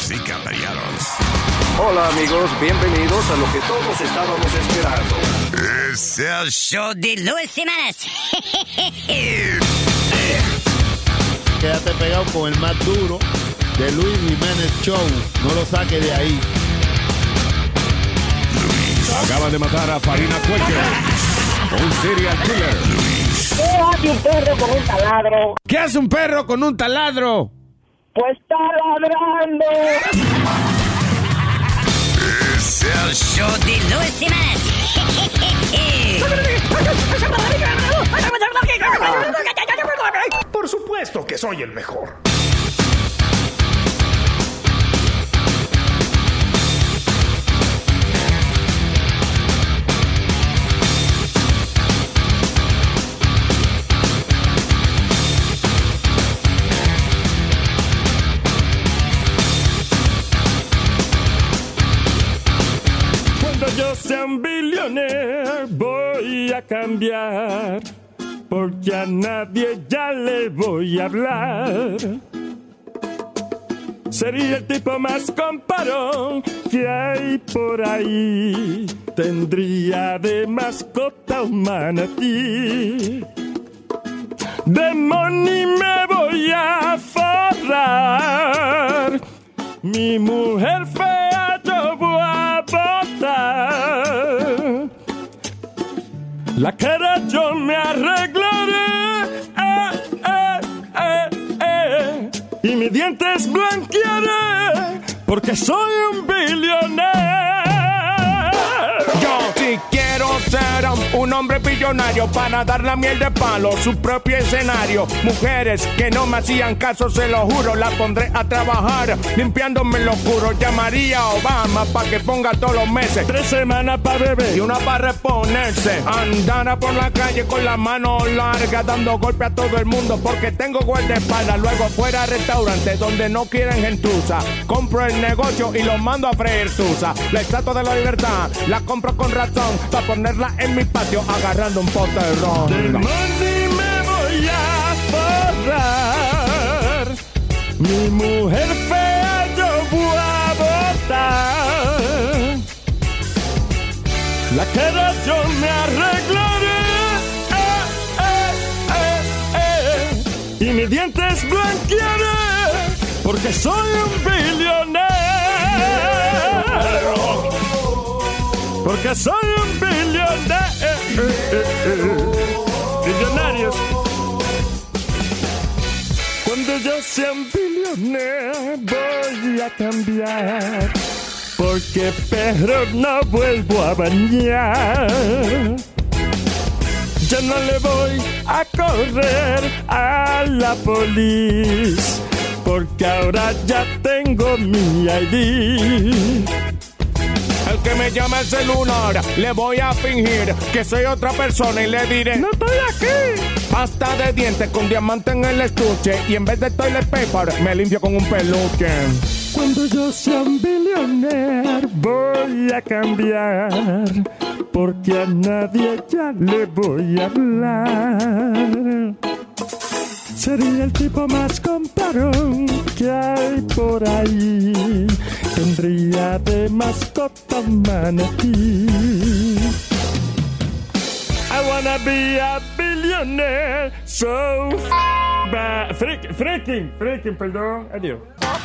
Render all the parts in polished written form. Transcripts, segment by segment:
Damas y caballeros. Hola amigos, bienvenidos a lo que todos estábamos esperando. Es el show de Luis Jiménez. Quédate pegado con el más duro de Luis Jiménez Show. No lo saques de ahí. Acaban de matar a Farina Cuello, un serial killer. ¿Qué hace un perro con un taladro? ¿Qué hace un perro con un taladro? Pues está ladrando. Es el show de Luis Jiménez. Por supuesto que soy el mejor. Cuando yo sea un billionaire voy a cambiar, porque a nadie ya le voy a hablar. Sería el tipo más comparón que hay por ahí. Tendría de mascota un manatí. De money me voy a forrar. Mi mujer fea yo voy a botar. La cara yo me arreglaré, y mis dientes blanquearé, porque soy un billonero. Yo sí quiero ser un hombre billonario para dar la miel de palo, su propio escenario. Mujeres que no me hacían caso, se lo juro, la pondré a trabajar limpiándome el oscuro. Llamaría a Obama para que ponga todos los meses 3 semanas para beber y una para reponerse. Andara por la calle con la mano larga, dando golpe a todo el mundo porque tengo guardaespaldas. Luego fuera a restaurantes donde no quieren gentuza, compro el negocio y lo mando a freír tusa. La estatua de la libertad la compro con razón para ponerla en mi patio agarrando un pote de ron. De money me voy a forrar. Mi mujer fea yo voy a botar. La cara yo me arreglaré, y mis dientes blanquearé, porque soy un billonero. Porque soy un billonero. Billonarios. Cuando yo sea un billonero voy a cambiar, porque perro no vuelvo a bañar. Ya no le voy a correr a la policía, porque ahora ya tengo mi ID. El que me llama el celular, le voy a fingir que soy otra persona y le diré: ¡No estoy aquí! Pasta de dientes con diamante en el estuche, y en vez de toilet paper me limpio con un peluche. Cuando yo sea un billonero voy a cambiar, porque a nadie ya le voy a hablar. Sería el tipo más comparón que hay por ahí. Tendría de mascota un manatí. I wanna be a billionaire, so freaking, perdón, adiós.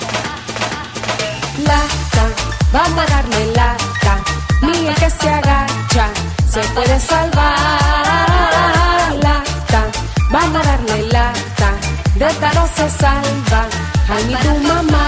Lata, vamos a darle lata. Ni el que se agacha se puede salvar. Lata, vamos a darle lata. De esta no se salva, ay ni tu mamá.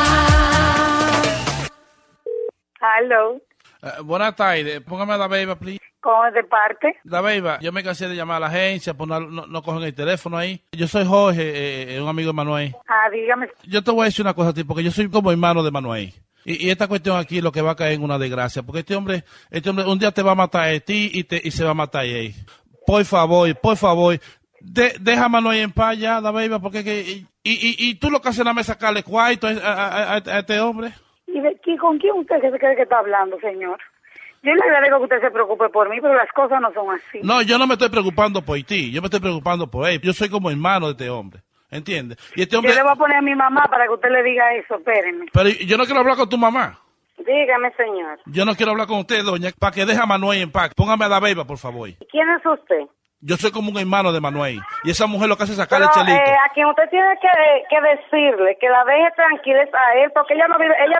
Aló. Buenas tardes, póngame a la Beba, please. ¿Cómo es de parte? La Beba, yo me cansé de llamar a la agencia, pues no cogen el teléfono ahí. Yo soy Jorge, un amigo de Manuel. Ah, dígame. Yo te voy a decir una cosa a ti, porque yo soy como hermano de Manuel. Y esta cuestión aquí lo que va a caer en una desgracia, porque este hombre un día te va a matar a ti y se va a matar a él. Por favor, deja a Manuel en paz ya, la Beba, porque y tú lo que haces nada más sacarle cuarto a este hombre. ¿Y con quién usted se cree que está hablando, señor? Yo le agradezco que usted se preocupe por mí, pero las cosas no son así. No, yo no me estoy preocupando por ti, yo me estoy preocupando por él. Yo soy como hermano de este hombre. ¿entiendes? Y este hombre... Yo le voy a poner a mi mamá para que usted le diga eso, espérenme. Pero yo no quiero hablar con tu mamá. Dígame, señor. Yo no quiero hablar con usted, doña, para que deje a Manuel en paz. Póngame a la beba, por favor. ¿Quién es usted? Yo soy como un hermano de Manuel. Y esa mujer lo que hace es sacarle Pero, chelito. a quien usted tiene que decirle que la deje tranquila es a él, porque ella no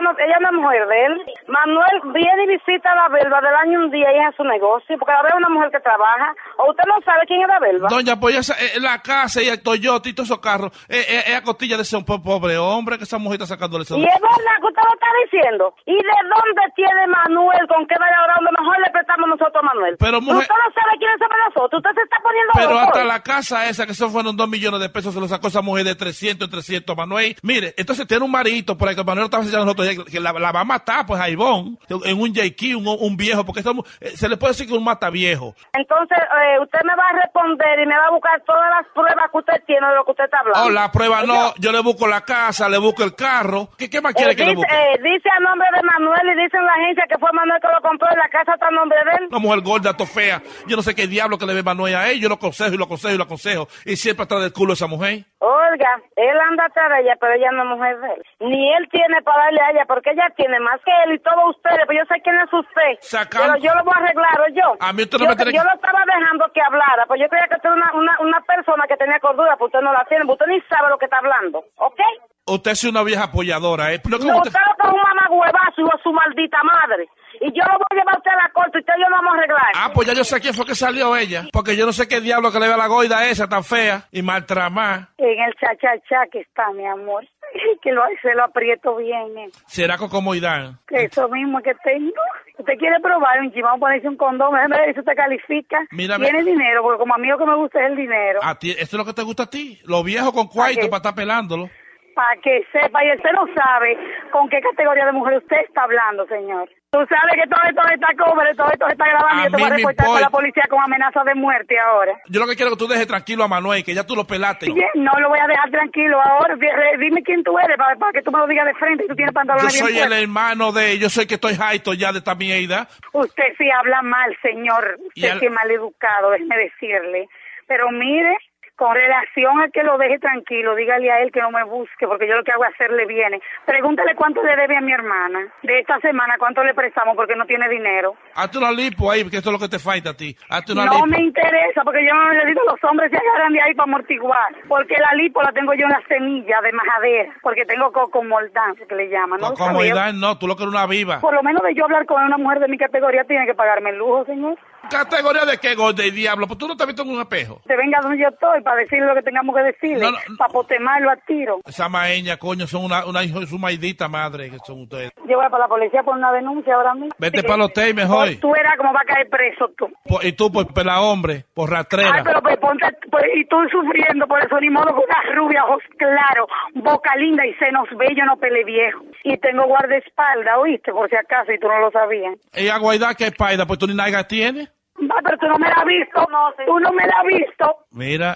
es mujer de él. Manuel viene y visita a la Belva del año un día y es a su negocio, porque la Belva es una mujer que trabaja. ¿O usted no sabe quién es la Belva? Doña, pues esa, la casa y el Toyota y todos esos carros, es a costilla de ese pobre hombre que esa mujer está sacándole eso. Y es verdad que usted lo está diciendo. ¿Y de dónde tiene Manuel? ¿Con qué vaya ahora? Mejor le prestamos nosotros a Manuel. Pero, mujer... Usted no sabe quiénes somos nosotros. Usted se está poniendo Pero loco. hasta la casa esa, que eso fueron 2 millones de pesos, se lo sacó esa mujer de 300 en 300, Manuel. Mire, entonces tiene un marito por ahí que Manuel estaba enseñando a nosotros, que la va a matar, pues, a Ivonne, en un JQ, un viejo, porque se le puede decir que un mata viejo. Entonces, usted me va a responder y me va a buscar todas las pruebas que usted tiene de lo que usted está hablando. Oh, la prueba no, yo le busco la casa, le busco el carro. ¿Qué más quiere que le busque? Dice a nombre de Manuel y dice en la agencia que fue Manuel que lo compró y la casa está a nombre de él. Una mujer gorda, fea. Yo no sé qué diablo que le ve Manuel a él. Yo lo aconsejo y lo aconsejo y lo aconsejo. Y siempre atrás del culo esa mujer. Oiga, él anda atrás de ella, pero ella no es mujer de él. Ni él tiene para darle a ella, porque ella tiene más que él y todos ustedes, pero yo sé quién es usted. Pero yo lo voy a arreglar, ¿o yo? A mí usted no me tiene yo lo estaba dejando que hablara, pues yo creía que usted era una persona que tenía cordura, pues usted no la tiene, usted ni sabe lo que está hablando, ¿ok? Usted es una vieja apoyadora, ¿eh? No, usted lo con un mamagüevazo y a su maldita madre. Y yo lo voy a llevar a usted a la corte y usted y yo lo vamos a arreglar. Ah, pues ya yo sé quién fue que salió ella. Porque yo no sé qué diablo que le ve a la goida esa tan fea y maltramá. En el cha-cha-cha que está, mi amor. Que se lo aprieto bien. ¿Será cocomoidán? Eso mismo que tengo. ¿Usted quiere probar un chimán, ponerse un condón? Déjeme ver si usted califica. Mírame. Tiene dinero, porque como a mí lo que me gusta es el dinero. ¿A ti, esto es lo que te gusta a ti? Los viejos con cuarto para estar pelándolo. Para que sepa, y usted no sabe con qué categoría de mujer usted está hablando, señor. Tú sabes que todo esto está cobre, todo esto está grabando y yo te voy a reportar con la policía con amenaza de muerte ahora. Yo lo que quiero es que tú dejes tranquilo a Manuel, que ya tú lo pelaste. No lo voy a dejar tranquilo ahora. Dime quién tú eres para que tú me lo digas de frente y tú tienes pantalones bien puestos. Yo soy el puestos. hermano de... Yo soy que estoy jaito ya de esta mierda. Usted sí habla mal, señor. Usted sí es mal educado, déjeme decirle. Pero mire... Con relación a que lo deje tranquilo, dígale a él que no me busque, porque yo lo que hago es hacerle viene. Pregúntale cuánto le debe a mi hermana. De esta semana, cuánto le prestamos porque no tiene dinero. Hazte una lipo ahí, porque esto es lo que te falta a ti. Hazte una no lipo. Me interesa, porque yo no necesito los hombres se agarran de ahí para amortiguar. Porque la lipo la tengo yo en la semilla de majadera, porque tengo cocomoldán, que le llaman. ¿No? Cocomoldán no, tú lo que eres una viva. Por lo menos de yo hablar con una mujer de mi categoría, tiene que pagarme el lujo, señor. ¿Categoría de qué, gorda y diablo? Pues tú no te has visto en un espejo. Te venga donde yo estoy para decirle lo que tengamos que decirle, para potemarlo a tiro. Esa maeña, coño, son una hijo de su maldita madre que son ustedes. Yo voy para la policía por una denuncia ahora mismo. Vete para el hotel mejor. Tú verás cómo va a caer preso tú. Y tú por pela hombre, por rastrera. Ay, pero pues ponte, y tú sufriendo por eso, ni modo con una rubia, ojos claros, boca linda y senos bellos, no pele viejo. Y tengo guardaespaldas, ¿oíste? Por si acaso, y tú no lo sabías. Ella guaida que paida, pues tú ni nalga tienes. Va, pero tú no me la has visto, tú no me la has visto. Mira,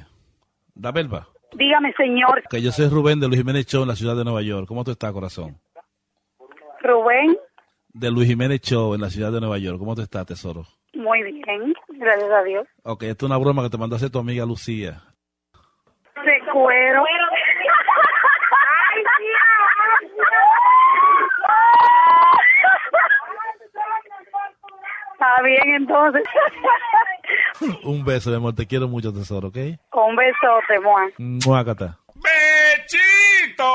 da Belva. Dígame, señor. Que yo soy Rubén de Luis Jiménez Show en la ciudad de Nueva York. ¿Cómo tú estás, corazón? Rubén. De Luis Jiménez Show en la ciudad de Nueva York. ¿Cómo tú estás, tesoro? Muy bien, gracias a Dios. Ok, esto es una broma que te mandó a hacer tu amiga Lucía. De cuero. Está bien, entonces. Un beso, mi amor. Te quiero mucho, tesoro, ¿ok? Un besote, Juan. Muácata. ¡Bechito!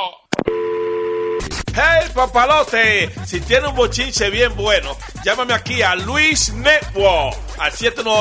¡Hey, papalote! Si tiene un bochinche bien bueno, llámame aquí a Luis Network al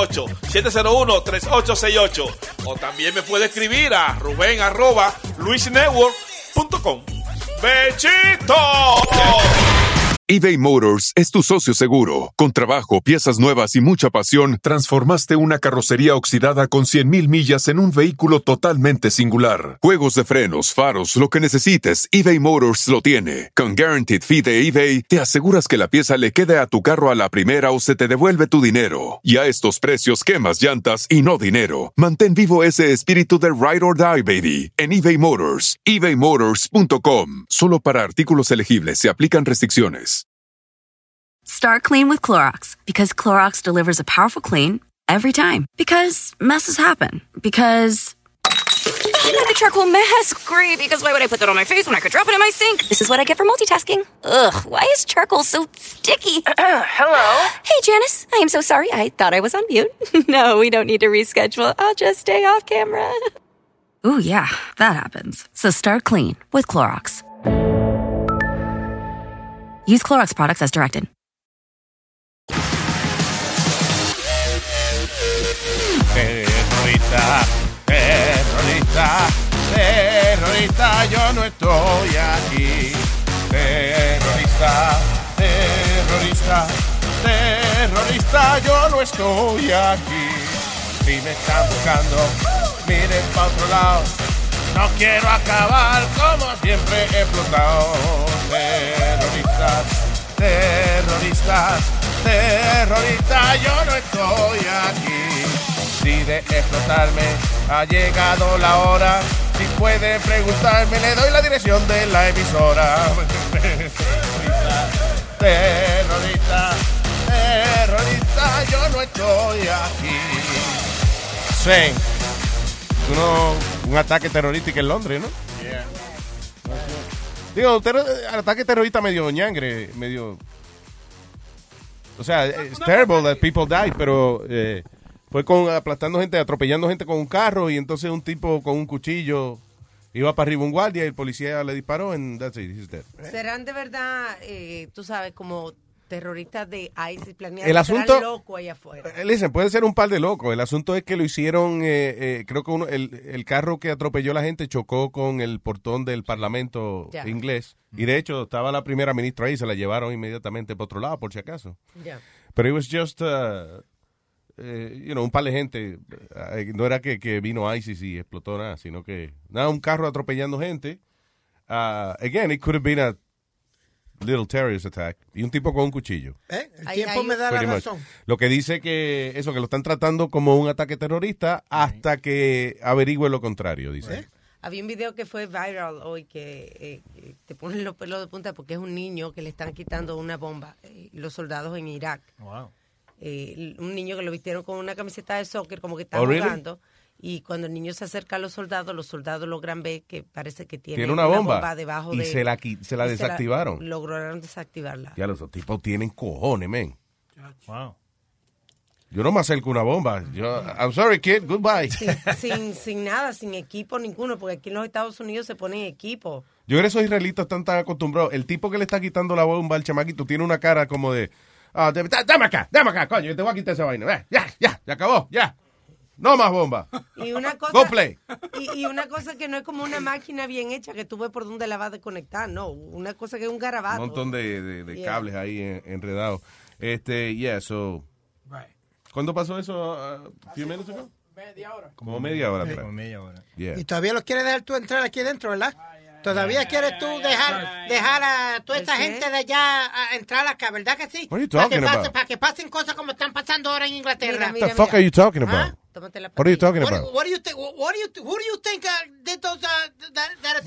718-701-3868. O también me puede escribir a ruben@luisnetwork.com. ¡Bechito! eBay Motors es tu socio seguro. Con trabajo, piezas nuevas y mucha pasión, transformaste una carrocería oxidada con 100,000 millas en un vehículo totalmente singular. Juegos de frenos, faros, lo que necesites, eBay Motors lo tiene. Con Guaranteed Fee de eBay, te aseguras que la pieza le quede a tu carro a la primera o se te devuelve tu dinero. Y a estos precios, quemas llantas y no dinero. Mantén vivo ese espíritu de Ride or Die, baby, en eBay Motors. ebaymotors.com. Solo para artículos elegibles se aplican restricciones. Start clean with Clorox, because Clorox delivers a powerful clean every time. Because messes happen. Because The charcoal mask. Great, because why would I put that on my face when I could drop it in my sink? This is what I get for multitasking. Ugh, why is charcoal so sticky? Hello? Hey, Janice. I am so sorry. I thought I was on mute. No, we don't need to reschedule. I'll just stay off camera. Ooh, yeah, that happens. So start clean with Clorox. Use Clorox products as directed. Terrorista, terrorista, terrorista, yo no estoy aquí. Terrorista, terrorista, terrorista, yo no estoy aquí. Si me están buscando, miren pa' otro lado. No quiero acabar como siempre he explotado. Terroristas, terroristas, terroristas, yo no estoy aquí. Si de explotarme ha llegado la hora, si puede preguntarme, le doy la dirección de la emisora. Terrorista, terrorista, yo no estoy aquí. Sí. Un ataque terrorista en Londres, ¿no? Yeah. Digo, ataque terrorista medio ñangre, medio... O sea, it's terrible that people die, pero fue aplastando gente, atropellando gente con un carro, y entonces un tipo con un cuchillo iba para arriba un guardia y el policía le disparó and that's it, he's dead. ¿Serán de verdad, tú sabes, como terroristas de ISIS planeados? El asunto, loco allá afuera. Listen, puede ser un par de locos. El asunto es que lo hicieron, creo que el carro que atropelló a la gente chocó con el portón del parlamento inglés. Y de hecho estaba la primera ministra ahí, se la llevaron inmediatamente para otro lado, por si acaso. Pero it was just, un par de gente. No era que vino ISIS y explotó nada, sino que, un carro atropellando gente. Again, it could have been a little terrorist attack. Y un tipo con un cuchillo. El tiempo me da la razón. Lo que dice que lo están tratando como un ataque terrorista hasta que averigüe lo contrario, dice. Había un video que fue viral hoy que te ponen los pelos de punta porque es un niño que le están quitando una bomba. Los soldados en Irak. Wow. Un niño que lo vistieron con una camiseta de soccer como que está jugando. Y cuando el niño se acerca a los soldados logran ver que parece que tiene una bomba debajo y se la desactivaron. Lograron desactivarla. Ya los tipos tienen cojones, men. Wow. Yo no me acerco a una bomba. I'm sorry, kid, goodbye. Sin nada, sin equipo ninguno, porque aquí en los Estados Unidos se ponen equipo. Yo creo que esos israelitas están tan acostumbrados. El tipo que le está quitando la bomba al chamaquito tiene una cara como de, dame acá, coño, yo te voy a quitar esa vaina. Ya acabó, ya. No más bomba. Y una cosa, Go play. Y una cosa que no es como una máquina bien hecha que tú ves por dónde la vas a desconectar, no. Una cosa que es un garabato. Un montón de cables ahí enredados. So. Right. ¿Cuándo pasó eso? ¿Few minutes ago? Media hora. Como media hora atrás. Como media hora. Yeah. Y todavía los quieres dejar tú entrar aquí dentro, ¿verdad? ¿Todavía quieres tú dejar a toda esta gente de allá a entrar acá, verdad que sí? What are you talking about? Para que pasen cosas como están pasando ahora en Inglaterra. What the fuck are you talking about? What are you talking about? What do you think? Who do you think did those that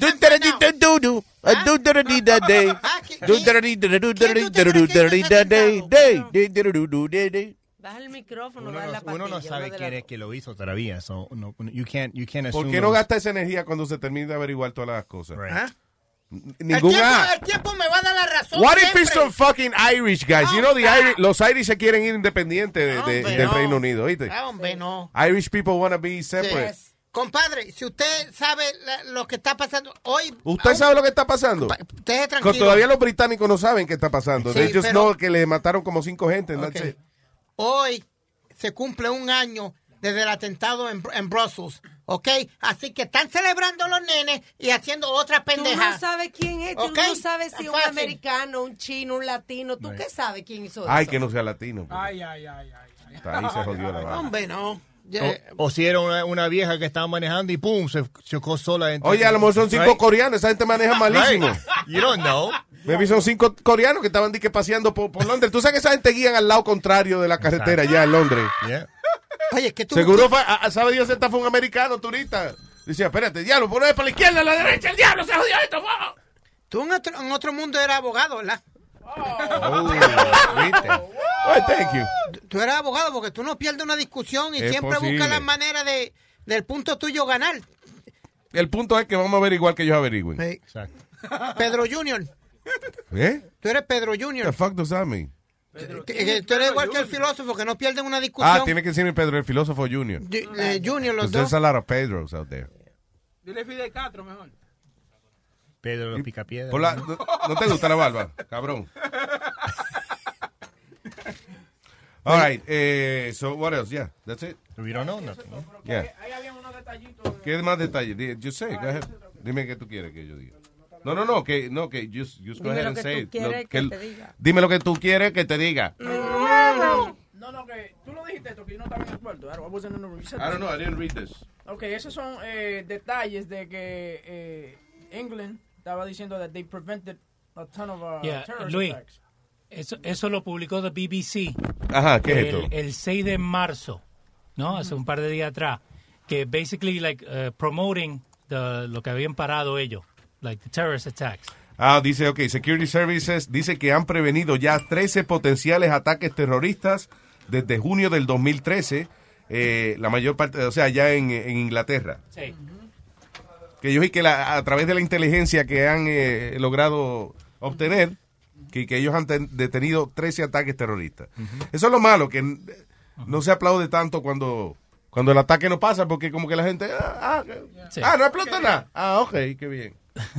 Baja el micrófono, uno no sabe quién es que lo hizo todavía. So, no, you can't assume. ¿Por qué no gasta esa energía cuando se termine de averiguar todas las cosas? Right. El tiempo me va a dar la razón. What if it's some fucking Irish guys? You know, los Irish se quieren ir independientes del Reino Unido, ¿oíste? Hombre, no. Irish people want to be separate. Sí. Compadre, si usted sabe lo que está pasando hoy... ¿Usted sabe lo que está pasando? Usted tranquilo. Todavía los británicos no saben qué está pasando. Sí, Ellos no, que le mataron como 5 gente. Okay. Hoy se cumple un año desde el atentado en Brussels, ¿ok? Así que están celebrando los nenes y haciendo otra pendeja. Tú no sabes quién es, tú no sabes si es un americano, un chino, un latino. ¿Tú qué sabes quién hizo eso? Ay, que no sea latino. Pues. Ay. Ahí se jodió la vaina. Hombre, no. O si era una vieja que estaba manejando y pum, se chocó sola. Oye, a lo mejor son 5 coreanos, esa gente maneja malísimo. Right. You don't know. Maybe son 5 coreanos que estaban paseando por Londres. Tú sabes que esa gente guían al lado contrario de la carretera ya en Londres. Yeah. Oye, que tú... Seguro sabe Dios, esta fue un americano turista. Dice, espérate, diablo, ponme para la izquierda, a la derecha, el diablo se jodió esto. ¡Oh! Tú en otro mundo eras abogado, ¿verdad? ¿Viste? Thank you. Tú eras abogado porque tú no pierdes una discusión y siempre buscas la manera del punto tuyo ganar. el punto es que vamos a averiguar que ellos averigüen. Sí. Exacto. Pedro Junior. ¿Eh? Tú eres Pedro Junior. The fuck does that mean? Que tú eres igual que el filósofo, que no pierden una discusión. Ah, tiene que decirme Pedro, el filósofo Junior. Junior, los dos. There's a lot of Pedros out there. Dile Fidel Castro mejor. Pedro los picapiedras. ¿No te gusta la barba, cabrón? All right, so what else? Yeah, that's it. We don't know nothing. Yeah. Ahí había unos detallitos. ¿Qué más detalles? Yo sé, go ahead. Dime qué tú quieres que yo diga. No, que just go ahead and say it. Dime lo que tú quieres que te diga. No, que tú lo dijiste esto, que yo no estaba en acuerdo. I wasn't in the room. I don't know, I didn't read this. Okay, esos son detalles de que England estaba diciendo that they prevented a ton of terrorist Luis, attacks. Eso lo publicó the BBC. Ajá, ¿qué es esto? El 6 de marzo, ¿no? Hace un par de días atrás. Que basically, promoting lo que habían parado ellos. Like the terrorist attacks. Dice, Security Services dice que han prevenido ya 13 potenciales ataques terroristas desde junio del 2013, la mayor parte, o sea, ya en Inglaterra. Sí. Que ellos y que a través de la inteligencia que han logrado obtener, que ellos han detenido 13 ataques terroristas. Eso es lo malo, que no se aplaude tanto cuando el ataque no pasa, porque como que la gente, no explota nada. Ok, qué bien.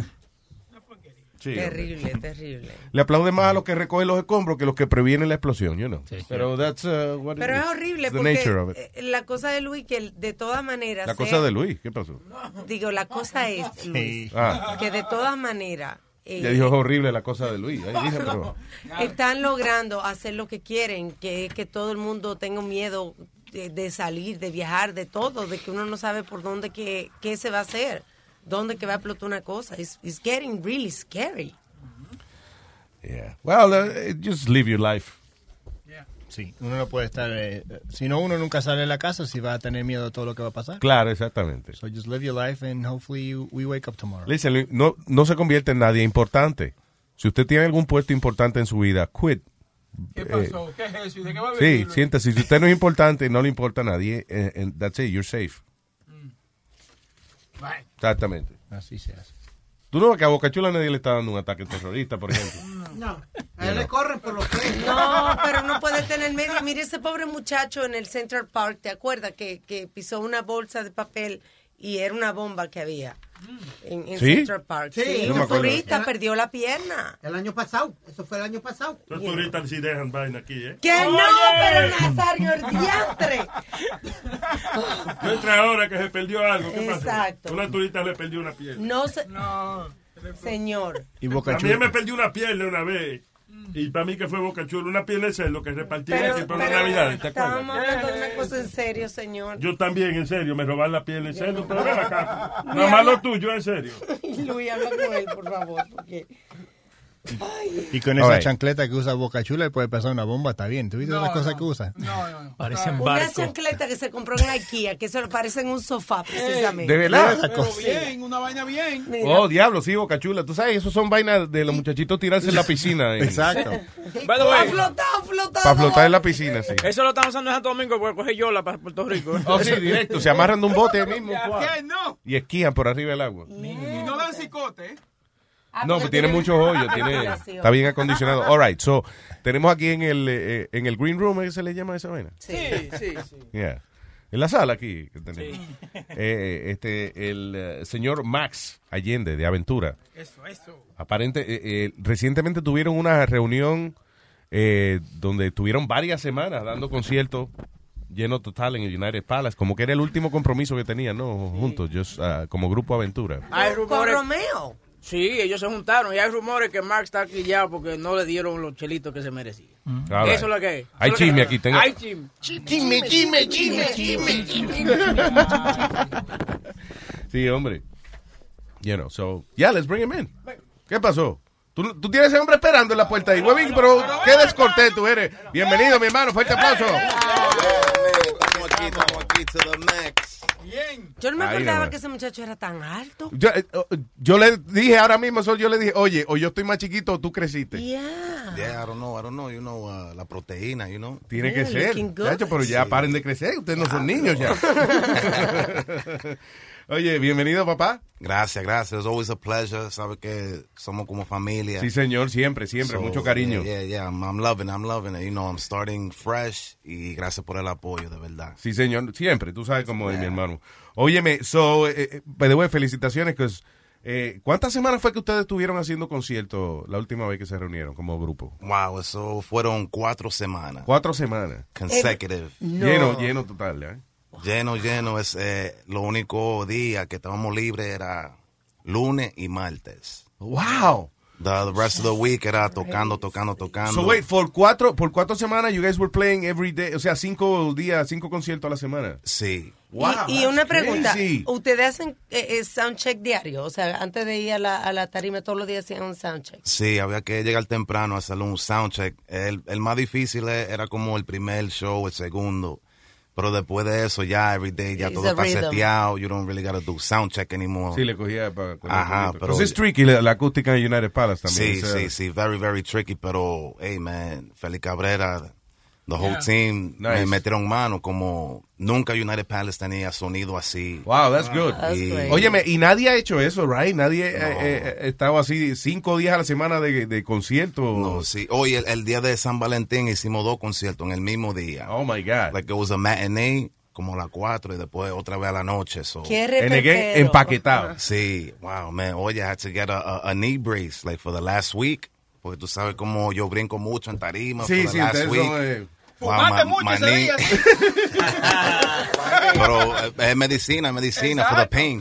Sí, terrible. Le aplaude más a los que recogen los escombros que los que previenen la explosión, you know. Sí. Pero Pero es horrible porque la cosa de Luis, que de todas maneras... cosa de Luis, ¿qué pasó? Digo, la cosa es, Luis, que de todas maneras... Ya dijo, es horrible la cosa de Luis. Ahí dije, pero... Están logrando hacer lo que quieren, que es que todo el mundo tenga miedo de salir, de viajar, de todo, de que uno no sabe por dónde qué se va a hacer. ¿Dónde que va a explotar una cosa? It's getting really scary. Yeah. Well, just live your life. Yeah. Sí, uno no puede estar... si no, uno nunca sale de la casa si va a tener miedo de todo lo que va a pasar. Claro, exactamente. So just live your life and hopefully we wake up tomorrow. Listen, no se convierte en nadie importante. Si usted tiene algún puesto importante en su vida, quit. ¿Qué pasó? ¿Qué es eso? ¿Y de qué va a venir? Sí, siéntase. Si usted no es importante y no le importa a nadie, that's it, you're safe. Right. Exactamente. Así se hace. ¿Tú no ves que a Boca Chula nadie le está dando un ataque terrorista, por ejemplo? No, a él le corren por los pies. No, pero no puede tener medio. Mire ese pobre muchacho en el Central Park, ¿te acuerdas? Que pisó una bolsa de papel y era una bomba que había en ¿Sí? Central Park. Sí, no un turista perdió la pierna. El año pasado, eso fue el año pasado. Los turistas sí dejan vaina aquí, ¿eh? ¡Que no, pero Nazario, el diantre! No entra ahora que se perdió algo. ¿Qué Exacto. pasó? Una turista le perdió una pierna. No, señor. Y Boca Chula. A mí me perdió una pierna una vez. Y para mí que fue Boca Chula, una pierna de cerdo que repartía aquí por la Navidad. ¿Te acuerdas? Estábamos hablando de una cosa en serio, señor. Yo también, en serio, me roban la pierna en cerdo, pero ven acá. Nada más lo tuyo, en serio. Luis, habla con él, por favor, porque... Y con esa chancleta que usa Boca Chula puede pasar una bomba, está bien. ¿Tú viste las cosas que usa? No. Parecen Una barcos. chancleta que se compró en IKEA, que eso parece en un sofá, precisamente. ¿De verdad? Bien, una vaina bien. Oh, diablo, sí, Boca Chula. Tú sabes, esos son vainas de los muchachitos tirarse en la piscina. Exacto. Para flotar en la piscina, sí. Eso lo estamos usando en Santo Domingo porque coge yola para Puerto Rico. Oh, sí, directo. Se amarran de un bote ahí mismo. ¿Qué? No. Y esquían por arriba del agua. Y no dan cicote, ¿eh? No, pues tiene muchos hoyos, está bien acondicionado. All right, so, tenemos aquí en el green room, ¿qué se le llama esa vaina? Sí. Yeah. En la sala aquí que tenemos. El señor Max Allende, de Aventura. Eso. Recientemente tuvieron una reunión donde tuvieron varias semanas dando conciertos lleno total en el United Palace, como que era el último compromiso que tenían, ¿no? Juntos, como grupo Aventura. Con Romeo. Sí, ellos se juntaron y hay rumores que Mark está aquí ya porque no le dieron los chelitos que se merecía. Eso es lo que es. Hay chisme aquí. Hay chisme. Sí, hombre. Let's bring him in. ¿Qué pasó? ¿Tú tienes ese hombre esperando en la puerta ahí, huevín, pero qué descortés tú eres. Bienvenido, mi hermano, fuerte aplauso. Estamos aquí to the max. Bien. Yo no me acordaba que ese muchacho era tan alto. Yo le dije ahora mismo, yo le dije, oye, o yo estoy más chiquito o tú creciste. Yeah. Yeah, I don't know, you know, la proteína, you know. Tiene que ser. Chacho, pero ya paren de crecer, ustedes no son niños ya. Oye, bienvenido, papá. Gracias. It's always a pleasure. Sabe que somos como familia. Sí, señor, siempre. So, mucho cariño. Yeah. I'm loving it. You know, I'm starting fresh y gracias por el apoyo, de verdad. Sí, señor, siempre. Tú sabes cómo es, mi hermano. Óyeme, by the way, felicitaciones, que ¿cuántas semanas fue que ustedes estuvieron haciendo conciertos la última vez que se reunieron como grupo? Wow, eso fueron 4 semanas. 4 semanas. Consecutive. No. Lleno total, ¿eh? Lleno. Es lo único día que estábamos libres era lunes y martes. Wow. The rest of the week era tocando. So wait, por 4 semanas you guys were playing every day, o sea, 5 días, 5 conciertos a la semana. Sí. Wow, y una pregunta, crazy. ¿Ustedes hacen soundcheck diario? O sea, antes de ir a la tarima todos los días hacían un soundcheck. Sí, había que llegar temprano a hacer un soundcheck. El más difícil era como el primer show, el segundo. Pero después de eso, ya every day, ya todo está seteado. You don't really gotta do sound check anymore. Sí, le cogía Ajá, pero es tricky la acústica en United Palace también. Sí. Very, very tricky. Pero, hey, man, Félix Cabrera, the whole team, me metieron mano como nunca United Palace tenía sonido así. Wow, that's good. Óyeme, y nadie ha hecho eso, right? Nadie ha estado así 5 días a la semana de conciertos. No, sí. Hoy, el día de San Valentín, hicimos 2 conciertos en el mismo día. Oh, my God. Like it was a matinee, como a las 4 y después otra vez a la noche. So. ¡Qué repetero! Empaquetado. Sí. Wow, man. Oye, I had to get a knee brace, like, for the last week. Porque tú sabes cómo yo brinco mucho en tarima. Sí, for the last week. Fumaste mucho ese día. Pero es medicina for the pain.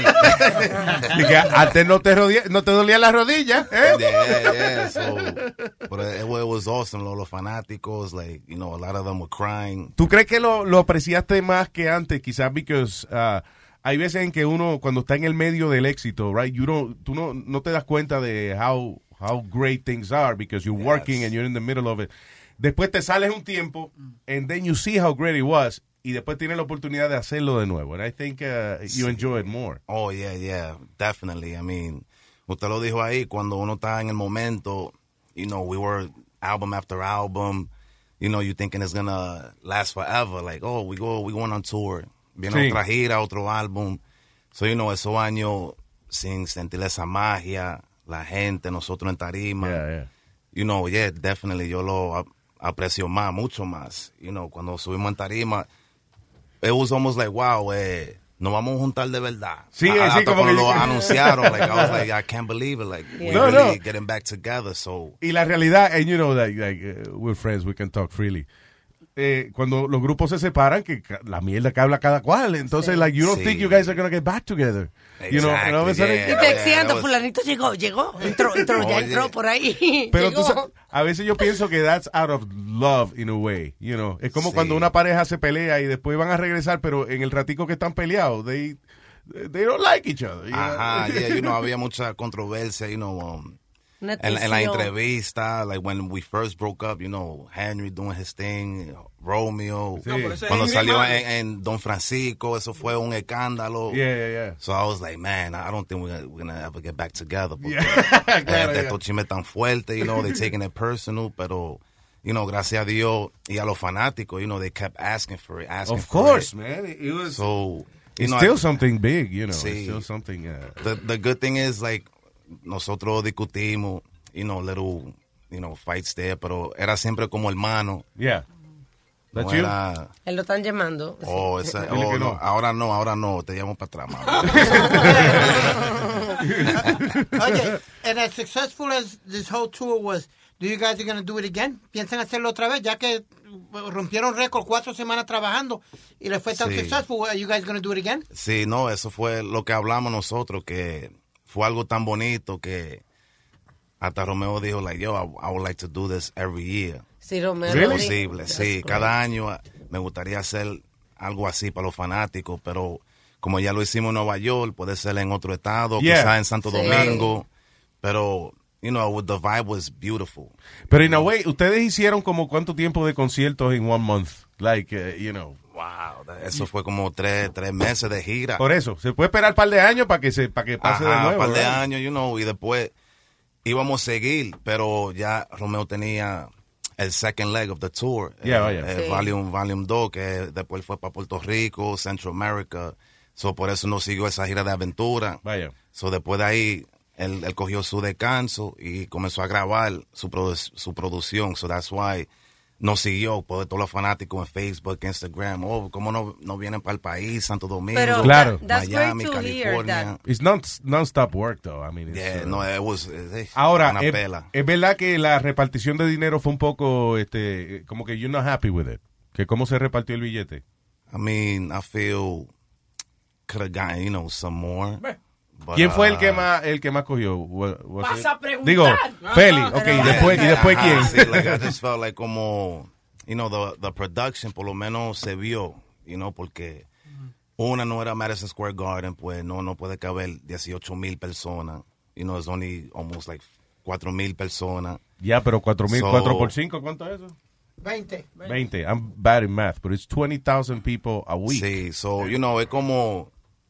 Antes no te dolía la rodilla, ¿eh? Yeah. So, but it was awesome. Los fanáticos, like, you know, a lot of them were crying. ¿Tú crees que lo apreciaste más que antes? Quizás because hay veces en que uno, cuando está en el medio del éxito, right, tú no te das cuenta de how great things are because you're working and you're in the middle of it. Después te sales un tiempo, and then you see how great it was, y después tienes la oportunidad de hacerlo de nuevo. And I think you enjoy it more. Oh, yeah, definitely. I mean, usted lo dijo ahí, cuando uno está en el momento, you know, we were album after album, you know, you thinking it's gonna last forever. Like, oh, we going on tour. Viene otra gira, otro álbum. So, you know, esos años sin sentir esa magia, la gente, nosotros en tarima. Yeah. You know, yeah, definitely, yo lo aprecio más, mucho más. You know, cuando subimos en tarima, it was almost like, wow, nos vamos a juntar de verdad. Sí, hasta como cuando que lo anunciaron, like, I was like, I can't believe it, like, we're really getting back together, so. Y la realidad, and you know, like we're friends, we can talk freely. Cuando los grupos se separan, que la mierda que habla cada cual. Entonces, like, you don't think you guys are going to get back together. Exactly, you know, y texteando, fulanito llegó, entró por ahí. Pero tú sabes, a veces yo pienso que that's out of love in a way, you know. Es como cuando una pareja se pelea y después van a regresar, pero en el ratico que están peleados, they don't like each other. You Ajá, yeah, you know, había mucha controversia, you know, en la entrevista, like when we first broke up, you know, Henry doing his thing, Romeo, cuando salió en Don Francisco, eso fue un escándalo. Yeah. So I was like, man, I don't think we're gonna ever get back together. Estos chismes tan fuertes, you know, they're taking it personal, pero, you know, gracias a Dios y a los fanáticos, you know, they kept asking for it. Of course, man. It was, so, it's still something big, you know. Sí. It's still something. The good thing is, like, nosotros discutimos, you know, little, you know, fights there, pero era siempre como hermano. Yeah. No That's you? Él lo están llamando. No, ahora no, te llamo para atrás, mamá. Oye, and as successful as this whole tour was, do you guys are going to do it again? ¿Piensan hacerlo otra vez? Ya que rompieron récord 4 semanas trabajando y les fue tan successful, are you guys going to do it again? Sí, no, eso fue lo que hablamos nosotros, que fue algo tan bonito que hasta Romeo dijo, like, yo, I would like to do this every year. Sí, Romeo. Si es posible, sí. Cada año me gustaría hacer algo así para los fanáticos, pero como ya lo hicimos en Nueva York, puede ser en otro estado, quizás en Santo Domingo, pero, you know, the vibe was beautiful. Pero in a way, ustedes hicieron como cuánto tiempo de conciertos en 1 month, like, you know. Wow, eso fue como 3 meses de gira. Por eso, se puede esperar un par de años para que pase de nuevo. Un par de años, you know, y después íbamos a seguir, pero ya Romeo tenía el second leg of the tour, Sí. Volume 2, que después fue para Puerto Rico, Central America, so por eso no siguió esa gira de aventura. Vaya. So después de ahí, él cogió su descanso y comenzó a grabar su producción, so that's why no siguió, por todos los fanáticos en Facebook, Instagram, cómo no vienen para el país, Santo Domingo, Pero Claro. Miami, great to hear California. It's non-stop work, though. I mean, it's, No, it was Ahora, una pela. es verdad que la repartición de dinero fue un poco, como que you're not happy with it. Que cómo se repartió el billete. I mean, I feel could have gotten, some more. But, ¿Quién fue el que más cogió? Vas a preguntar. Digo, Feli, okay, y después quién? Sí, like, I just felt like como, the production por lo menos se vio, porque una no era Madison Square Garden, pues no puede caber 18,000 personas. It's only almost like 4,000 personas. Ya, pero 4,000, So- 4 por 5, ¿cuánto es eso? 20. 20. I'm bad in math, but it's 20,000 people a week. Sí, so, es como,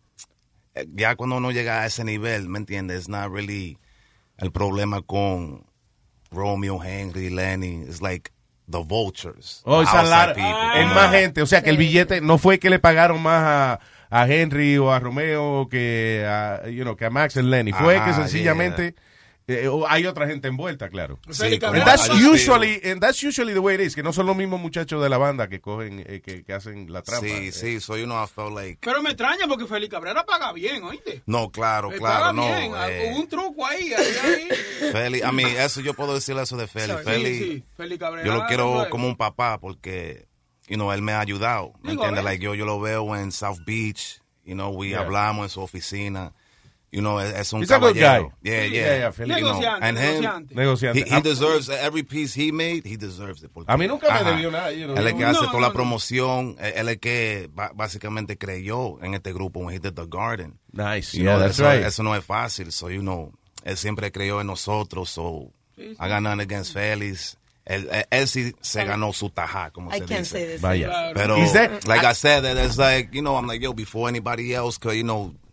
ya cuando uno llega a ese nivel, ¿me entiendes? It's not really el problema con Romeo, Henry, Lenny. It's like the vultures. Oh, it's a outside lot. people, Es más gente. O sea, que el billete no fue que le pagaron más a Henry o a Romeo que a Max y Lenny. Fue Ajá, que sencillamente hay otra gente envuelta, claro. Sí, And that's usually the way it is, que no son los mismos muchachos de la banda que cogen, que hacen la trampa. Sí, so, I felt like... Pero me extraña porque Félix Cabrera paga bien, ¿oíste? No, claro, Paga no. bien. Hubo un truco ahí. Feli, eso yo puedo decirle eso de Feli. Sí, Félix Cabrera. Yo lo quiero como un papá porque, él me ha ayudado. ¿Me Digo, entiendes? Like, yo lo veo en South Beach, hablamos en su oficina. Es un He's a good caballero. guy. Yeah. Feli. Negociante. He deserves every piece he made, he deserves it. A mí nunca me debió nada. Él es el que hace toda la promoción. Él es el que básicamente creyó en este grupo when he did The Garden. Nice. That's right. Eso no es fácil. So, él siempre creyó en nosotros. So, I got nothing against Félix. Él sí se ganó su tajá, como se dice. Vaya. Pero, like I said, it's like, I'm like, before anybody else could,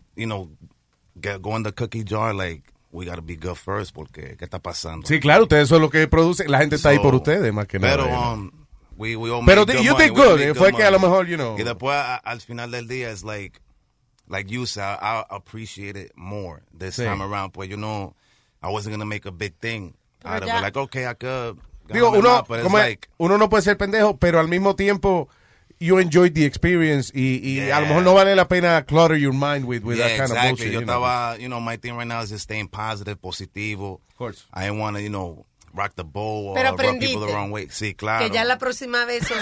go in the cookie jar, like, we gotta be good first, porque, ¿qué está pasando? Sí, claro, ustedes son los que producen. La gente está ahí por ustedes, más que nada. Pero, we all Pero made good you money. did We good. made Fue good que a lo money. mejor, Y después, al final del día, es like you said, I appreciate it more this Sí. time around. Pues, I wasn't gonna make a big thing out of ya. it. Like, okay, I could. Digo, but it's like, uno no puede ser pendejo, pero al mismo tiempo you enjoyed the experience y a lo mejor no vale la pena clutter your mind with that kind of bullshit. Yo estaba, my thing right now is just staying positive, positivo. Of course. I didn't want to, rock the boat Pero or rub people the aprendiste wrong way. Sí, claro. que ya la próxima vez son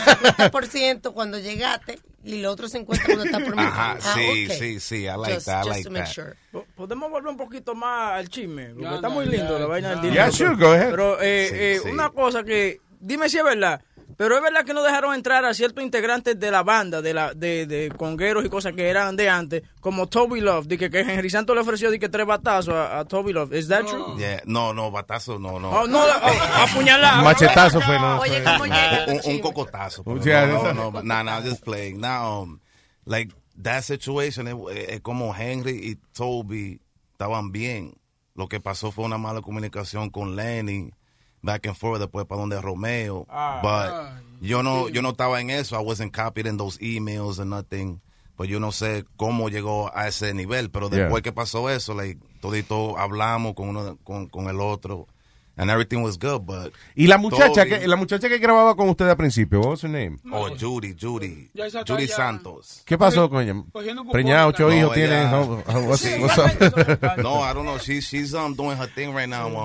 50% cuando llegaste y lo otro 50% cuando está por mitad. Ajá, Okay. sí, I like that, I like to make that. sure. Podemos volver un poquito más al chisme, porque Ya, está ya, muy lindo ya, la vaina del ya. dinero. Yeah, sure, go ahead. Pero Sí. una cosa que, dime si es verdad, pero es verdad que no dejaron entrar a ciertos integrantes de la banda, de congueros y cosas que eran de antes, como Toby Love, de que Henry Santos le ofreció de que 3 batazos a Toby Love. ¿Es that true? Yeah, no, batazo, no. Oh, no, apuñalado. Machetazo fue, no. Oye, ¿cómo llega? un cocotazo. pero Yeah, no, I'm just playing. Now, like, that situation, es como Henry y Toby estaban bien. Lo que pasó fue una mala comunicación con Lenny, back and forth, después para donde Romeo. But yo no estaba en eso. I wasn't copied in those emails and nothing. Pues yo no sé cómo llegó a ese nivel. Pero después que pasó eso, like, todito hablamos con el otro. And everything was good, but... Y la muchacha que grababa con usted al principio, what was her name? Oh, Judy Ya esa está Judy ya. Santos. ¿Qué pasó con ella? Cogiendo cupón. Preñada, 8 hijos tiene. ella- What's Sí. up? No, I don't know. She's doing her thing right now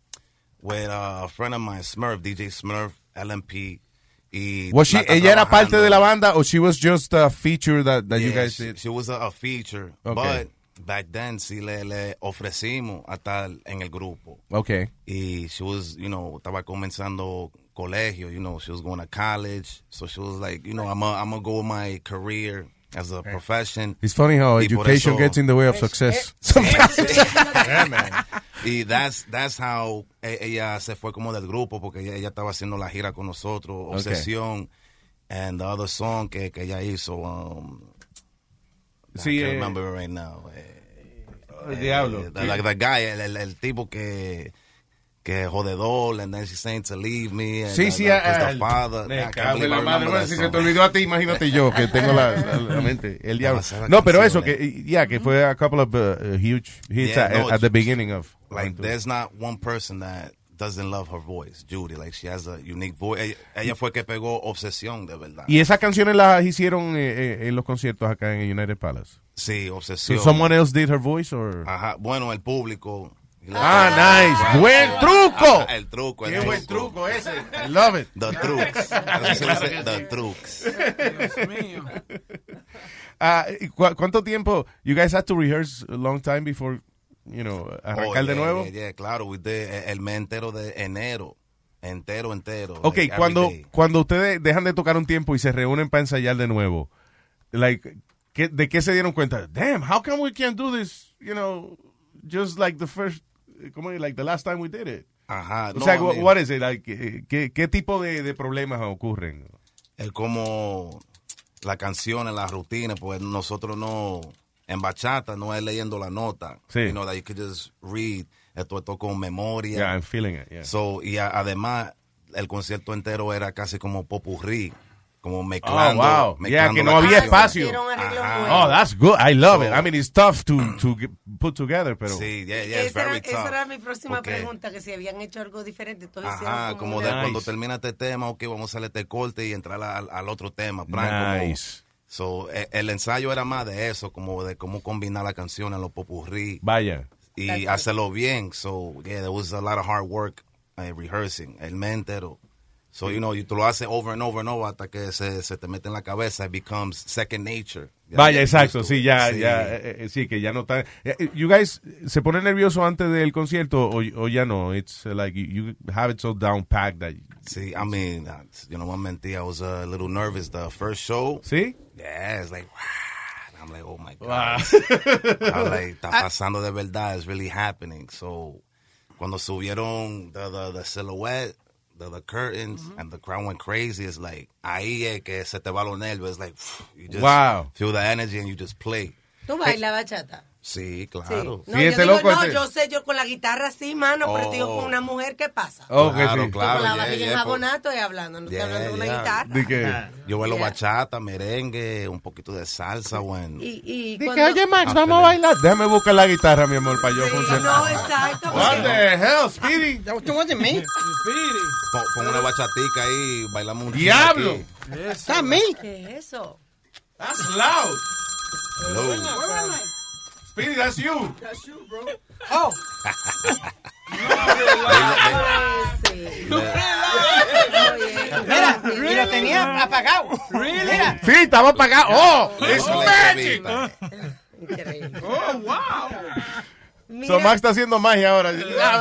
with a friend of mine, Smurf, DJ Smurf, LMP. Y Was she, la está ella era parte trabajando. de la banda o she was just a feature that you Yeah, guys did? She was a feature, Okay. but back then sí le ofrecimos a estar en el grupo. Okay. Y she was, estaba comenzando colegio, she was going to college. So she was like, I'm gonna go with my career as a profession. It's funny how Y por education eso- gets in the way of success. Yeah, man. Y that's how ella se fue como del grupo, porque ella estaba haciendo la gira con nosotros, Obsesión, and the other song que ella hizo, Sí, I can't remember it right now. El diablo. The guy, el tipo que que jodedor, and then she's saying to leave me. And, Sí, sí, the father. me I can't cago en believe I la madre. remember Bueno, that si se song. te olvidó a ti, imagínate yo, que tengo la mente, el diablo. No, pero eso, que fue a couple of huge hits at the beginning of. Like, there's not one person that doesn't love her voice, Judy. Like, she has a unique voice. Ella fue que pegó Obsesión, de verdad. Y esas canciones las hicieron en los conciertos acá en United Palace. Sí, Obsesión. So someone else did her voice, or? Ajá, bueno, el público. Nice. Buen truco. El truco. Qué buen truco ese. I love it. The trucs. Así se dice, the trucs. Dios mío. ¿Cuánto tiempo? You guys had to rehearse a long time before, arrancar de nuevo? Yeah, claro. We did el mes entero de enero. Entero. Ok, like, cuando ustedes dejan de tocar un tiempo y se reúnen para ensayar de nuevo, like, ¿de qué se dieron cuenta? Damn, how come we can't do this, just like the first, like the last time we did it? Ajá. O sea, what is it? Like, ¿qué tipo de problemas ocurren? El como la canción, la rutina, pues nosotros no, en bachata no es leyendo la nota. Sí. That you could just read. Esto con memoria. Yeah, I'm feeling it, yeah. So, y además, el concierto entero era casi como popurrí. Como mezclando. Oh, wow. Mezclando que no había espacio. Ajá. Oh, that's good. I love it. I mean, it's tough to put together, pero... Sí, it's very tough. Esa era mi próxima pregunta, que si habían hecho algo diferente. Entonces como de cuando termina este tema, ok, vamos a hacer este corte y entrar al otro tema. Nice. So, el ensayo era más de eso, como de cómo combinar la canción en los popurrí. Vaya. Y hacerlo bien. So, yeah, there was a lot of hard work rehearsing. El mes entero. So, tú lo haces over and over and over hasta que se te mete en la cabeza. It becomes second nature. Vaya, exacto. Sí, sí, que ya no está. You guys, ¿se pone nervioso antes del concierto o ya no? It's like you have it so down packed that... Sí, I mean, one mentira, I was a little nervous the first show. ¿Sí? Yeah, it's like, wow. I'm like, oh my God. Wow. I'm like, está pasando de verdad. It's really happening. So, cuando subieron the silhouette, the curtains, and the crowd went crazy, it's like, ahí es que se te va los nervios. It's like, you just feel the energy and you just play. ¿Tú bailas bachata? Sí, claro. Sí. No, yo sé, yo con la guitarra sí, mano, pero digo con una mujer, ¿qué pasa? Claro. Con la barriga en jabonato y hablando, no estoy hablando de una guitarra. ¿De yo bailo bachata, merengue, un poquito de salsa, bueno. Y que, oye, Max, vamos a bailar. Déjame buscar la guitarra, mi amor, para yo funcionar. No, exacto. What the hell, Speedy? That wasn't me. Speedy. Pon una bachatica ahí, bailamos un ¡Diablo! That's me. ¿Qué es eso? That's loud. Hello. Where am I? Speedy, that's you. That's you, bro. Oh. Mira, y lo tenía apagado. Mira. Sí, estaba apagado. Oh, it's magic. Increíble. Oh, wow. So Max está haciendo magia ahora.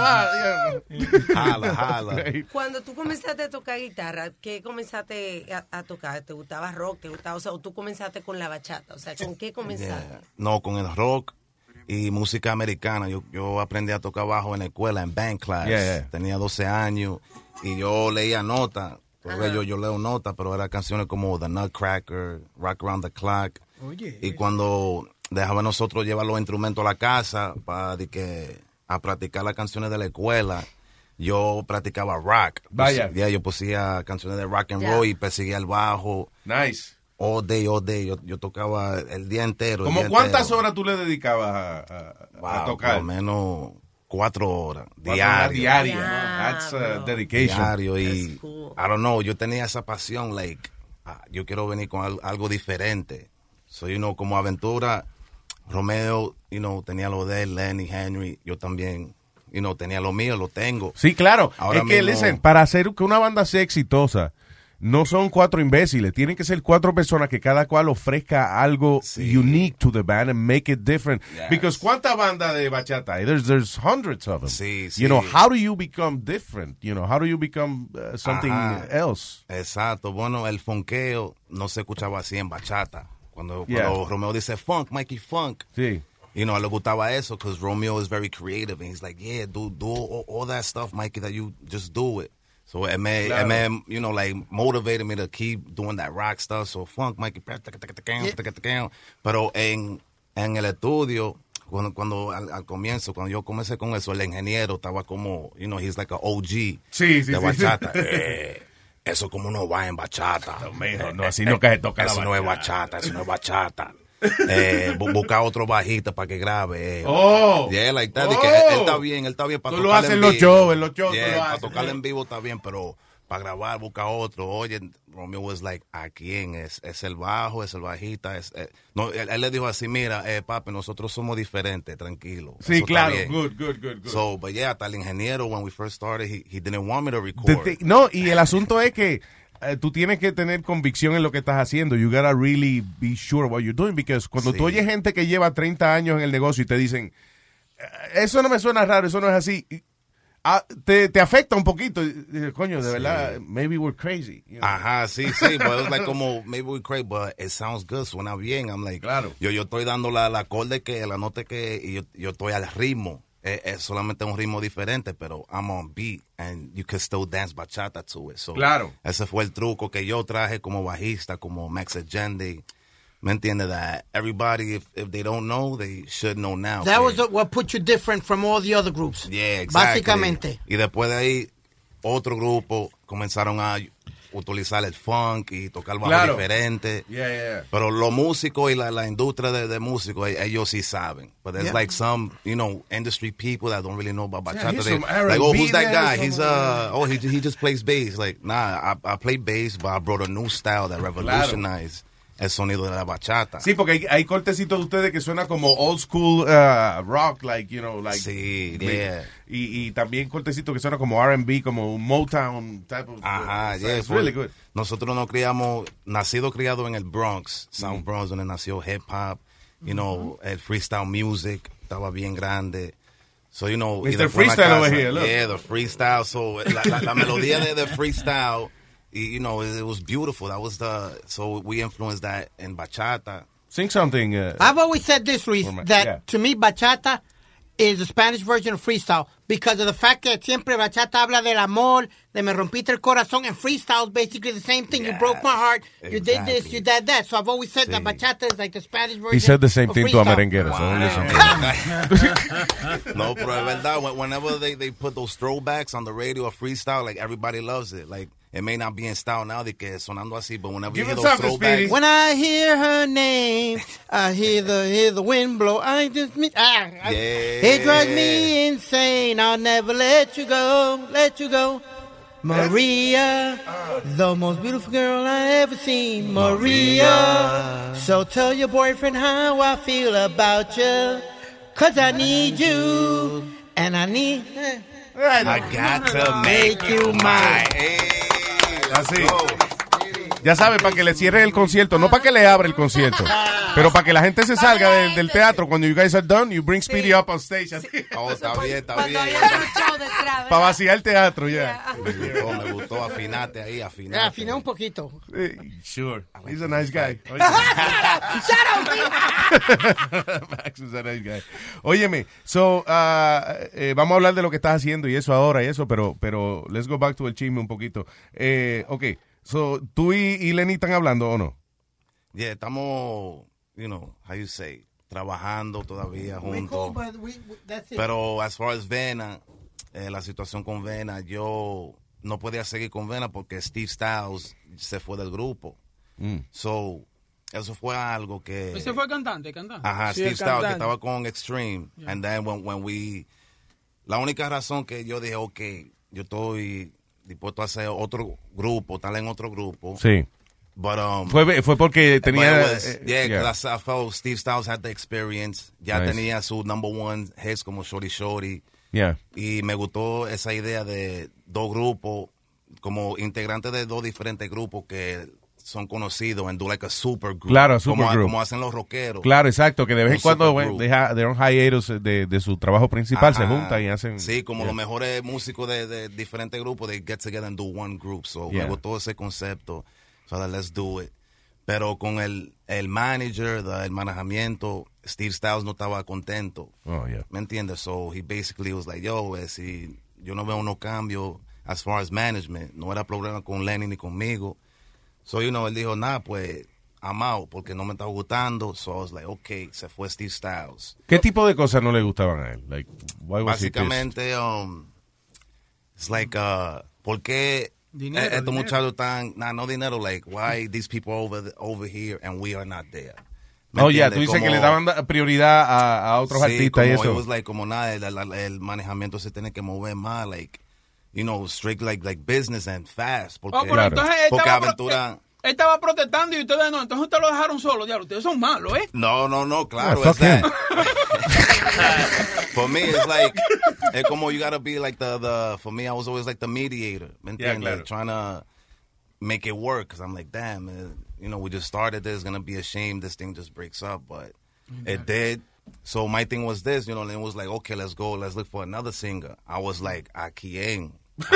Jala. Cuando tú comenzaste a tocar guitarra, ¿qué comenzaste a tocar? ¿Te gustaba rock? ¿Te gustaba, o tú comenzaste con la bachata? O sea, ¿con qué comenzaste? Yeah. No, con el rock y música americana. Yo aprendí a tocar bajo en la escuela, en band class. Tenía 12 años y yo leía notas. Yo leo notas, pero eran canciones como The Nutcracker, Rock Around the Clock. Y cuando dejaba nosotros llevar los instrumentos a la casa a practicar las canciones de la escuela, yo practicaba rock. Vaya. Yo pusía canciones de rock and roll y perseguía el bajo. Nice. All day. Yo tocaba el día entero. ¿Cómo cuántas horas tú le dedicabas a tocar? Por lo menos 4 horas. 4 horas diarias. That's dedication. Diario. Y, cool. I don't know, yo tenía esa pasión, yo quiero venir con algo diferente. So, como aventura, Romeo, tenía lo de él, Lenny, Henry, yo también, tenía lo mío, lo tengo. Sí, claro. Ahora es que, listen, para hacer que una banda sea exitosa, no son 4 imbéciles, tienen que ser 4 personas que cada cual ofrezca algo unique to the band and make it different. Yes. Because ¿cuántas bandas de bachata hay? There's hundreds of them. Sí. How do you become different? How do you become something else? Exacto. Bueno, el fonqueo no se escuchaba así en bachata. Cuando Romeo dice funk, Mikey funk. Sí. A él le gustaba eso because Romeo is very creative and he's like, yeah, do all that stuff, Mikey, that you just do it. So it made, motivated me to keep doing that rock stuff. So funk, Mikey, pero en el estudio, cuando al comienzo, cuando yo comencé con eso, el ingeniero estaba como, you know, he's like an OG de bachata. Eso como no va en bachata. No, así no que se toca la eso no es bachata, eso no es bachata. Busca otro bajista para que grabe. Yeah, like that. Que él está bien para tú lo haces en los shows, para tocarle en vivo está bien, pero para grabar busca otro. Oye, Romeo was like, ¿a quién es? ¿Es el bajo? ¿Es el bajista? No, él le dijo así, mira, papi, nosotros somos diferentes, tranquilo. Sí, eso claro, good. So, but yeah, hasta el ingeniero, when we first started, he didn't want me to record. No, y el asunto es que tú tienes que tener convicción en lo que estás haciendo. You gotta really be sure what you're doing, because cuando tú oyes gente que lleva 30 años en el negocio y te dicen, eso no me suena raro, eso no es así, te afecta un poquito. Coño, de verdad, maybe we're crazy. You know? Ajá, sí, but it was like como, maybe we're crazy, but it sounds good, suena bien. I'm like, claro. Yo estoy dando la acorde que, la nota que, y yo estoy al ritmo. Es solamente un ritmo diferente, pero I'm on beat and you can still dance bachata to it. So, claro. Ese fue el truco que yo traje como bajista, como Max Agende. ¿Me entiendes? That everybody, if they don't know, they should know now. That was what put you different from all the other groups. Yeah, exactly. Básicamente. Y después de ahí, otro grupo comenzaron a utilizar el funk y tocar bajo diferente. Yeah. Pero los músicos y la industria de músicos, ellos sí saben. But there's like some, you know, industry people that don't really know about bachata. Like, who's that guy? He's he just plays bass. Like, nah, I play bass, but I brought a new style that revolutionized el sonido de la bachata. Sí, porque hay cortecitos de ustedes que suena como old school rock, like, you know, like. Sí, yeah. Y también cortecitos que suena como R&B, como un Motown type of. Ajá, yeah, it's really good. Nosotros nos criado en el Bronx, South Bronx, donde nació hip hop, you know, el freestyle music estaba bien grande. So, you know, Mr. Freestyle over here, look. Yeah, the freestyle. So, la melodía de freestyle, you know, it was beautiful. That was so we influenced that in bachata. Sing something. I've always said this, Luis, that to me bachata is the Spanish version of freestyle because of the fact that siempre bachata habla del amor, de me rompiste el corazón, and freestyle is basically the same thing. You broke my heart, you did this, you did that. So I've always said that bachata is like the Spanish version. He said the same thing to a merenguero. No, pero es verdad. Whenever they put those throwbacks on the radio of freestyle, like everybody loves it. Like, it may not be in style now de que sonando así, but whenever you hear those throwbacks. When I hear her name, I hear the wind blow. It drives me insane. I'll never let you go. Maria, the most beautiful girl I ever seen. Maria. So tell your boyfriend how I feel about you. 'Cause I need you. And I need... I got to make you mine. Así. Ya sabe, para que le cierre el concierto, no para que le abra el concierto, pero para que la gente se salga del teatro. Cuando you guys are done, you bring Speedy up on stage. Oh, está bien. Para vaciar el teatro, ya. Me gustó, afinate ahí, afinate. Afiné un poquito. Sure. He's a nice guy. Shut up, Max is a nice guy. Óyeme, so, vamos a hablar de lo que estás haciendo y eso ahora y eso, pero let's go back to el chisme un poquito. Okay. So, ¿tú y Lenny están hablando o no? Yeah, estamos, you know, how you say, trabajando todavía juntos. Pero as far as Vena, la situación con Vena, yo no podía seguir con Vena porque Steve Styles se fue del grupo. So, eso fue algo que... ¿Ese fue cantante? Ajá, sí, Steve Styles, que estaba con Extreme. Yeah. And then when we... La única razón que yo dije, okay, yo estoy... dispuesto a hacer otro grupo, estar en otro grupo. Sí. But, fue porque tenía... because I felt Steve Styles had the experience. Ya tenía su number one hits como Shorty Shorty. Yeah. Y me gustó esa idea de dos grupos, como integrantes de dos diferentes grupos que son conocidos en do like a super group. Claro, super group. Como hacen los rockeros. Claro, exacto, que de vez en cuando de un hiatus de su trabajo principal. Ajá. Se juntan y hacen... Sí, como los mejores músicos de diferentes grupos, they get together and do one group. So me gustó ese concepto. So that let's do it. Pero con el manager, el manejamiento, Steve Styles no estaba contento. Oh, yeah. ¿Me entiendes? So he basically was like, yo, yo no veo unos cambios as far as management. No era problema con Lenny ni conmigo. So, you know, él dijo, pues, I'm out, porque no me estaba gustando. So I was like, okay, se fue Steve Styles. ¿Qué tipo de cosas no le gustaban a él? Like, why was he pissed? Básicamente, it's like, ¿por qué estos muchachos están, no dinero, like, why these people over here and we are not there? Oh, yeah, tú dices que le daban prioridad a otros artistas y eso. It was like, como nada, el manejamiento se tiene que mover más, like, you know, strict like business and fast. Porque, pero entonces porque Aventura... Él estaba protestando y ustedes no, entonces ustedes lo dejaron solo, diablo, ustedes son malos, ¿eh? No, claro, es that. For me, it's like, it's como you gotta be like for me, I was always like the mediator, ¿me entiendes? claro. Like, trying to make it work, because I'm like, damn, man, you know, we just started this, gonna be a shame this thing just breaks up, but it did. So my thing was this, you know, and it was like, okay, let's go, let's look for another singer. I was like, a quién?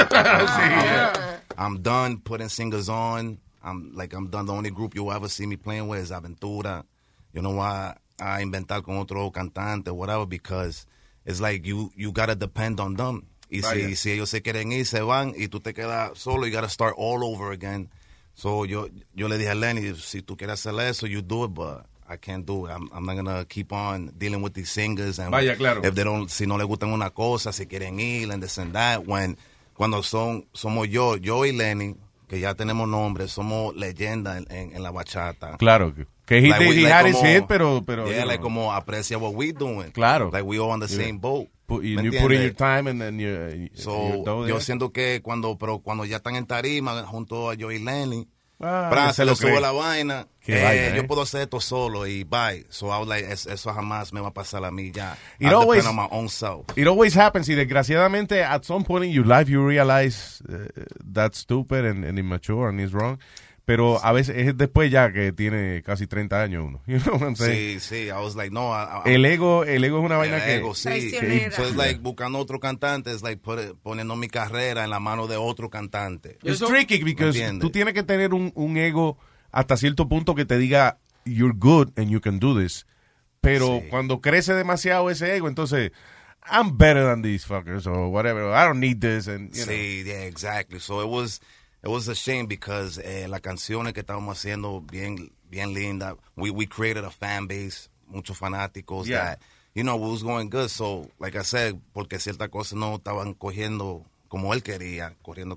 I'm done putting singers on. I'm done. The only group you'll ever see me playing with is Aventura. You know why I inventar con otro cantante, whatever, because it's like you gotta depend on them. Y si ellos se quieren ir, se van, y tú te quedas solo, you gotta start all over again. So yo le dije a Lenny, si tú quieres hacer eso, you do it, but I can't do it. I'm not gonna keep on dealing with these singers. And claro. If they don't, si no les gustan una cosa, si quieren ir, and this and that, cuando somos yo y Lenny, que ya tenemos nombre, somos leyendas en la bachata. Claro, que he had his hit, pero yeah, like como aprecia what we doing. Claro. Like we all on the same boat. You put in your time and then yo siento que cuando ya están en tarima junto a yo y Lenny, se le lo subo la vaina, yo puedo hacer esto solo y bye. So I was like, eso jamás me va a pasar a mí ya. I depend on my own self. It always happens, y desgraciadamente at some point in your life you realize that's stupid and immature and it's wrong. Pero a veces es después ya que tiene casi 30 años uno. You know what I'm saying? Sí. I was like, no. El ego es una vaina que... Sí. So it's like buscando otro cantante, es like poniendo mi carrera en la mano de otro cantante. It's tricky because tú tienes que tener un ego hasta cierto punto que te diga you're good and you can do this. Pero cuando crece demasiado ese ego, entonces I'm better than these fuckers or whatever. I don't need this. And, you know. Yeah, exactly. So it was a shame because las canciones que estábamos haciendo bien linda. We created a fan base, muchos fanáticos that, you know, it was going good. So, like I said, porque ciertas cosas no estaban corriendo como él quería.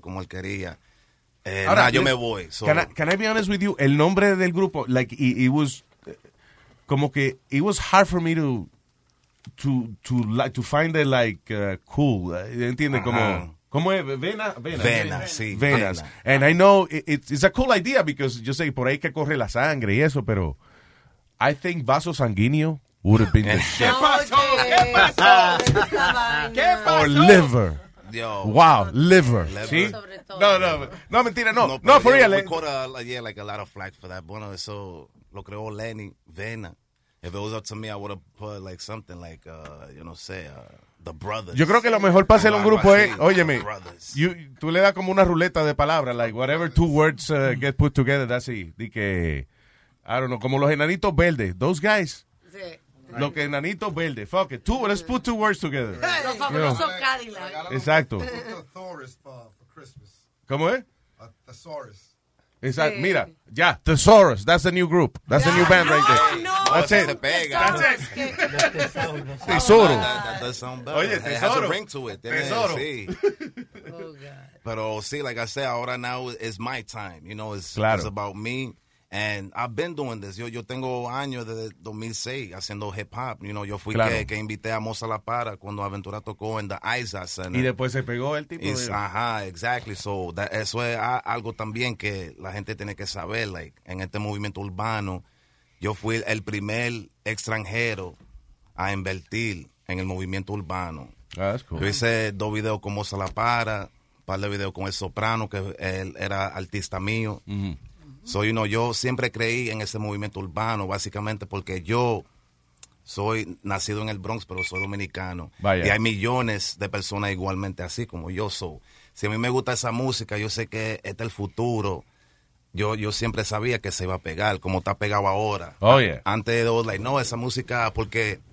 Ahora, yo me voy. So. Can I be honest with you? El nombre del grupo, like, it was como que it was hard for me to find it like cool. ¿Entiendes? ¿Cómo es? Venas, sí. Venas. And I know it's a cool idea because yo sé por ahí que corre la sangre y eso, pero I think Vaso Sanguíneo would have been the shit. ¿Qué pasó? Or Liver. Yo. Wow, Liver. ¿Sí? No, mentira, no, for real. We caught like a lot of flack for that. Bueno, eso lo creó Lenny, Vena. If it was up to me, I would have put like something like, The Brothers. Yo creo que lo mejor para hacer un grupo es, óyeme, tú le das como una ruleta de palabras, like whatever two words get put together, that's it. De que, I don't know, como los enanitos verdes, those guys. Sí. Los que enanitos verdes, fuck it, let's put two words together. Los fabulosos Cadillac. Exacto. ¿Cómo es? Thesaurus. Exacto. Mira, ya, Thesaurus, that's the new group. That's the new band right there. No, that's it. That's it. Tesoro. That does sound better. Oye, It has a tesoro. ring to it. Tesoro. Sí. Oh, God. Pero sí, like I said, ahora now it's my time. You know, it's about me. And I've been doing this. Yo tengo años desde 2006 haciendo hip hop. You know, yo fui que invité a Moza La Para cuando Aventura tocó en the Isaac Center. Y después se pegó el tipo. Ajá, exactly. So eso es algo también que la gente tiene que saber. Like, en este movimiento urbano, yo fui el primer extranjero a invertir en el movimiento urbano. That's cool. Yo hice 2 videos con Moza La Para, un par de videos con El Soprano, que él era artista mío. Mm-hmm. So, you know, yo siempre creí en ese movimiento urbano, básicamente porque yo soy nacido en el Bronx, pero soy dominicano. Vaya. Y hay millones de personas igualmente así como yo soy. Si a mí me gusta esa música, yo sé que este es el futuro. Yo siempre sabía que se iba a pegar, como está pegado ahora. Oh, yeah. Antes de like, no, esa música, porque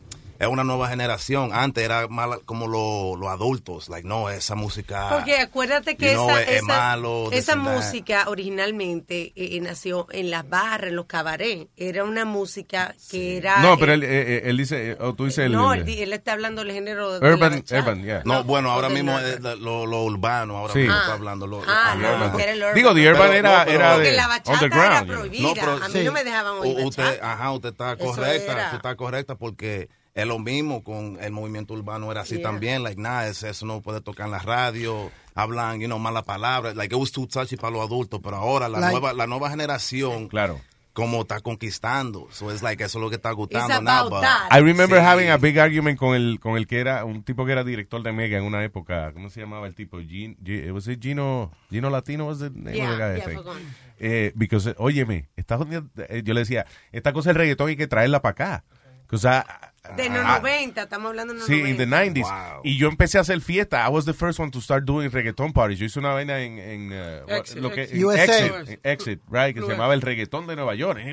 es una nueva generación. Antes era más como los adultos, like, no, esa música. Porque acuérdate que es malo, esa música originalmente nació en las barras, en los cabarets. Era una música que era. No, pero él dice, o tú dices no, él está hablando del género de urban, yeah. No, bueno, ahora mismo es lo urbano, ahora mismo está hablando lo urban. Digo, the urban era de la bachata underground. Era prohibida. A mí no me dejaban oír bachata. Usted está correcta, usted está correcta porque es lo mismo con el movimiento urbano, era así también, like, nada, eso no puede tocar en la radio, hablan, malas palabras, like, it was too touchy para los adultos, pero ahora la nueva generación, claro, como está conquistando, so it's like, eso es lo que está gustando now, but I remember having a big argument con el que era, un tipo que era director de Mega en una época, ¿cómo se llamaba el tipo? Gino Latino was the name of the guy, I think. Because, óyeme, yo le decía, esta cosa del reggaetón hay que traerla para acá. De los 90, estamos hablando de los 90. Sí, in the 90s. Wow. Y yo empecé a hacer fiesta. I was the first one to start doing reggaeton parties. Yo hice una vaina en Exit, right? Que se llamaba el reggaetón de Nueva York. And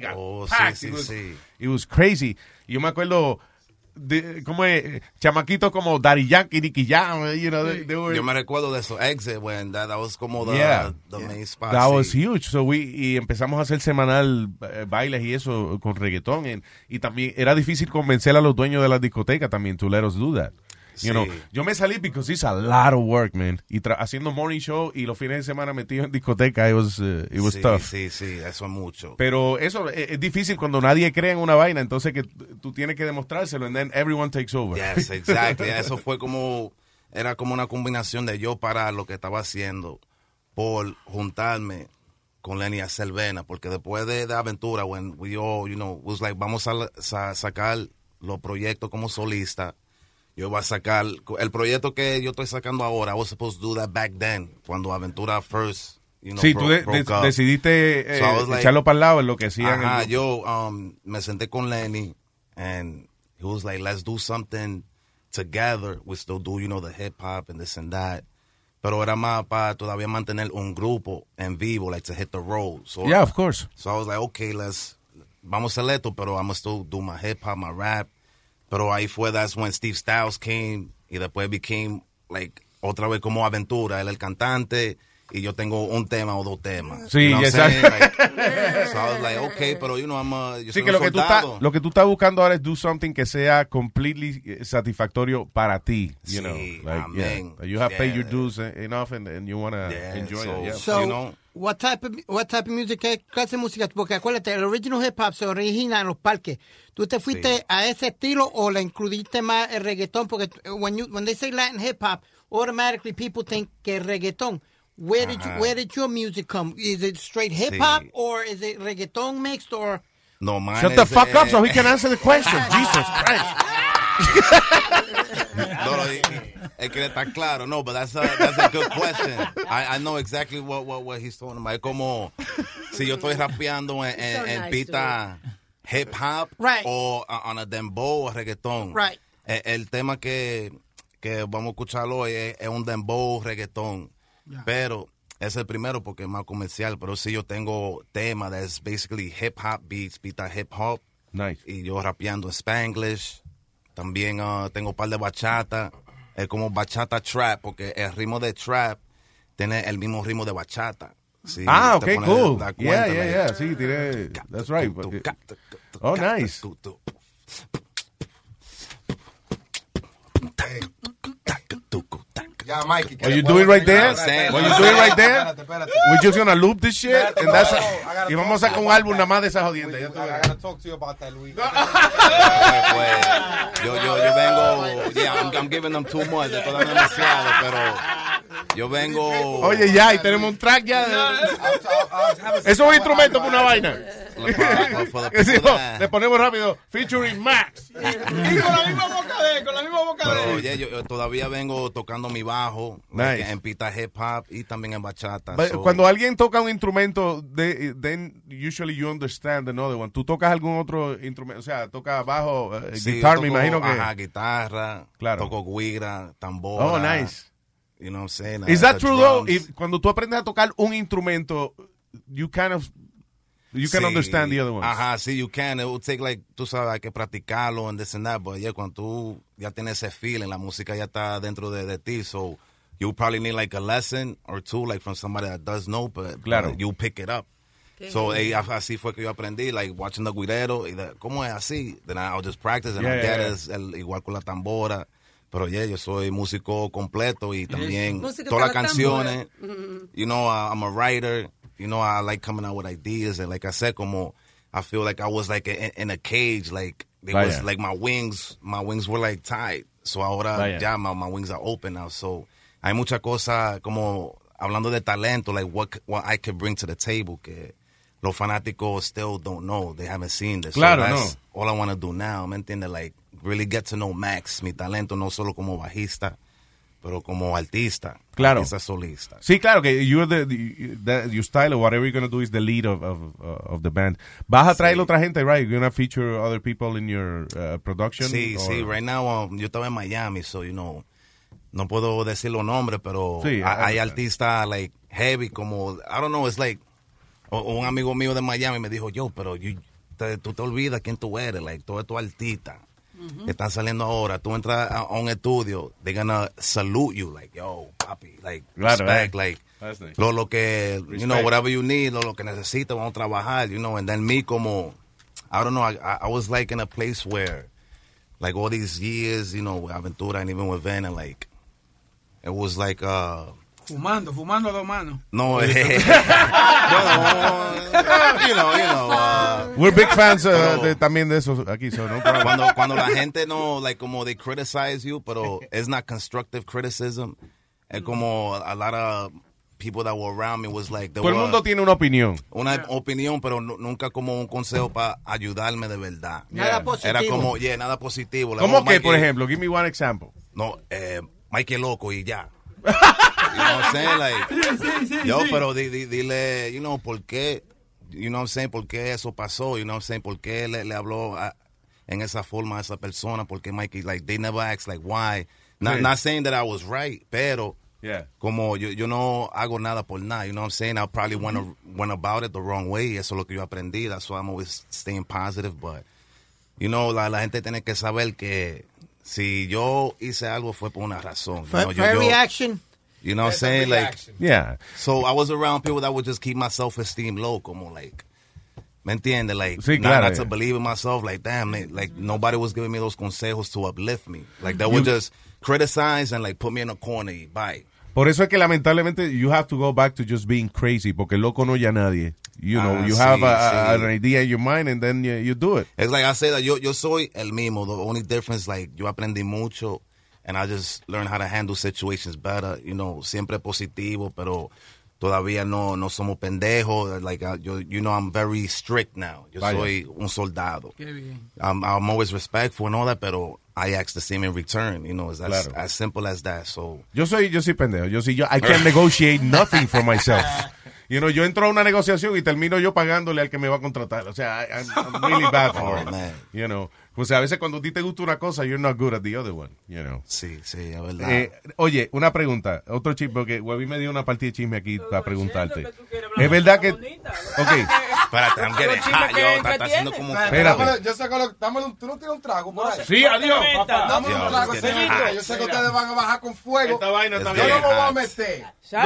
it was crazy. Y yo me acuerdo como chamaquitos como Daddy Yankee, Nicky Jam, yo me recuerdo de eso, Exit, when that was como the main spot. That was huge. So y empezamos a hacer semanal bailes y eso con reggaetón. Y también era difícil convencer a los dueños de la discoteca también to let us do that. You know, yo me salí because it's a lot of work, man. Y haciendo morning show y los fines de semana metido en discoteca, it was tough. Sí, eso es mucho. Pero eso es difícil cuando nadie cree en una vaina, entonces que tú tienes que demostrárselo and then everyone takes over. Yes, exactly. Eso fue era como una combinación de yo parar lo que estaba haciendo por juntarme con Lenny a Cervena, porque después de Aventura, when we all, was like, vamos a sacar los proyectos como solista. Yo voy a sacar el proyecto que yo estoy sacando ahora. I was supposed to do that back then, cuando Aventura first, sí, tú decidiste echarlo para el lado en lo que hacían. Ajá, yo me senté con Lenny, and he was like, let's do something together. We still do, the hip hop and this and that. Pero era más para todavía mantener un grupo en vivo, like to hit the road. So, yeah, of course. So I was like, okay, vamos a hacer esto, pero I'm still do my hip hop, my rap. Pero ahí that's when Steve Styles came y después became like otra vez como Aventura, él el cantante y yo tengo un tema o dos temas. Sí, exacto. So I was like, okay, pero yo sí, soy que lo que tú estás buscando ahora es do something que sea completely satisfactorio para ti, you know. Like, you have paid your dues enough and you want to enjoy it. So, what type of music, qué clase de música? Porque acuérdate, el original hip hop se origina en los parques. ¿Tú te fuiste a ese estilo o le incluiste más el reggaetón? Porque when they say Latin hip hop, automatically people think que reggaetón. Where did your music come? Is it straight hip hop or is it reggaeton mixed or? No, mine. Shut the fuck up so he can answer the question. Jesus Christ. No, es que está claro. No, but that's a good question. I know exactly what he's talking about. Es como si yo estoy rapeando en pista hip hop, right, o on a dembow o reggaetón. Right. El tema que vamos a escuchar hoy es un dembow reggaetón. Yeah. Pero es el primero porque es más comercial. Pero sí, yo tengo tema that's basically hip hop beats, pita hip hop. Nice. Y yo rapeando en Spanglish. También tengo un par de bachata. Es como bachata trap, porque el ritmo de trap tiene el mismo ritmo de bachata. Sí, okay, cool. Yeah. Sí, tiene. That's right. Oh, nice. Yeah, Mikey. What you doing right there? We're just gonna loop this shit and that's y vamos a sacar un álbum nada más de esa jodienda. I gotta talk to you about that, Luis. Yo vengo, I'm giving them too much, estoy dando demasiado, pero yo vengo. Oye, ya, y tenemos un track ya. Eso es un instrumento para una vaina. Le ponemos rápido, featuring Max. Y con la misma boca de él. Pero yo todavía vengo tocando mi bajo, nice, en pita hip hop y también en bachata. Cuando alguien toca un instrumento, then usually you understand another one. ¿Tú tocas algún otro instrumento? O sea, tocas bajo, guitarra, me imagino que. Ajá, guitarra, claro, toco guira, tambor. Oh, nice. You know what I'm saying? Is that true though? Cuando tú aprendes a tocar un instrumento, you kind of You can understand the other ones. Ajá, sí, you can. It will take like, tú sabes, hay que practicarlo and this and that, but yeah, cuando tú ya tienes ese feeling, la música ya está dentro de ti, so you probably need like a lesson or two, like from somebody that does know, but Claro. you pick it up. So así fue que yo aprendí, like watching the guirero, y ¿cómo es así? Then I'll just practice and I'll get it, igual con la tambora. Pero yeah, yo soy músico completo y también todas las canciones. You know, I'm a writer. You know, I like coming out with ideas. And like I said, como I feel like I was like in a cage. Like, it was like my wings were like tied. So ahora ya my wings are open now. So hay mucha cosa como hablando de talento, like what I could bring to the table que los fanáticos still don't know. They haven't seen this. Claro, so that's all I want to do now. ¿Me entiendes? Like, really get to know Max, mi talento, no solo como bajista, pero como artista. Claro. Artista solista. Sí, claro, que you're your style or whatever you're going to do is the lead of the band. ¿Vas a traer otra gente, right? You're going to feature other people in your production? Sí, sí. Right now, yo estaba en Miami, so, you know, no puedo decir los nombres, pero sí, hay artistas, like, heavy, como, I don't know, it's like, un amigo mío de Miami me dijo, yo, pero tú te olvidas quién tú eres, like, todo esto artista. Que están saliendo ahora, tú entras a un estudio, they're gonna salute you, like, yo, papi, like, respect, like, nice. lo que, Respect. you know, whatever you need, lo que necesitas, vamos a trabajar, you know, and then me como, I don't know, I was like in a place where, like, all these years, you know, with Aventura and even with Van, and like, it was like, Fumando a dos manos. no, well, you know, we're big fans también de eso aquí, so no problem. Cuando la gente no, like, como they criticize you, pero it's not constructive criticism. Es como a lot of people that were around me was like, todo el mundo tiene una opinión. Una opinión, pero nunca como un consejo para ayudarme de verdad. Nada positivo. Era como, nada positivo. Like, ¿Cómo que, Mikey, por ejemplo? Give me one example. No, Mike es loco y ya. You know what I'm saying? Like, yo, pero dile, you know, ¿por qué? You know what I'm saying? ¿Por qué eso pasó? You know what I'm saying? ¿Por qué le habló en esa forma a esa persona? ¿Por qué Mikey, like, they never asked, like, why? Not saying that I was right, pero como yo no hago nada por nada, you know what I'm saying? I probably went about it the wrong way. Eso es lo que yo aprendí. That's why I'm always staying positive, but, you know, la gente tiene que saber que si yo hice algo fue por una razón. For reaction. You know what I'm saying? Like, yeah. So I was around people that would just keep my self-esteem low, como like, ¿me entiendes? Like, sí, claro, not to believe in myself. Like, damn, like nobody was giving me those consejos to uplift me. Like, they would just criticize and like put me in a corner y bye. Por eso es que lamentablemente you have to go back to just being crazy, porque loco no ya nadie. You know, you have an idea in your mind and then you do it. It's like I say that yo soy el mismo. The only difference, like, yo aprendí mucho and I just learned how to handle situations better. You know, siempre positivo, pero todavía no somos pendejos. Like, you know, I'm very strict now. Yo soy un soldado. Qué bien. I'm always respectful and all that, pero I ask the same in return. You know, it's as simple as that. So Yo soy pendejo. I can't negotiate nothing for myself. You know, yo entro a una negociación y termino yo pagándole al que me va a contratar. O sea, I'm really bad for it. Man. You know, pues a veces cuando a ti te gusta una cosa, you're not good at the other one. You know. Sí, es verdad. Oye, una pregunta. Otro chisme, porque Webby me dio una partida de chisme aquí para preguntarte. Es verdad que... Ok. Espérate, I'm getting hot. Yo, está haciendo como... Espérate. Yo sé que tú no tienes un trago por ahí. Sí, adiós, papá. Dame un trago, yo sé que ustedes van a bajar con fuego. Esta vaina está Yo bien. no me voy a meter.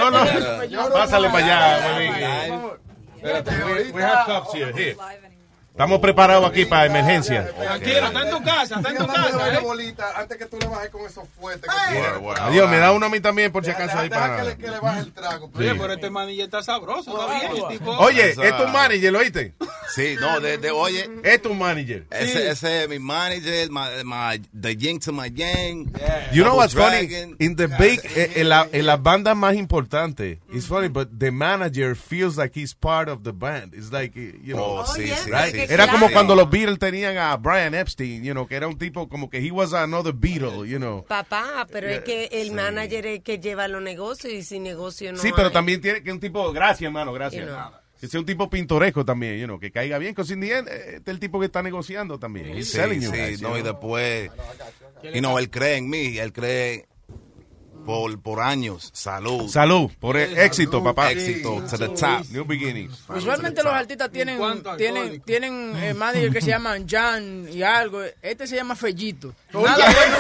No. Pásale para allá, Webby. We have cups here. Estamos preparados aquí para emergencia. Tranquilo, está en tu casa, bolita antes que tú le bajes con esos fuertes. Adiós, me da uno a mí también por si acaso ahí para... que le baje el trago. Oye, pero este manillo está sabroso, está bien. Tipo... Oye, es tu manager, ¿lo oíste? Sí, no, oye. Es tu manager. Ese es mi manager, the yin to my yang. Yeah. You know what's funny? In the big, en la banda más importante, it's funny, but the manager feels like he's part of the band. It's like, you know, right? Era como cuando los Beatles tenían a Brian Epstein, you know, que era un tipo como que he was another Beatle, you know. Papá, pero es que el manager es el que lleva los negocios y sin negocio no Sí, pero también tiene que un tipo, gracias, hermano, gracias. Que sea un tipo pintoresco también, you know, que caiga bien, que sin día este es el tipo que está negociando también. He's selling you guys, no, you y know. después, you know, él cree en mí, él cree por años. Salud. Salud, por éxito, papá. Éxito, to the top. New beginnings. Usualmente los artistas tienen manager que se llaman Jan y algo. Este se llama Fellito. Nada bueno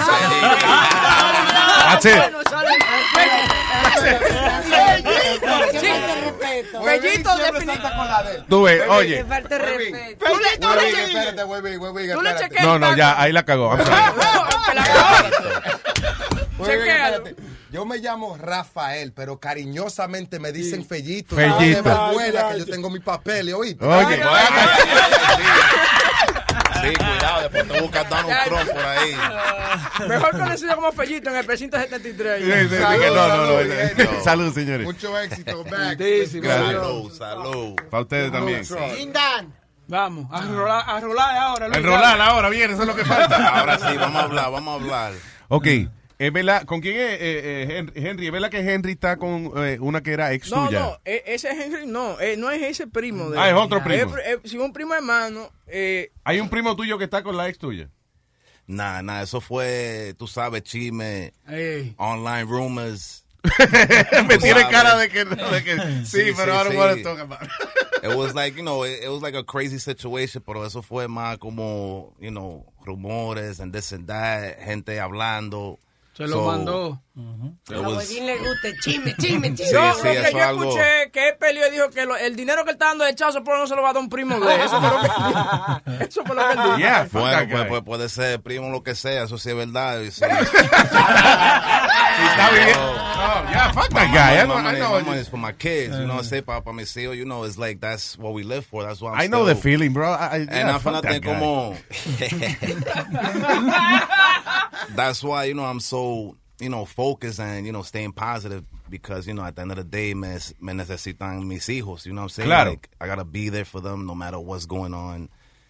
Fellito definitivamente. Tú ves, oye. No, ya, ahí la cagó. Espérate. Yo me llamo Rafael, pero cariñosamente me dicen Fellito. Fellito. Que yo tengo mi papel, ¿oíste? Oye. Sí, cuidado, después te buscas Donald Trump por ahí. Mejor conocido como Fellito en el precinto 73. No. Salud, señores. Mucho éxito, Mac. Salud. Para ustedes también. Lindan. Vamos, a rolar ahora. Enrolar ahora, bien, eso es lo que falta. Ahora sí, vamos a hablar. Ok. ¿Es verdad? ¿Con quién es Henry? ¿Es verdad que Henry está con una que era ex tuya? No, ese Henry no es ese primo. Es otro primo. Si un primo hermano. ¿Hay un primo tuyo que está con la ex tuya? Nah, eso fue, tú sabes, chisme, online rumors. Me tiene cara de que sí, pero ahora no want to talk about it. It was like, it was like a crazy situation, pero eso fue más como, rumores and this and that, gente hablando. Se lo mandó. A Huevín le gusta chisme. Sí, Lo que yo escuché que él peleó y dijo que el dinero que él está dando de chazo por no se lo va a dar un primo de él. Eso fue lo que él dijo. Yeah, bueno, pues puede ser primo lo que sea, eso sí es verdad. Sí. Fuck that guy. My money is for my kids, say para mis hijos, it's like that's what we live for. That's what I know the feeling, bro. And como that's why I'm so focused and staying positive because at the end of the day me necesitan mis hijos, you know what I'm saying? Claro. Like I gotta be there for them no matter what's going on.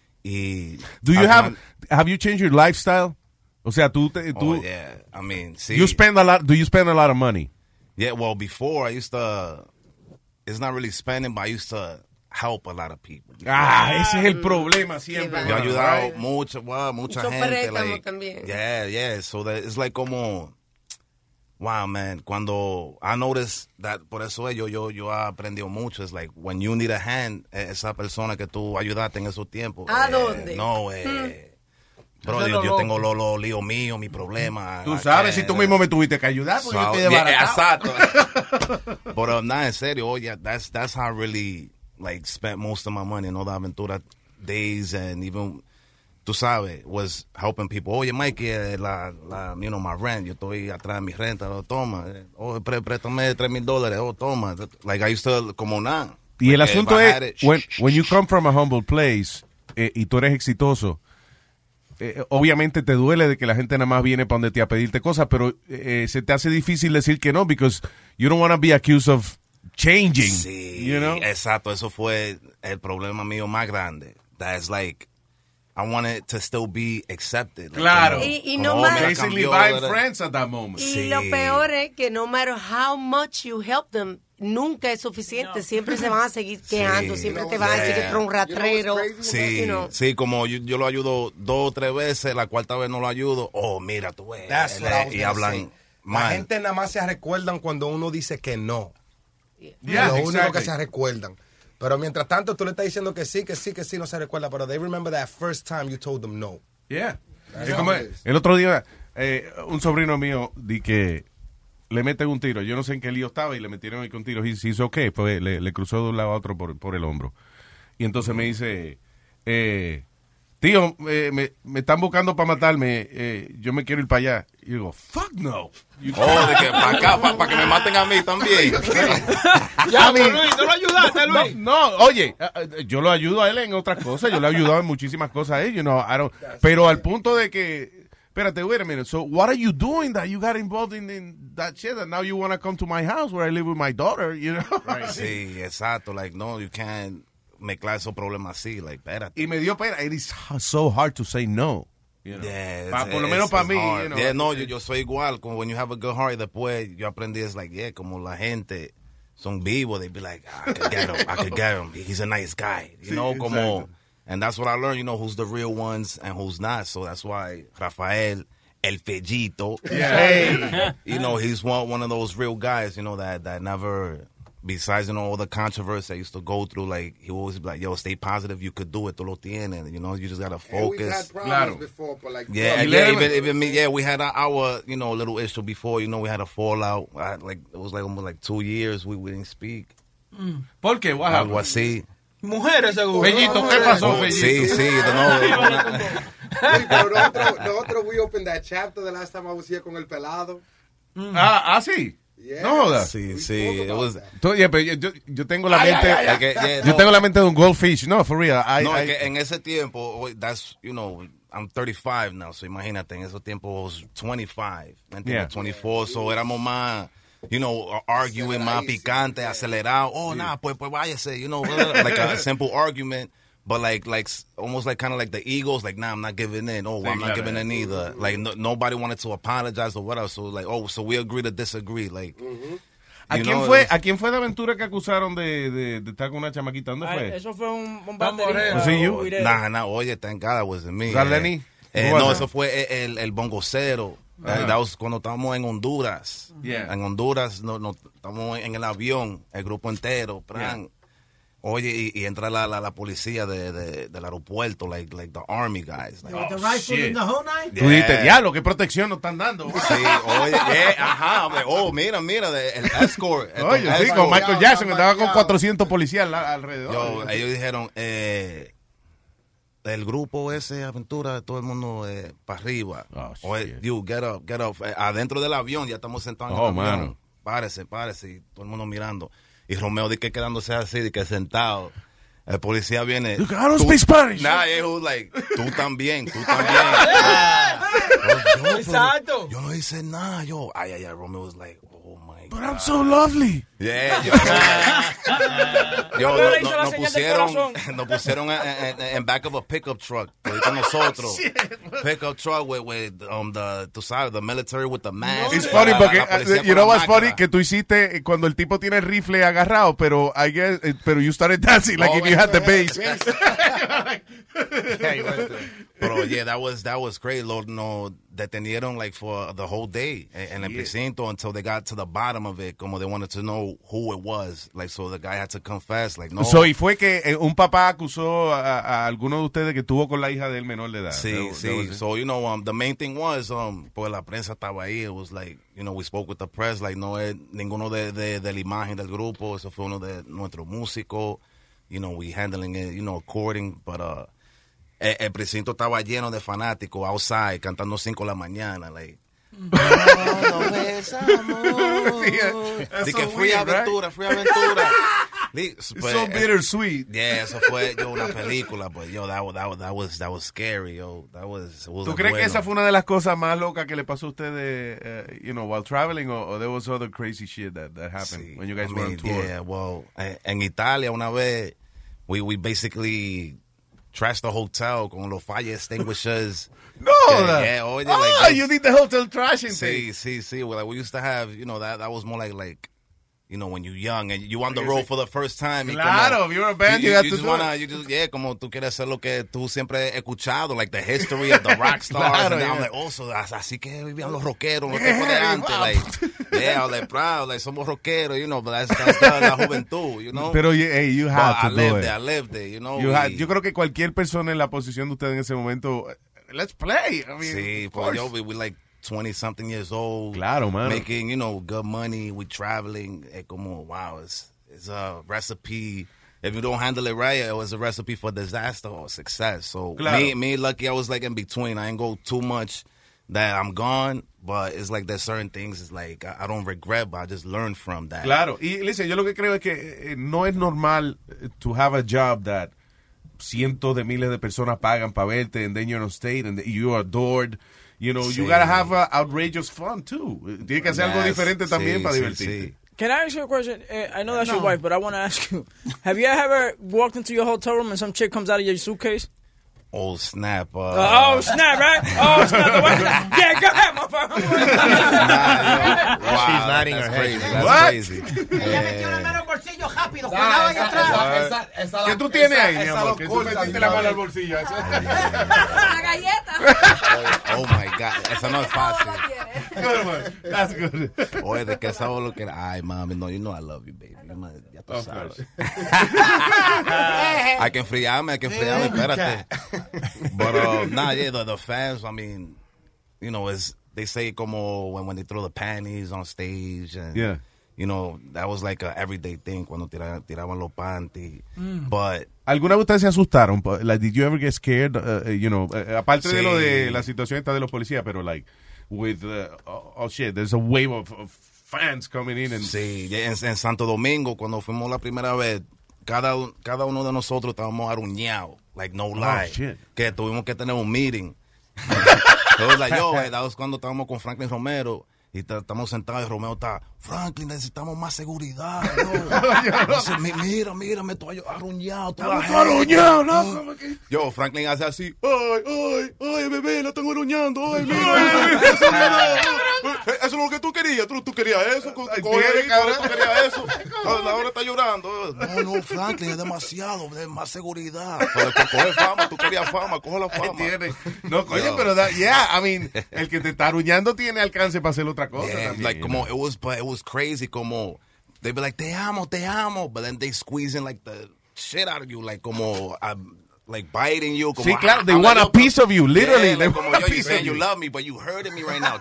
Do you have you changed your lifestyle? O sea, tú oh, yeah. I mean, see, you spend a lot. Do you spend a lot of money? Yeah, well, before I used to. It's not really spending, but I used to help a lot of people. Ese es el problema siempre. Yo he ayudado mucha gente. Like, también. Yeah. So that it's like como, wow, man. Cuando I noticed that, por eso yo he aprendido mucho. It's like when you need a hand, esa persona que tú ayudaste en esos tiempos. ¿A dónde? Bro, yo tengo los líos míos, mi problema. Tú sabes, si tú mismo me tuviste que ayudar, porque yo estoy desbaratado. Exacto. Pero nada, en serio, that's how I really spent most of my money in all the aventura days and even, tú sabes, was helping people. Oye, Mikey, my rent, yo estoy atrás de mi renta, toma. Préstame $3,000, toma. Like I used to, como nada. Y el asunto es, when you come from a humble place y tú eres exitoso, obviamente te duele de que la gente nada más viene para donde te a pedirte cosas, pero se te hace difícil decir que no, because you don't want to be accused of changing. Sí, exacto, eso fue el problema mío más grande. That's like, I wanted to still be accepted. Claro. Y no más. Basically buying friends at that moment. Y lo peor es que no matter how much you help them, nunca es suficiente. Siempre se van a seguir quejando. Siempre te van a decir que tú eres un ratrero. Sí, como yo lo ayudo 2 o 3 veces, la cuarta vez no lo ayudo. Oh, mira, tú ves. Y hablan mal. La gente nada más se recuerdan cuando uno dice que no. Yeah, lo único que se recuerdan. Pero mientras tanto, tú le estás diciendo que sí, no se recuerda. Pero they remember that first time you told them no. Yeah. El otro día, un sobrino mío di que le meten un tiro. Yo no sé en qué lío estaba y le metieron ahí con tiros. Y se hizo qué, pues le cruzó de un lado a otro por el hombro. Y entonces me dice, tío, me están buscando para matarme. Yo me quiero ir para allá. Y digo, fuck no. De que para acá, para que me maten a mí también. Ya, Luis, ¿no lo ayudaste, Luis? No, oye, yo lo ayudo a él en otras cosas. Yo le he ayudado en muchísimas cosas a él. Pero al punto de que, espérate, wait a minute. So, what are you doing that you got involved in that shit and now you want to come to my house where I live with my daughter, Right. Sí, exacto. Like, no, you can't mezclar esos problemas así. Like, espérate. Y me dio pena. It is so hard to say no. Por lo menos para mí. Yo soy igual. Como when you have a good heart, después yo aprendí, es like, como la gente son vivos, they be like, I could get him. He's a nice guy. Como, and that's what I learned, who's the real ones and who's not. So that's why Rafael El Fellito. Yeah. Hey. You know, he's one of those real guys, you know, that never, besides, you know, all the controversy I used to go through, like, he always be like, yo, stay positive, you could do it, tú lo tienes, you know, you just gotta focus. We've had problems before, but like... Even me, yeah, we had our, you know, little issue before, you know, we had a fallout, it was like almost like 2 years we didn't speak. ¿Por qué? What happened? Algo así. Mujeres, seguro. Bellito, ¿qué pasó, Bellito? Sí, Pero nosotros, we opened that chapter the last time I was here con el pelado. Sí. Yeah. No jodas. Sí. Yo tengo la mente. Yo tengo la mente de un goldfish. No, for real. Es que en ese tiempo, that's, you know, I'm 35 now, so imagínate, en ese tiempo I was 25, ¿me entiendes? 24, so éramos más, you know, arguing más picante, acelerado. Oh, nah, pues váyase, you know, like a simple argument. But like almost like kind of like the egos, like, nah, I'm not giving in. Oh, I'm not giving in either. Like nobody wanted to apologize or whatever. So like, so we agree to disagree. Like, ¿A quién fue de Aventura que acusaron de estar con una chamaquita? ¿Dónde fue? Eso fue un baterista. ¿Was it you? Nah, oye, thank God it wasn't me. ¿Lenny? No, eso fue el bongocero. That was cuando estábamos en Honduras. Yeah. En Honduras, no, estábamos en el avión, el grupo entero. Yeah. Oye, y entra la policía del aeropuerto, like the army guys. Like, the rifle in the whole night? Tú dijiste, diablo, ¿qué protección nos están dando? Sí, oye, ajá. Mira, el escort. Oye, sí, con Michael Jackson, que estaba con 400 policías alrededor. Ellos dijeron, el grupo ese, Aventura, todo el mundo para arriba. Oye, you, get up. Adentro del avión, ya estamos sentados en el avión. Mano. Párese, y todo el mundo mirando. Y Romeo de que quedándose así, de que sentado. El policía viene. I don't speak Spanish. Nah, he was like, tú también. Exacto. Yo no hice nada, Ay, Romeo was like, oh my God. But I'm so lovely. Yeah, nos pusieron en back of a pickup truck. Con nosotros. Pickup truck with tú sabes, the military with the mask. It's funny porque, you know what's funny? Que tú hiciste cuando el tipo tiene el rifle agarrado, pero you started dancing like if you had the bass. Pero yeah, that was great. No, detenieron like for the whole day en el precinto until they got to the bottom of it, como they wanted to know who it was. Like, so the guy had to confess, like, no. So, y fue que un papá acusó a alguno de ustedes que tuvo con la hija del menor de edad. Sí. So, you know, the main thing was, pues la prensa estaba ahí. It was like, you know, we spoke with the press, like, no es ninguno de la imagen del grupo. Eso fue uno de nuestros músicos. You know, we handling it, you know, according, but, el precinto estaba lleno de fanáticos outside cantando 5 de la mañana, like. De que fui aventura. It's so bittersweet. Yeah, eso fue una película, but that was scary, That was ¿Tú crees que esa fue una de las cosas más locas que le pasó a ustedes, you know, while traveling, or there was other crazy shit that happened when you guys were on tour? Yeah, well, en Italia una vez we basically trashed the hotel con los fire extinguishers. No, you need the hotel trashing thing. Sí. Well, like, we used to have, you know, that was more like, you know, when you're young and you on the road for the first time. Claro, if you're a band, you have to do it. Como tú quieres hacer lo que tú siempre has escuchado, like the history of the rock stars. Claro, and I'm like, also, así que vivían los rockeros, los tipos de antes. Like, I was like, proud, like, somos rockeros, you know, but that's la juventud, you know. Pero, hey, you have to do it. I lived it, you know. Yo creo que cualquier persona en la posición de ustedes en ese momento, let's play. I mean, sí, pues we like 20-something years old. Claro, man. Making, you know, good money. We traveling. Como, wow, it's a recipe. If you don't handle it right, it was a recipe for disaster or success. So claro. me lucky, I was like in between. I didn't go too much that I'm gone, but it's like there's certain things, it's like I don't regret, but I just learned from that. Claro. Y listen, yo lo que creo es que no es normal to have a job that cientos de miles de personas pagan para verte, and then you're on stage and you are adored. You know, you gotta have outrageous fun too. Tiene que hacer algo diferente también para divertirte. Can I ask you a question? I know that's your wife, but I want to ask you. Have you ever walked into your hotel room and some chick comes out of your suitcase? Oh, snap. Oh, snap, right? Oh, snap. Yeah, go ahead, motherfucker. Wow, she's nodding her head. That's crazy. ¿Qué tú tienes ahí, mi amor? Que tú metiste la mano al bolsillo. galleta. Oh my God, eso no es fácil. Good one. That's good. Oye, ¿de qué sabor lo que era? Ay, mami, no, you know I love you, baby. Ya tú sabes. Hay que enfriarme, espérate. But, yeah, the fans, I mean, you know, they say como when they throw the panties on stage. And, yeah. You know, that was like a everyday thing cuando tiraban los panties. But ¿alguna vez ustedes se asustaron? Like, did you ever get scared? You know, aparte de lo de la situación esta de los policías, pero like, with, oh shit, there's a wave of fans coming in. And... Sí, en Santo Domingo, cuando fuimos la primera vez, cada uno de nosotros estábamos arruñados, like no lie. Shit. Que tuvimos que tener un meeting. It was like, that was cuando estábamos con Franklin Romero. Y estamos sentados y Romeo está, Franklin, necesitamos más seguridad. Mira, me estoy arruñado. Arruñado, loco. Yo, Franklin hace así, ay, bebé, la tengo arruñando. Ay, mira. Eso es lo que tú querías. Tú querías eso. Tú querías eso. Ahora está llorando. No, Franklin, es demasiado. Más seguridad. Coge fama, tú querías fama, coge la fama. No, coño, pero I mean, el que te está arruñando tiene alcance para hacer otra cosa. Yeah, like como it was crazy. Como they'd be like, te amo, but then they squeeze in like the shit out of you, like como like biting you. Como, sí, claro, they want a piece of you, literally. Yeah, they like, want como, a piece of you you. love me, but you hurting me right now.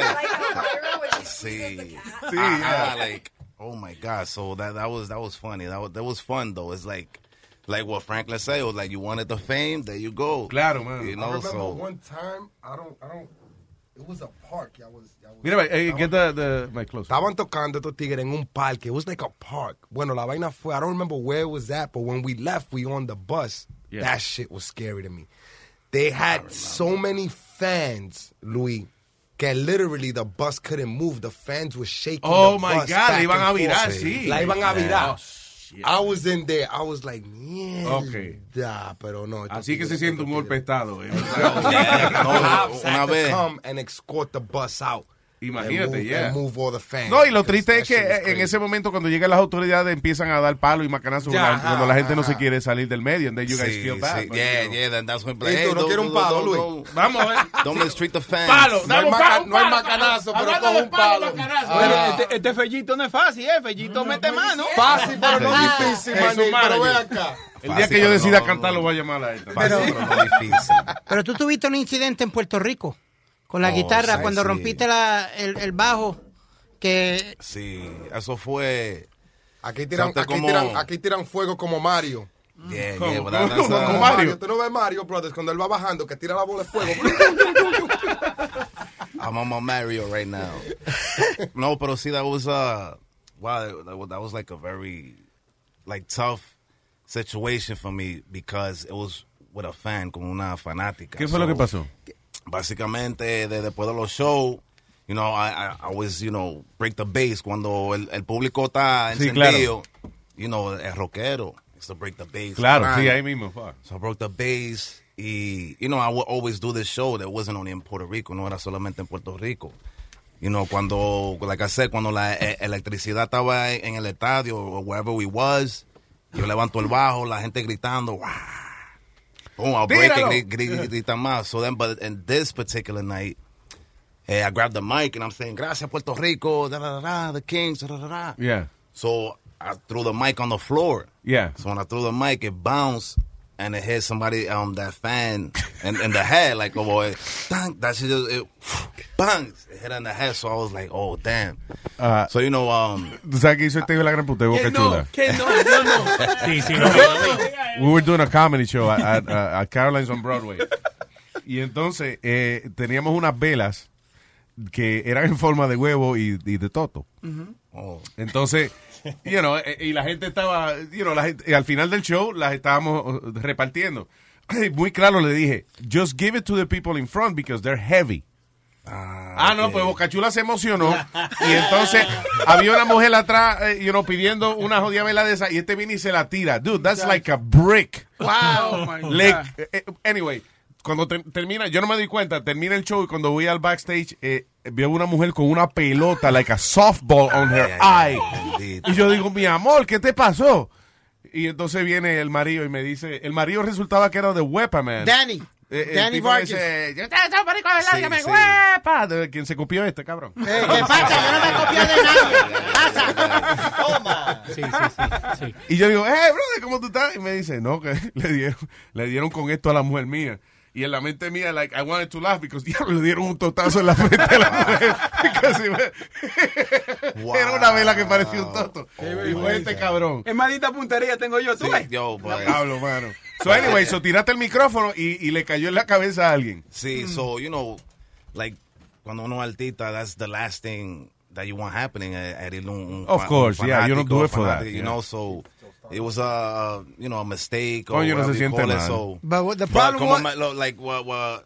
Sí, like, oh my God. So that was funny. That was fun though. It's like what Franklin said. It was like you wanted the fame, there you go. Claro, man. I You know, remember so one time, I don't. It was a park. Mira, get the mic closer. Estaban tocando estos tigres en un parque. It was like a park. Bueno, la vaina fue, I don't remember where it was at, but when we left, we on the bus. Yeah. That shit was scary to me. They had so many fans, Luis, que literally the bus couldn't move. The fans were shaking. Oh the my bus God, back la iban a and virar, forth. sí. La iban a virar. Oh, shit. I was in there. I was like, mierda, okay. Pero no. Así que se siente un golpe de estado. Cops had to come and escort the bus out. Imagínate, and move all the fans. No, y lo triste es que en ese momento cuando llegan las autoridades empiezan a dar palo y macanazos cuando la gente no se quiere salir del medio. And then you guys feel bad. Yeah, then that's when... ¿Y tú no quieres un palo, Luis? Vamos a ver. Don't mistreat the fans. Palo, no hay macanazo, pero con un palo. Este Fellito no es fácil, Fellito mete mano. Fácil, pero no difícil, maní. Pero ven acá. El día que yo decida cantar lo voy a llamar a él. Fácil, pero no difícil. Pero tú tuviste un incidente en Puerto Rico con la guitarra sí, cuando sí. rompiste el bajo que... Sí, eso fue... Aquí tiran fuego como Mario. Yeah, como Mario. Mario. Tú no ves Mario Brothers cuando él va bajando que tira la bola de fuego. I'm on my Mario right now. No, pero sí, that was that was like a very like tough situation for me because it was with a fan, como una fanática. ¿Qué fue lo que pasó? Básicamente, después de los shows, you know, I always, you know, break the bass cuando el público está encendido. Claro. You know, el rockero is to break the bass. Claro, right? sí, ahí mismo. Fuck. So I broke the bass. Y, you know, I would always do this show that wasn't only in Puerto Rico, no era solamente en Puerto Rico. You know, cuando, like I said, cuando la electricidad estaba en el estadio or wherever we was, yo levanto el bajo, la gente gritando, ¡wah! Boom, I'll break it, gritan más. So then, but in this particular night, I grabbed the mic and I'm saying, gracias Puerto Rico, the Kings, Yeah. So I threw the mic on the floor. Yeah. So when I threw the mic, it bounced and it hit somebody, that fan in the head, like, oh boy, bang, that shit just, bang, it hit in the head. So I was like, oh, damn. So, you know, ¿Tú sabes que hizo este hijo de la gran puta de Boca Chula? Sí, sí, We were doing a comedy show at Caroline's on Broadway. Y entonces teníamos unas velas que eran en forma de huevo y de toto. Oh. Entonces, you know, y la gente estaba, you know, al final del show las estábamos repartiendo. Muy claro le dije, just give it to the people in front because they're heavy. No, pues Boca Chula se emocionó y entonces había una mujer atrás, you know, pidiendo una jodida vela de esa y este viene y se la tira. Dude, that's like a brick. Wow, my God. Anyway, cuando termina, yo no me doy cuenta, termina el show y cuando voy al backstage, veo una mujer con una pelota, like a softball on her eye. Y yo digo, mi amor, ¿qué te pasó? Y entonces viene el marido y me dice, el marido resultaba que era de Wepa Man. Danny. Danny tipo Vargas. ese, yo te marico de verdad, Sí, que me sí. huepa. ¿De quién se copió este, cabrón? ¿Qué pasa? Yo no me copio de nadie. Pasa. Toma. Sí. Y yo digo, brother, ¿cómo tú estás? Y me dice, no, que le dieron con esto a la mujer mía. Y en la mente mía, like, I wanted to laugh because diablo, le dieron un totazo en la frente de la mujer. Wow. Era una vela que parecía un toto. Y fue este cabrón. Es maldita puntería tengo yo, ¿tú Sí, ves? yo, boy. Diablo, mano. So anyway, tiraste el micrófono y le cayó en la cabeza a alguien. Sí, so, you know, like, cuando uno es artista, that's the last thing that you want happening. Of course, yeah, you don't do it for that. You know, so it was a mistake. Coño, no se whatever you siente call it, mal. so, But the problem was... what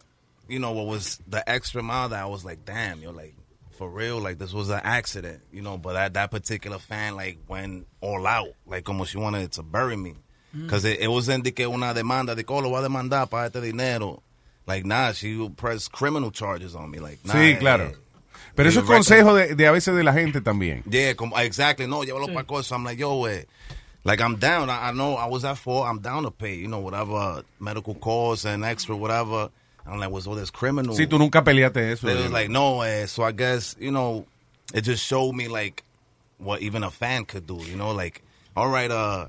was the extra mile that I was like, damn, you're like, for real, like, this was an accident, you know, but that particular fan, like, went all out, like, como she wanted to bury me. Because it wasn't de que una demanda, de que lo va a demandar para este dinero. Like, nah, she would press criminal charges on me, like, nah. Sí, claro. Pero eso es consejo de a veces de la gente también. Yeah, exactly. No, llévalo para cosas. I'm like, yo, like, I'm down. I know I was at fault. I'm down to pay, you know, whatever medical costs and extra whatever. I'm like, was all this criminal? Sí, tú nunca peleaste eso. They was like, no, so I guess, you know, it just showed me, like, what even a fan could do, you know, like, all right,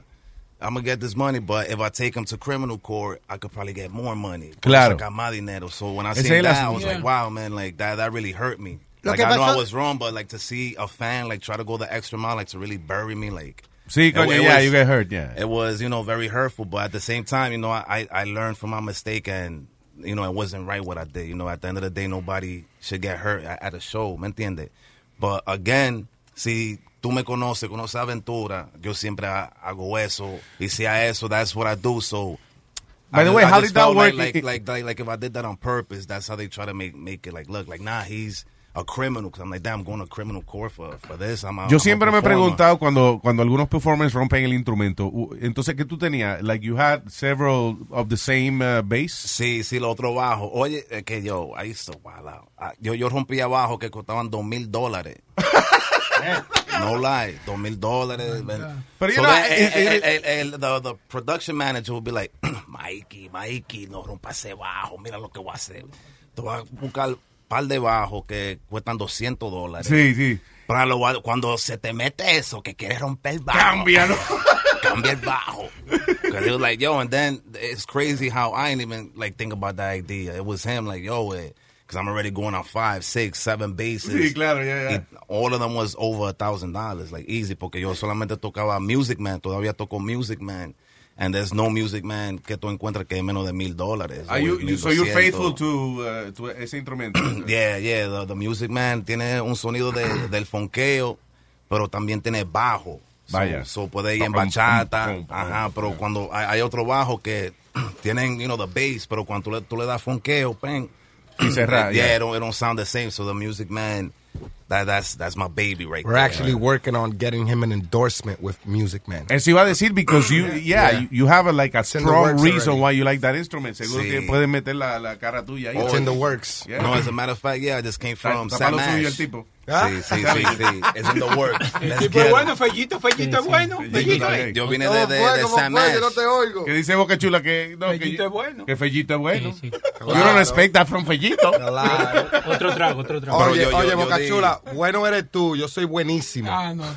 I'm going to get this money, but if I take him to criminal court, I could probably get more money. Claro. Sacar más dinero. So when I seen that, I was like, wow, man, like, that really hurt me. Like, I know I was wrong, but, like, to see a fan, like, try to go the extra mile, like, to really bury me, like... Sí, coño, yeah, you get hurt, yeah. It was, you know, very hurtful, but at the same time, you know, I learned from my mistake, and, you know, it wasn't right what I did. You know, at the end of the day, nobody should get hurt at a show, ¿me entiendes? But, again, si tú me conoces Aventura, yo siempre hago eso, y si a eso, that's what I do, so... By the way, how did that work? Like if I did that on purpose, that's how they try to make it, like, look, like, nah, he's... a criminal, because I'm like, damn, I'm going to criminal court for this. Yo siempre me he preguntado cuando algunos performers rompen el instrumento, entonces, ¿qué tú tenías? Like, you had several of the same bass? Sí, lo otro bajo. Oye, que yo, I used to wild out. Yo rompía bajo que costaban $2,000. No lie, $2,000. But you so know, the production manager would be like, Mikey, no rompa ese bajo, mira lo que voy a hacer. Te voy a buscar par de bajos que cuestan $200. Sí. Cuando se te mete eso, que quieres romper el bajo. Cámbialo. Cambia el bajo. Because he was like, yo, and then it's crazy how I didn't even, like, think about that idea. It was him, like, yo, because I'm already going on 5, 6, 7 bases. Sí, claro, yeah. All of them was over $1,000, like, easy, porque yo solamente tocaba Music Man, todavía toco Music Man. And there's no Music Man que tú encuentras que es menos de $1,000. So you're faithful to ese instrumento? Yeah. The Music Man tiene un sonido del fonqueo, pero también tiene bajo. Vaya. So puede ir en bachata. Ajá, pero cuando hay otro bajo que tienen, you know, the bass, pero cuando tú le das fonqueo, pen. Y cerrar. Yeah, it don't sound the same. So the Music Man, that's my baby right there. We're actually working on getting him an endorsement with Music Man. Eso iba a decir, because you have a strong reason why you like that instrument. Seguro que puedes meter la cara tuya ahí. It's in the works. Yeah. No, as a matter of fact, I just came from Sam Ash. El tipo. Sí. It's in the works. El tipo es bueno, Fellito es bueno. Yo vine de Sam Ash. No te oigo. Que dice Boca Chula que Fellito es bueno. Que Fellito es bueno. Sí. You don't expect that from Fellito. Otro trago. Oye, Boca Chula, bueno eres tú, yo soy buenísimo. No.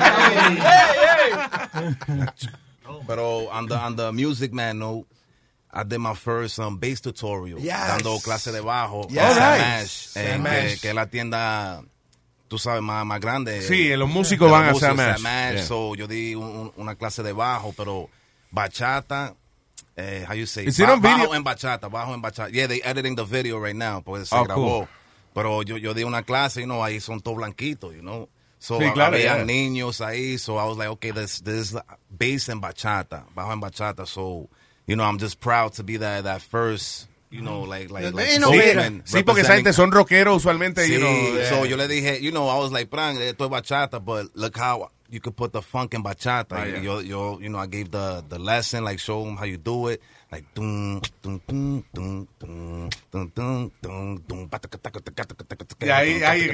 Pero on the Music Man note, I did my first bass tutorial. Dando clase de bajo. Sam Ash. Que es la tienda, tú sabes, más grande. Sí, los músicos van a Sam Ash. Yeah. So yo di una clase de bajo, pero bachata, how you say? Bajo en bachata. Yeah, they editing the video right now, porque se grabó. Cool. Pero yo di una clase, you know, ahí son todos blanquitos, you know. So sí, claro, había niños ahí, so I was like, okay, this bass en bachata, bajo en bachata, so, you know, I'm just proud to be that first, you know, like sí, porque esa gente son rockeros usualmente, sí, you know. So yo le dije, you know, I was like, Pran, esto es bachata, but look how you could put the funk in bachata. Yo, you know, I gave the lesson, like, show them how you do it. Like, dum, dum, dum, dum, dum, dum, dum, dum, dum, ahí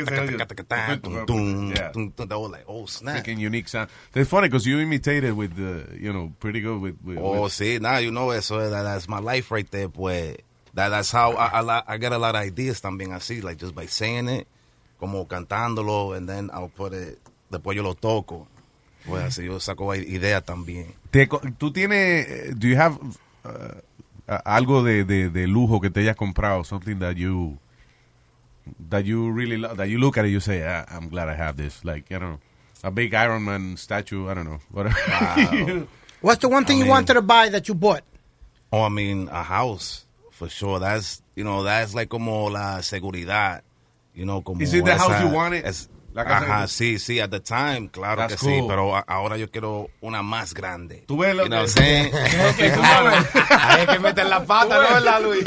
they were like, oh, snap. Freaking unique sound. It's funny because you imitated with, you know, pretty good with sí, nah, you know, eso, that's my life right there, pues. That's how I get a lot of ideas también así, like just by saying it, como cantándolo, and then I'll put it, después yo lo toco. Pues así yo saco ideas también. ¿Tú tienes, do you have algo de lujo que te hayas comprado, something that you really love, that you look at it, you say, I'm glad I have this, like, I don't know, a big Iron Man statue, I don't know, whatever. Wow. What's the one thing you wanted to buy that you bought? Oh, I mean, a house, for sure. That's like como la seguridad, como Is it the house you wanted? Ajá, sí, at the time, claro. That's que cool. Sí, pero ahora yo quiero una más grande. Tú ves lo que... Ahí hay que meter la pata, ¿no, verdad, Luis?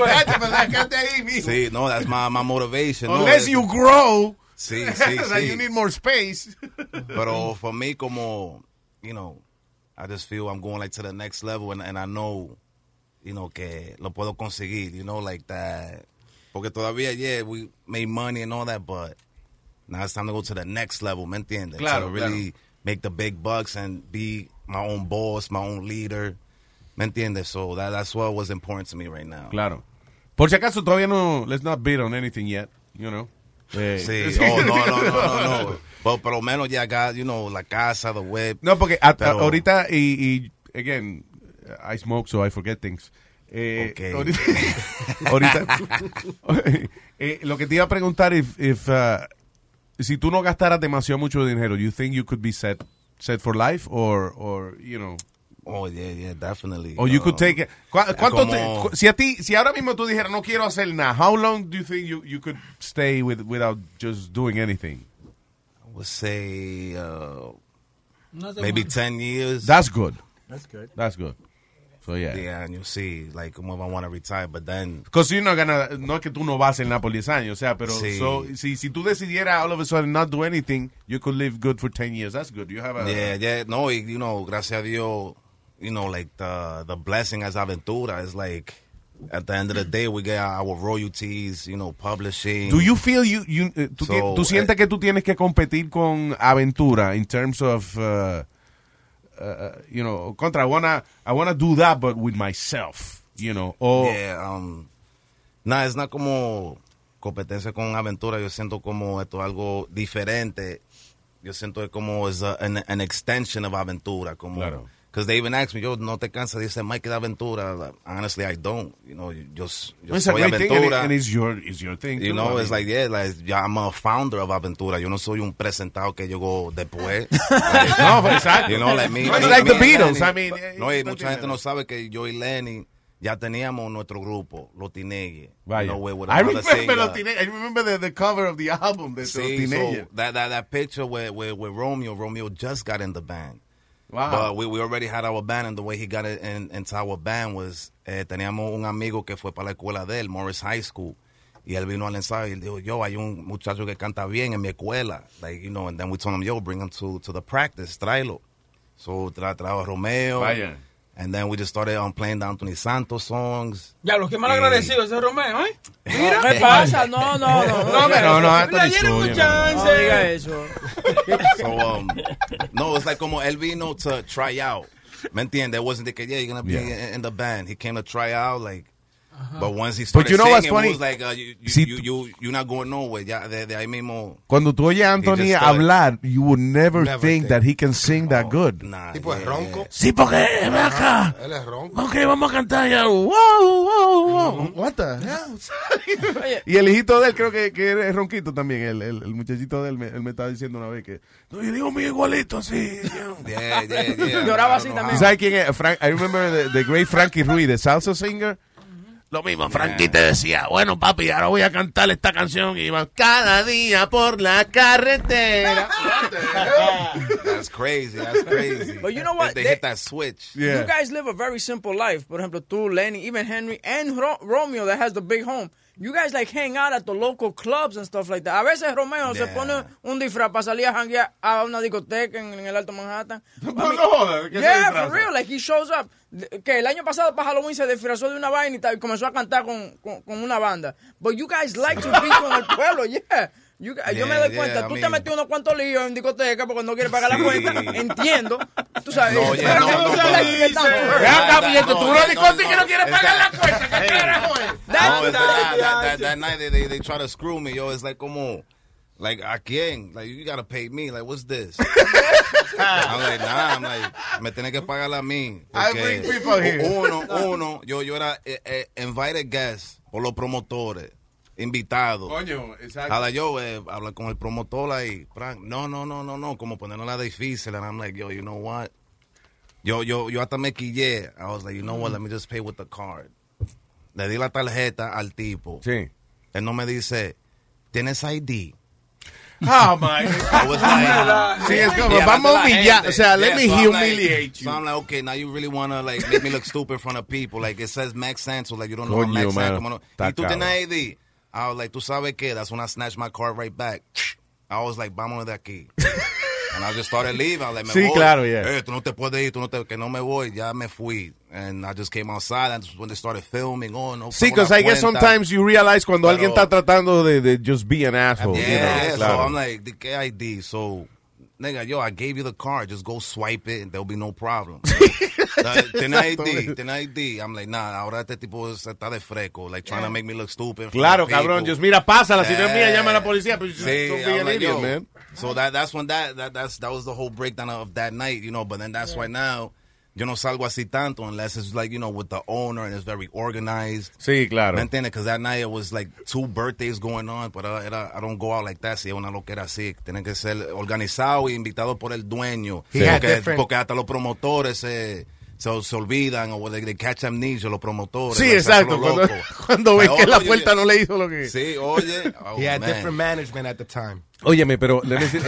Sí, no, that's my motivation. Unless you grow, sí. You need more space. Pero for me, como, I just feel I'm going like to the next level, and I know, que lo puedo conseguir, like that. Porque todavía, we made money and all that, but now it's time to go to the next level, ¿me entiendes? Claro, to really make the big bucks and be my own boss, my own leader, ¿me entiendes? So that's what was important to me right now. Claro. Por si acaso todavía no, let's not bid on anything yet, Sí, no. But por lo menos ya got, la casa, the whip. No, porque ahorita, y again, I smoke so I forget things. Okay. Ahorita lo que te iba a preguntar, si tú no gastaras demasiado mucho dinero, you think you could be set for life, or Oh, yeah, definitely. Or you could take it. Si ahora mismo tú dijeras no quiero hacer nada, how long do you think you could stay without just doing anything? I would say maybe 10 years. That's good. That's good. So yeah. Yeah, and you'll see, like, if I want to retire, but then... Because you're not gonna, no es que tú no vas a hacer nada por 10 años, o sea, pero sí. Si tú decidieras all of a sudden not do anything, you could live good for 10 years. That's good. You have a... Yeah, no, gracias a Dios, like the blessing as Aventura is like, at the end of the day, we get our royalties, publishing. Do you feel tú sientes que tú tienes que competir con Aventura in terms of... contra, I wanna do that, but with myself, or... Yeah, es not como competencia con Aventura. Yo siento como esto es algo diferente. Yo siento como es an extension of Aventura, como... Claro. Because they even asked me, yo, ¿no te cansas de ese Mike de Aventura? Like, honestly, I don't. Yo soy Aventura. And it's your thing. It's like, I'm a founder of Aventura. Yo no soy un presentado que llegó después. No, exacto. It's like the Beatles. I mean, mucha gente no sabe que yo y Lenny ya teníamos nuestro grupo, Los Teenagers. I remember the cover of the album, Los Teenagers. So that picture where Romeo just got in the band. Wow. But we already had our band, and the way he got it into our band was, teníamos un amigo que fue para la escuela de él, Morris High School, y él vino al ensayo y él dijo, yo, hay un muchacho que canta bien en mi escuela, like, and then we told him, yo, bring him to the practice, tráelo. So, trajo a Romeo. Vaya. And then we just started playing the Anthony Santos songs. Ya, los que mal agradecidos ese Romeo, ¿eh? Mira, ¿qué pasa? No. No, un chance. No diga eso. So, no, it's like como él vino to try out. ¿Me entiendes? It wasn't like, you're going to be in the band. He came to try out, like, but once he started singing, it was like, you're not going nowhere. Ya, de ahí mismo. Cuando tú oyes a Anthony hablar, you would never think that he can sing that good. Nah, tipo es ronco. Sí, porque ven acá. Él es ronco. Ok, vamos a cantar ya. Wow. What the hell? Y el hijito de él creo que es ronquito también. El muchachito de él, él me estaba diciendo una vez que, no, yo digo muy igualito así. Yeah. Lloraba así también. ¿Sabes quién es? I remember the great Frankie Ruiz, the salsa singer. Lo mismo, Frankie te decía, bueno, papi, ahora voy a cantar esta canción y iba cada día por la carretera. That's crazy. But you know what? They hit that switch. Yeah. You guys live a very simple life. Por ejemplo, tú, Lenny, even Henry, and Romeo that has the big home. You guys like hang out at the local clubs and stuff like that. A veces Romeo se pone un disfraz para salir a janguear a una discoteca en el Alto Manhattan. Yeah, for real. Like he shows up. Que el año pasado para Halloween se disfrazó de una vaina y comenzó a cantar con una banda. But you guys like to be con el pueblo, yeah. Yo me doy cuenta, tú te metiste unos cuantos líos en discoteca porque no quieres pagar la cuenta. Entiendo. Tú sabes. No, oye, no. Tú una discoteca que no quieres pagar la cuenta. ¿Qué carajo es? That night they try to screw me, yo. It's like, como, like, ¿a quién? Like, you gotta pay me. Like, what's this? I'm like, nah. I'm like, me tenés que pagar a mí. I bring people here. Uno, yo era invited guest por los promotores. Invitado. Coño, exacto. Habla yo, habla con el promotor ahí. No, como ponerla difícil. And I'm like, yo, you know what? Yo hasta me quillé. I was like, you know what? Let me just pay with the card. Le di la tarjeta al tipo. Sí. Él no me dice, ¿tienes ID? Oh, my. I was like, sí, es como, vamos a humillar. O sea, let me humiliate you. So I'm like, okay, now you really want to, like, make me look stupid in front of people. Like, it says Max Santos. Like, you don't know what Max Santos. ¿Y tú tienes ID? I was like, ¿tú sabes qué? That's when I snatched my card right back. I was like, vámonos de aquí. And I just started leaving. I was like, me voy. Claro, yeah. Tú no te puedes ir, que no me voy. Ya me fui. And I just came outside. And when they started filming, no. Sí, because I guess sometimes you realize cuando alguien está tratando de just be an asshole. Yeah, claro. So I'm like, ¿qué ID? So, nigga, yo, I gave you the card. Just go swipe it and there'll be no problem. Ten ID. I'm like, nah, ahora este tipo está de fresco, like trying to make me look stupid. Claro, cabrón, just mira, pásala, si no es mía, llama a la policía. But sí, I'm like, yo, man. So that's when that was the whole breakdown of that night, you know, but then that's why now yo no salgo así tanto unless it's like, you know, with the owner and it's very organized. Sí, claro. ¿Me entiendes? Because that night it was like 2 birthdays going on, but I don't go out like that. Si es una loquera así, tiene que ser organizado y invitado por el dueño. Sí. Porque hasta los promotores se olvidan o they catch amnesia, los promotores. Sí, exacto. Cuando ven que la puerta no le hizo lo que... Sí, oye. Oh, he had different management at the time. Óyeme, pero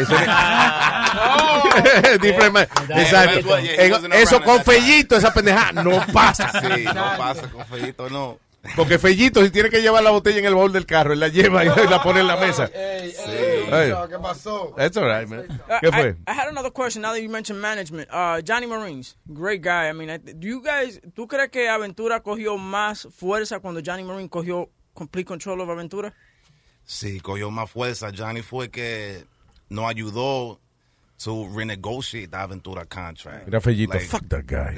exacto. Eso con Fellito, esa pendejada no pasa. Sí, no pasa con Fellito, no. Porque Fellito, si tiene que llevar la botella en el baúl del carro, él la lleva y la pone en la mesa. ¿Qué pasó? That's all right, man. ¿Qué fue? I had another question now that you mentioned management. Johnny Marines, great guy. I mean, ¿tú crees que Aventura cogió más fuerza cuando Johnny Marine cogió complete control of Aventura? Sí, cogió más fuerza. Johnny fue que nos ayudó to renegotiate the Aventura contract. Mira, Fellito, like, fuck that guy.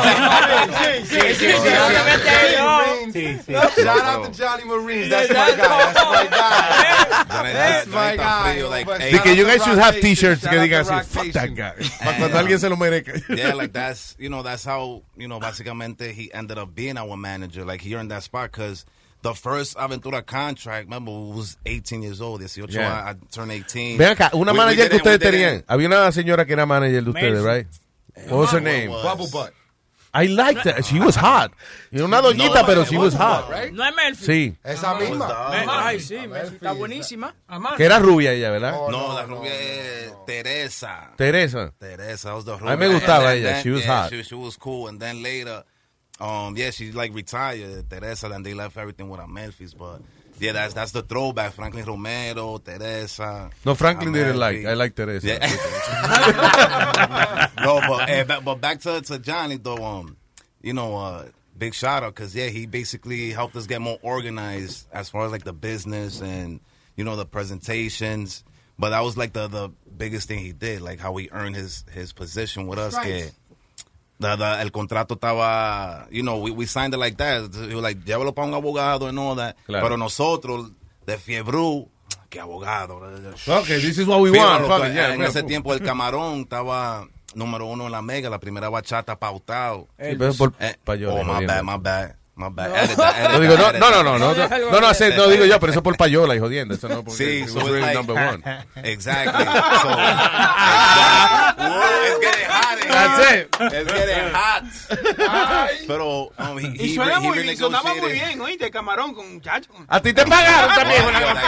Sí. Shout out to Johnny Marines. That's my guy. That's my guy. Like, you guys should have t-shirts que digan así, fuck that guy. Para cuando alguien se lo merezca. Yeah, like that's how, básicamente he ended up being our manager. Like he earned that spot because the first Aventura contract, remember, was 18 years old. 18, yeah. I turned 18. Ven acá, una manager que ustedes tenían. Había una señora que era manager de ustedes, right? What was her name? Bubble Butt. I liked that. She was hot. Una doñita, pero she was hot. Right? No es Melfi. Sí. Esa misma. Ay, sí, Melfi está buenísima. Que era rubia ella, ¿verdad? No, la rubia es Teresa. Teresa, was the rubia. A mí me gustaba ella. She was hot. She was cool. And then later... she like retired, Teresa, and they left everything with Amelfis, but yeah, that's the throwback. Franklin Romero, Teresa. No, Franklin didn't like. I like Teresa. Yeah. No, but back to Johnny though. Big shout out because he basically helped us get more organized as far as like the business and the presentations. But that was like the biggest thing he did, like how he earned his position with us. Right. El contrato estaba, we signed it like that. Like, llévalo para un abogado and all that. Claro. Pero nosotros, de fiebre, que abogado. Okay, this is what we want. En ese tiempo el Camarón estaba número 1 en la Mega, la primera bachata pautado. My bad. No digo, no digo yo, pero eso por payola y jodiendo. Eso no, porque so really like, number 1. Exactly. So, it's getting hot. That's it. It's getting hot. Pero y suena muy bien, sonaba muy bien, oíste, Camarón con muchachos. A ti te pagaron también.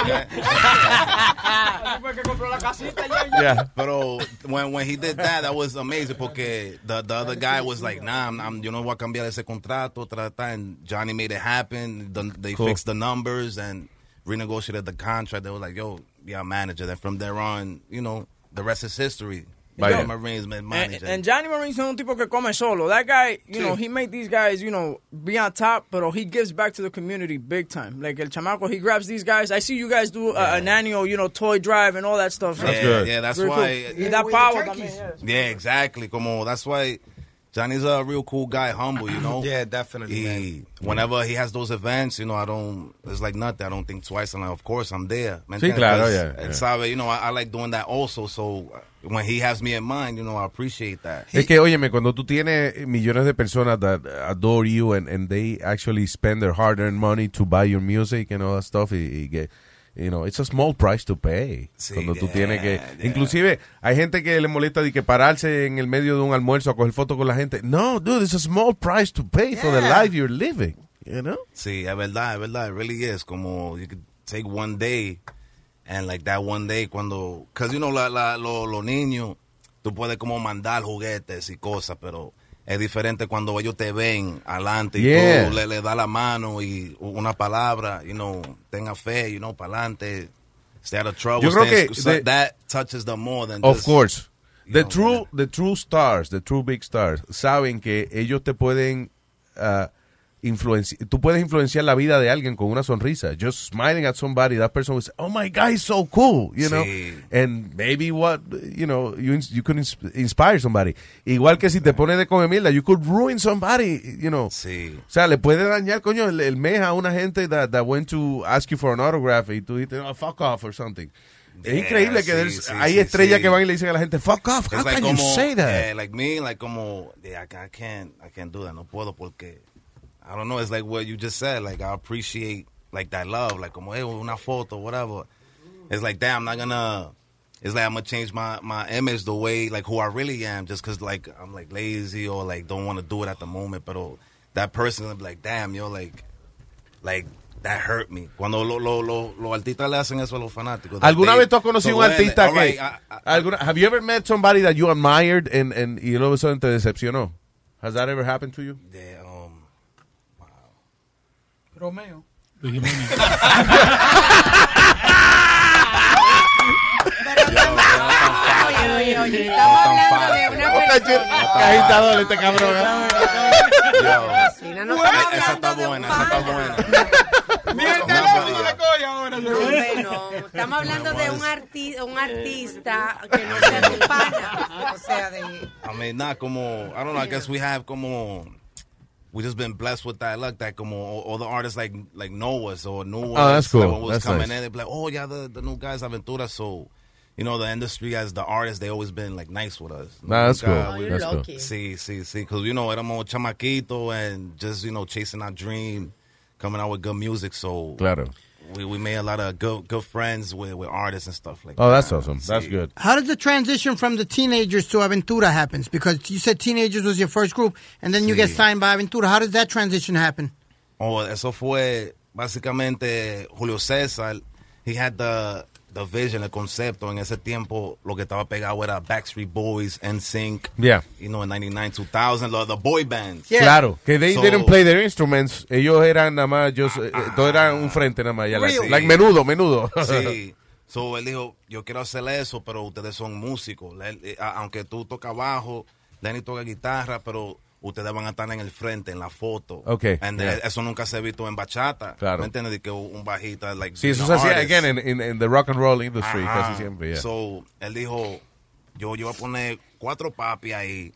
Fue que compró la casita ya. Pero when he did that was amazing porque the other guy was like, nah, yo no voy a cambiar ese contrato, and Johnny made it happen. They fixed the numbers and renegotiated the contract. They were like, yo, yeah, manager. Then from there on, the rest is history. Johnny Marines manager. And Johnny Marines es un tipo que come solo. That guy, you know, he made these guys, you know, be on top, but he gives back to the community big time. Like el chamaco, he grabs these guys. I see you guys do an annual, you know, toy drive and all that stuff. That's good. Yeah, that's why. Cool. That power también. Yeah, exactly. Como that's why Johnny's a real cool guy, humble, you know. Yeah, definitely. Whenever he has those events, you know, it's like nothing. I don't think twice. And of course, I'm there. Sí, claro, yeah. Sabe, you know, I like doing that also. So when he has me in mind, you know, I appreciate that. Es que, óyeme, cuando tú tienes millones de personas that adore you and they actually spend their hard-earned money to buy your music and all that stuff, y get, you know, it's a small price to pay. Sí, cuando tú tienes que... Inclusive, hay gente que le molesta de que pararse en el medio de un almuerzo a coger fotos con la gente. No, dude, it's a small price to pay for the life you're living, you know? Sí, es verdad. It really is. Como, you could take one day, and like that one day cuando... Because, you know, los niños, tú puedes como mandar juguetes y cosas, pero... Es diferente cuando ellos te ven adelante y tú le da la mano y una palabra, you know, tenga fe, you know, para adelante, stay out of trouble. Yo creo que that touches them more than of just, course. The true stars, the true big stars, saben que ellos te pueden tú puedes influenciar la vida de alguien con una sonrisa. Just smiling at somebody, that person will say, oh my God, he's so cool, you know. And maybe you could inspire somebody. Igual que si te pones de comer mierda, you could ruin somebody, you know. Sí. O sea, le puede dañar, coño, el mes a una gente that went to ask you for an autograph y tú dices, oh, fuck off or something. Es increíble que hay estrellas que van y le dicen a la gente, fuck off, how can you say that? Yeah, like me, like como, I can't do that, no puedo porque... I don't know, it's like what you just said, like I appreciate like that love, like como, hey, una foto, whatever. It's like, damn, I'm gonna change my image the way, like who I really am, just because like I'm like lazy or like don't want to do it at the moment, but that person will be like, damn, yo, like that hurt me. Cuando los artistas le hacen eso a los fanáticos. ¿Alguna vez tú has conocido un artista que... have you ever met somebody that you admired and y luego eso te decepcionó? Has that ever happened to you? Yeah, Romeo. Oye, estamos hablando de una persona. Qué agitador este cabrón. Esa está buena. Estamos hablando de un artista que no sea tu pana. O sea, de... I mean, not como, I don't know, I guess we have como... We just been blessed with that luck that como all the artists like know us or knew us. Oh, that's cool. Like when we was that's coming nice. in, they'd be like, oh yeah, the new guys Aventura. So, you know, the industry as the artists, they always been like nice with us. Nah, that's cool. Oh, you're lucky. Sí, because you know, éramos chamaquito and just, you know, chasing our dream, coming out with good music. So claro. We made a lot of good friends with artists and stuff like that. Oh, that's awesome. That's good. How does the transition from the Teenagers to Aventura happens? Because you said Teenagers was your first group, and then you get signed by Aventura. How does that transition happen? Oh, eso fue básicamente Julio César. He had the vision, el concepto. En ese tiempo, lo que estaba pegado era Backstreet Boys, NSYNC. Yeah. You know, in 99, 2000, the boy bands. Yeah. Claro, que they didn't play their instruments. Ellos eran nada más, todo era un frente nada más. Really? Like menudo. Sí. So, él dijo, yo quiero hacer eso, pero ustedes son músicos. Aunque tú tocas bajo, Lenny toca guitarra, pero ustedes van a estar en el frente, en la foto. Okay. And eso nunca se ha visto en bachata. Claro. ¿Me entiendes? De que un bajita, like, sí, eso se hacía, again, in the rock and roll industry, casi siempre, yeah. So, él dijo, yo voy a poner 4 papi ahí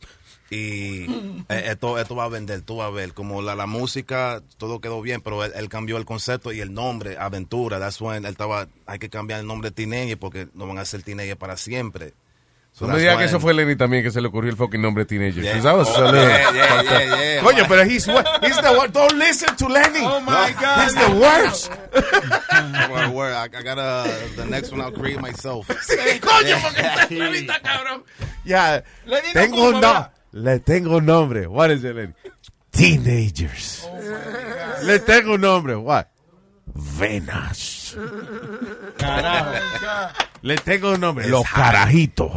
y esto va a vender, tú vas a ver. Como la música, todo quedó bien, pero él cambió el concepto y el nombre, Aventura. That's when hay que cambiar el nombre de Teenager porque no van a ser Teenager para siempre. So no me digas que eso fue Lenny también que se le ocurrió el fucking nombre Teenager. Yeah. Yeah. Coño, pero he's the worst. Don't listen to Lenny. Oh my God. He's the worst. I got the next one I'll create myself. Sí, coño, porque ahorita, cabrón. Ya, le tengo un nombre. What is it, Lenny? Teenagers. Oh, le tengo un nombre. What? Venas. Carajo. Le tengo un nombre. Los carajitos.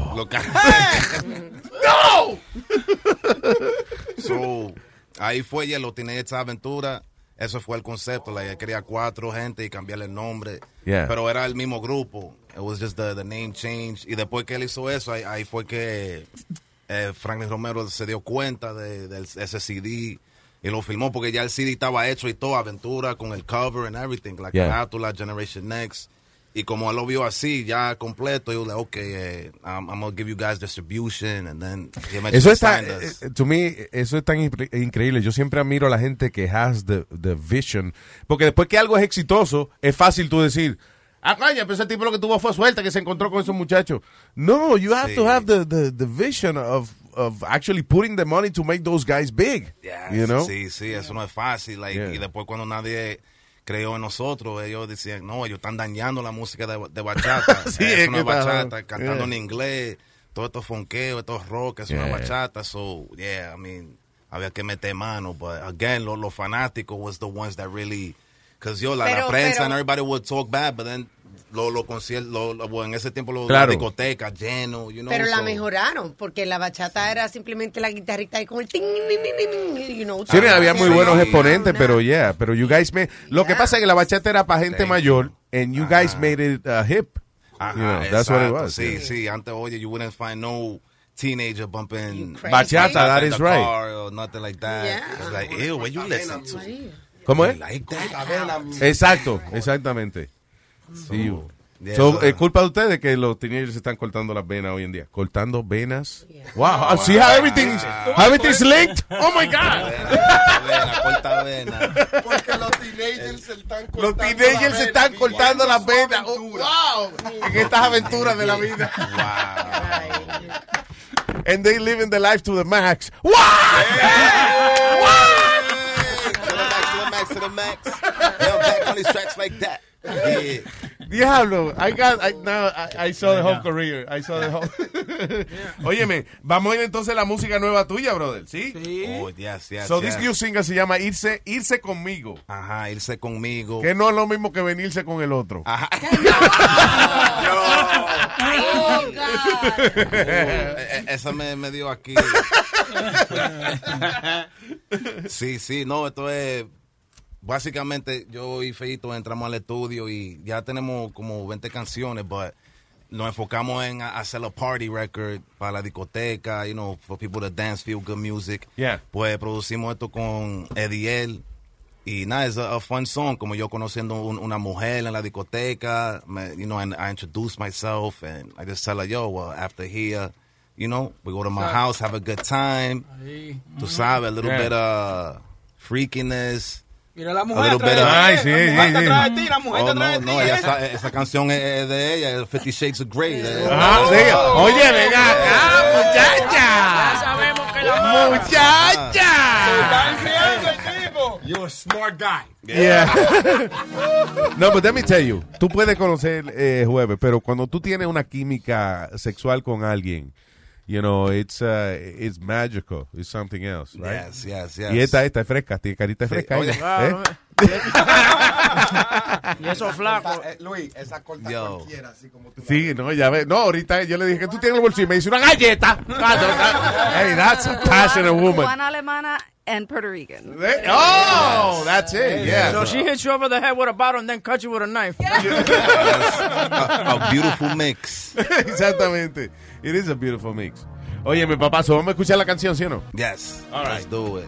¡No! So, ahí fue ya los Teenagers Aventura. eso fue el concepto. Like, quería 4 gente y cambiarle el nombre. Yeah. Pero era el mismo grupo. It was just the name change. Y después que él hizo eso, ahí fue que Franklin Romero se dio cuenta de ese CD y lo filmó porque ya el CD estaba hecho y todo, Aventura con el cover and everything, la carátula, Generation Next. Y como él lo vio así, ya completo, yo le dije, okay, I'm going to give you guys distribution, and then eso está, to me, eso es tan increíble. Yo siempre admiro a la gente que has the vision, porque después que algo es exitoso, es fácil tú decir, coño, pero ese tipo lo que tuvo fue suerte que se encontró con esos muchachos. No, you have to have the vision of actually putting the money to make those guys big, you know? Sí, eso no es fácil. Like, y después cuando nadie creyó en nosotros, ellos decían, no, ellos están dañando la música de bachata. Sí, es una bachata, cantando en inglés, todo esto fonqueo, esto rock, es una bachata. So, I mean, había que meter mano. But again, los fanáticos was the ones that really, because la prensa and everybody would talk bad, but then los conciertos, en ese tiempo la discoteca lleno, you know. Pero la mejoraron, porque la bachata era simplemente la guitarrita y con el ting, you know. Sí, había muy buenos exponentes, pero you guys lo que pasa es que la bachata era para gente mayor, and you guys made it hip. You know, that's what it was. Sí, antes, oye, you wouldn't find no teenager bumping bachata, that is right. Or nothing like that. Yeah. It's like, ew, what you listen to? ¿Cómo es? Like that? Exacto, exactamente. Sí. So, es culpa de ustedes que los teenagers están cortando las venas hoy en día. Cortando venas. Wow. See how everything's linked? Oh my God. Corta vena. Porque los teenagers se están cortando las venas. Oh, wow. En estas aventuras de la vida. Wow. And they living the life to the max. What? To the max. They'll back on these tracks like that. Yeah. Diablo, I saw the whole career. Óyeme, vamos a ir entonces a la música nueva tuya, brother, ¿sí? Oh, yes. So this new single se llama Irse Conmigo. Ajá, Irse Conmigo. Que no es lo mismo que venirse con el otro. Ajá. Esa me dio aquí. Sí, no, esto es... Básicamente, yo y Feito entramos al estudio y ya tenemos como 20 canciones, but nos enfocamos en hacer a party record para la discoteca, you know, for people to dance, feel good music. Yeah. Pues producimos esto con Ediel y nada, es a fun song, como yo conociendo una mujer en la discoteca, you know, and I introduce myself and I just tell her, yo, well, after here, you know, we go to my house, have a good time. Tú sabes, a little bit of freakiness. Mira la mujer atrás de ti, la mujer atrás de ti. No, esa canción es de ella, 50 Shades of Grey. Sí. Oye, venga acá, muchacha. Ya sabemos que la muchacha. Se está enfriando el tipo. You're a smart guy. Yeah. No, but let me tell you, tú puedes conocer jueves, pero cuando tú tienes una química sexual con alguien, you know, it's magical. It's something else, right? Yes. Y esta es fresca, tiene carita fresca. Oye, y eso flaco. Luis, esa corta cualquiera, así como tú. Sí, no, ya ves. No, ahorita yo le dije que tú tienes el bolsillo y me dice una galleta. Hey, that's a passionate woman. One alemana and Puerto Rican. Oh, that's it. Yeah. So she hits you over the head with a bottle and then cuts you with a knife. A beautiful mix. Exactamente. It is a beautiful mix. Oye, mi papá, ¿so vamos a escuchar la canción, sí o no? Yes. All right. Let's do it.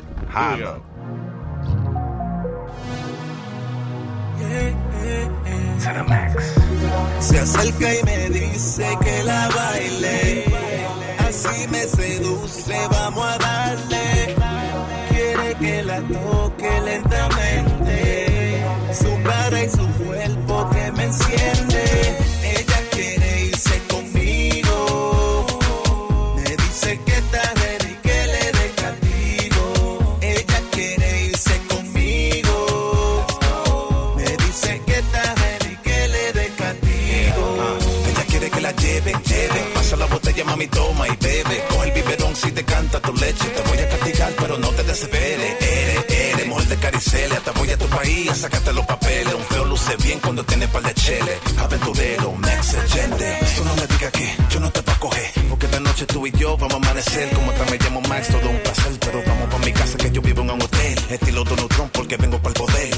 Se acerca y me dice que la baile, así me seduce, vamos a darle. Quiere que la toque lentamente, su cara y su cuerpo que me enciende. Ella quiere irse conmigo, me dice que está ready, que le dé castigo. Ella quiere irse conmigo, me dice que está ready, que le dé castigo. Ella quiere que la lleve, pasa la botella, mami, toma y bebe. Coge el biberón si te canta tu leche, te voy a castigar, pero no te desesperes. Eres mujer de Caricelia, te voy a tu país a sacarte los papeles. Un feo luce bien cuando tiene par de cheles. Aventurero, Max Agente. Eso no me diga que yo no te voy a coger, porque esta noche tú y yo vamos a amanecer. Como también me llamo Max, todo un placer, pero vamos pa' mi casa que yo vivo en un hotel. Estilo Donald Trump porque vengo para el poder.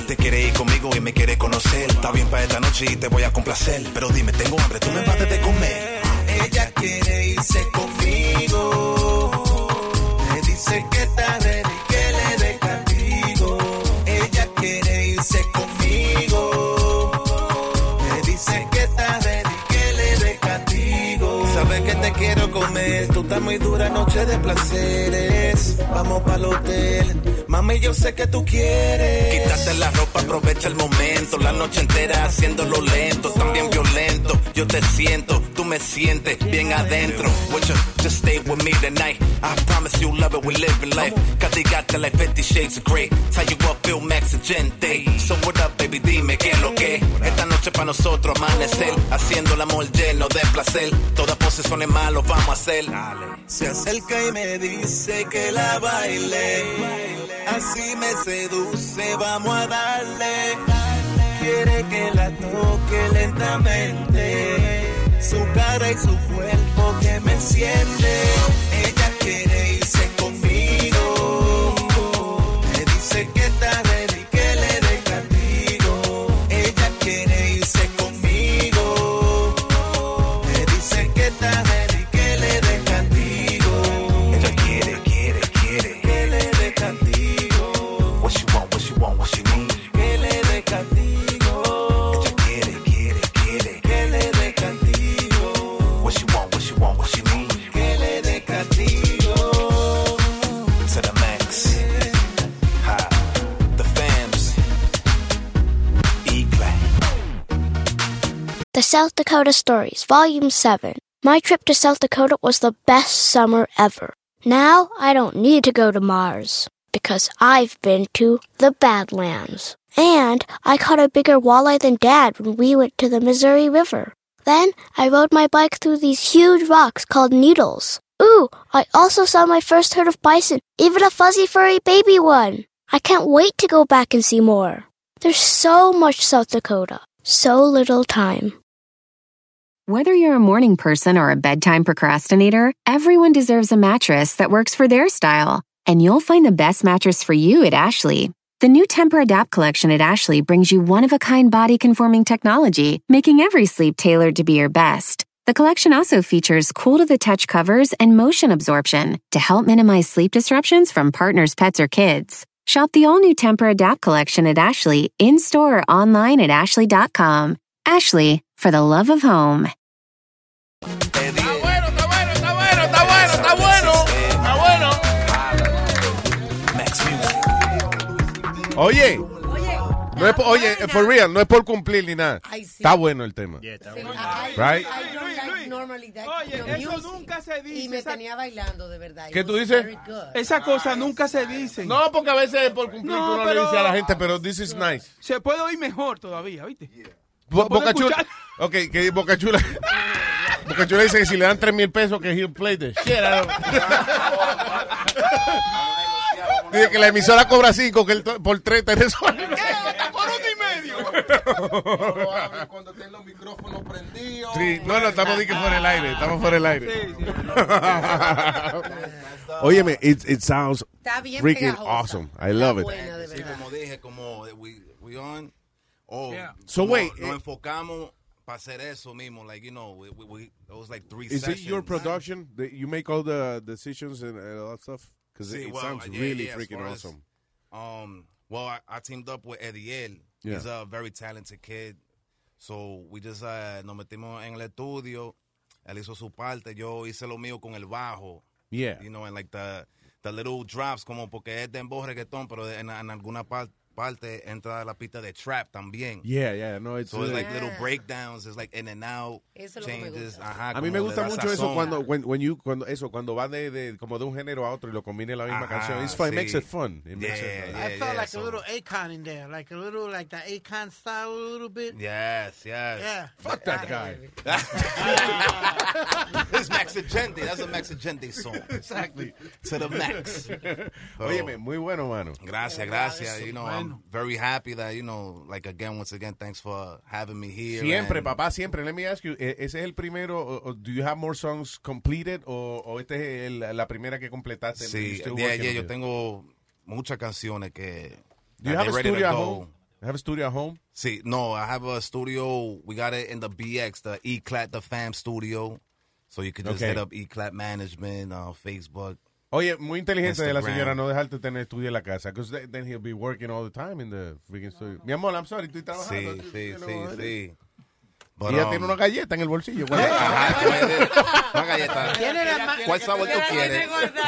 noche y te voy a complacer. Pero dime, tengo hambre, tú me vas de comer. Ella quiere irse conmigo. Me dice que está ready, que le dé castigo. Ella quiere irse conmigo. Me dice que está ready, que le dé castigo. Sabes que te quiero comer, tú estás muy dura, noche de placeres. Vamos pa'l hotel, mami, yo sé que tú quieres. Quítate la ropa, aprovecha el momento. La noche entera haciéndolo lento, también violento. Yo te siento, tú me sientes bien adentro. Would you just stay with me tonight? I promise you love it, we living life. Catigate like 50 shades of grey. Tell you what, Phil Max and Gente. So what up, baby, dime qué es lo que. Esta noche pa' nosotros amanecer, haciendo el amor lleno de placer. Todas posiciones malas vamos a hacer. Se acerca y me dice que la baile. Así me seduce, vamos a darle. Quiere que la toque lentamente. Su cara y su cuerpo que me enciende. Ella quiere irse conmigo. Me dice que está ready, que le dé castigo. Ella quiere irse conmigo. Me dice que está ready, que le dé castigo. Ella quiere que le dé castigo. What you want, what you need. Que le dé castigo. Ella quiere que le dé castigo. What you want, what you need. Que le dé castigo. To the max. Ha. The fams. E-Clay. The South Dakota Stories, Volume 7. My trip to South Dakota was the best summer ever. Now I don't need to go to Mars, because I've been to the Badlands. And I caught a bigger walleye than Dad when we went to the Missouri River. Then I rode my bike through these huge rocks called needles. Ooh, I also saw my first herd of bison, even a fuzzy furry baby one. I can't wait to go back and see more. There's so much South Dakota, so little time. Whether you're a morning person or a bedtime procrastinator, everyone deserves a mattress that works for their style. And you'll find the best mattress for you at Ashley. The new Tempur-Adapt collection at Ashley brings you one-of-a-kind body-conforming technology, making every sleep tailored to be your best. The collection also features cool-to-the-touch covers and motion absorption to help minimize sleep disruptions from partners, pets, or kids. Shop the all-new Tempur-Adapt collection at Ashley, in-store or online at ashley.com. Ashley, for the love of home. Oye, no es oye, for real, no es por cumplir ni nada. Ay, sí. Está bueno el tema. Right? Oye, eso nunca se dice. Y me tenía bailando, de verdad. ¿Qué tú dices? Esa cosa nunca se dice. No, porque a veces es por cumplir que uno le dice a la gente, pero this is nice. Se puede oír mejor todavía, ¿viste? Boca Chula. Ok, que Boca Chula. Boca Chula dice que si le dan 3,000 pesos que he'll play the shit out of Dice que la emisora cobra 5, que por 3 te resuelve. Por 1,5. Cuando estén los micrófonos prendidos. Sí, no, estamos fuera del aire. Estamos fuera del aire. Sí. Óyeme, it sounds freaking pegajosa. awesome. I love it. Buena, Sí, como dije, como we on. So wait, nos enfocamos para hacer eso mismo, like, you know, it was like 3 is sessions. it your production? You make all the decisions and all that stuff? Because it sounds really freaking awesome. Well, I teamed up with Ediel. Yeah. He's a very talented kid. So we just nos metimos en el estudio. Él hizo su parte. Yo hice lo mío con el bajo. Yeah. You know, and like the little drops, como porque es dembow reggaetón, pero en alguna parte entra la pista de trap también. Yeah, no, it's so it's like little breakdowns, it's like in and out, changes. Ajá, a mí me gusta mucho eso cuando va de como de un género a otro y lo combina en la misma canción. It's fun, it makes it fun. It makes it, I felt like a little Akon in there, like a little like the Akon style a little bit. Yes. Yeah. Fuck that guy. It's Max Agente. That's a Max Agente song. Exactly. To the max. Óyeme, muy bueno, mano. Gracias. You know, I'm very happy that, you know, like once again, thanks for having me here. Siempre, papá, siempre. Let me ask you, ¿ese es el primero, or do you have more songs completed, o este es la primera que completaste? Sí, yo tengo muchas canciones que... Do you have a studio at home? have a studio at home? Sí, no, I have a studio. We got it in the BX, the Eclat, the fam studio. So you can just hit up Eclat Management, Facebook. Oye, muy inteligente de la Instagram. señora no dejarte tener estudio en la casa. Because then he'll be working all the time in the freaking studio. Mi amor, I'm sorry, estoy trabajando. Sí. Y ella tiene una galleta en el bolsillo. Una galleta. ¿Cuál sabor tú quieres?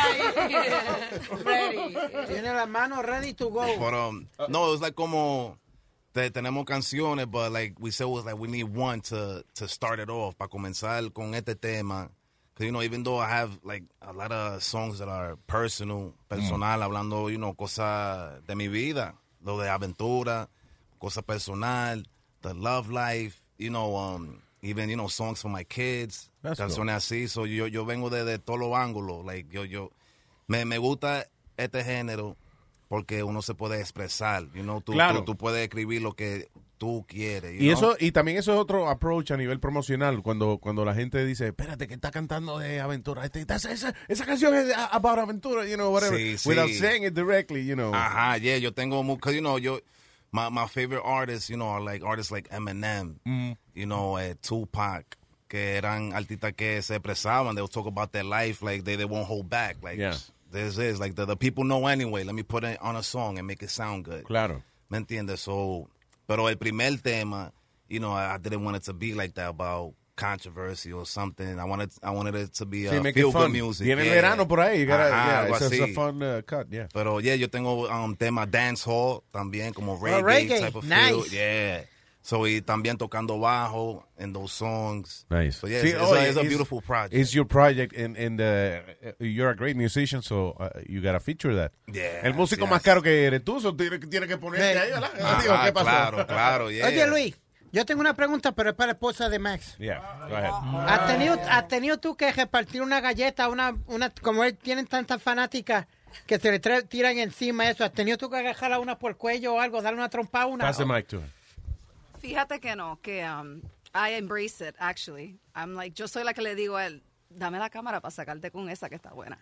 Tiene la mano ready to go. But, no, it was like como tenemos canciones, but like we said, it was like we need one to start it off, para comenzar con este tema. Because, you know, even though I have like a lot of songs that are personal, hablando, you know, cosas de mi vida, lo de aventura, cosas personal, the love life, you know, even, you know, songs for my kids, canciones así. So yo vengo de todos los ángulos. Like, me gusta este género porque uno se puede expresar, you know, tú puedes escribir lo que tú quieres. Y también eso es otro approach a nivel promocional, cuando la gente dice, espérate, que está cantando de aventura. Esa canción es about aventura, you know, whatever. Sí. Without saying it directly, you know. Ajá, yeah, yo tengo, because, you know, my favorite artists, you know, are like artists like Eminem, you know, Tupac, que eran artistas que se expresaban. They'll talk about their life, like they won't hold back. Like, this is, like, the people know anyway. Let me put it on a song and make it sound good. Claro. ¿Me entiendes? So, pero el primer tema, you know, I didn't want it to be like that, about controversy or something. I wanted it to be feel-good music. Viene el verano por ahí. It's a fun cut, yeah. Pero, yeah, yo tengo tema dancehall también, como reggae type of feel. Yeah. So, y también tocando bajo in those songs. Nice. So, yeah, it's a beautiful project. It's your project, and you're a great musician, so you gotta feature that. Yeah. El músico más caro que eres tú, so tiene que ponerte ahí, ¿verdad? ¿Qué pasó? Claro, yeah. Oye, Luis, yo tengo una pregunta, pero es para la esposa de Max. Yeah, go ahead. ¿Has tenido tú que repartir una galleta, como él tienen tantas fanáticas que se le tiran encima eso? ¿Has tenido tú que agarrarla una por el cuello o algo, darle una trompa a una? Pass the mic to her. Fíjate que no, que I embrace it, actually. I'm like, yo soy la que le digo a él, dame la cámara para sacarte con esa que está buena.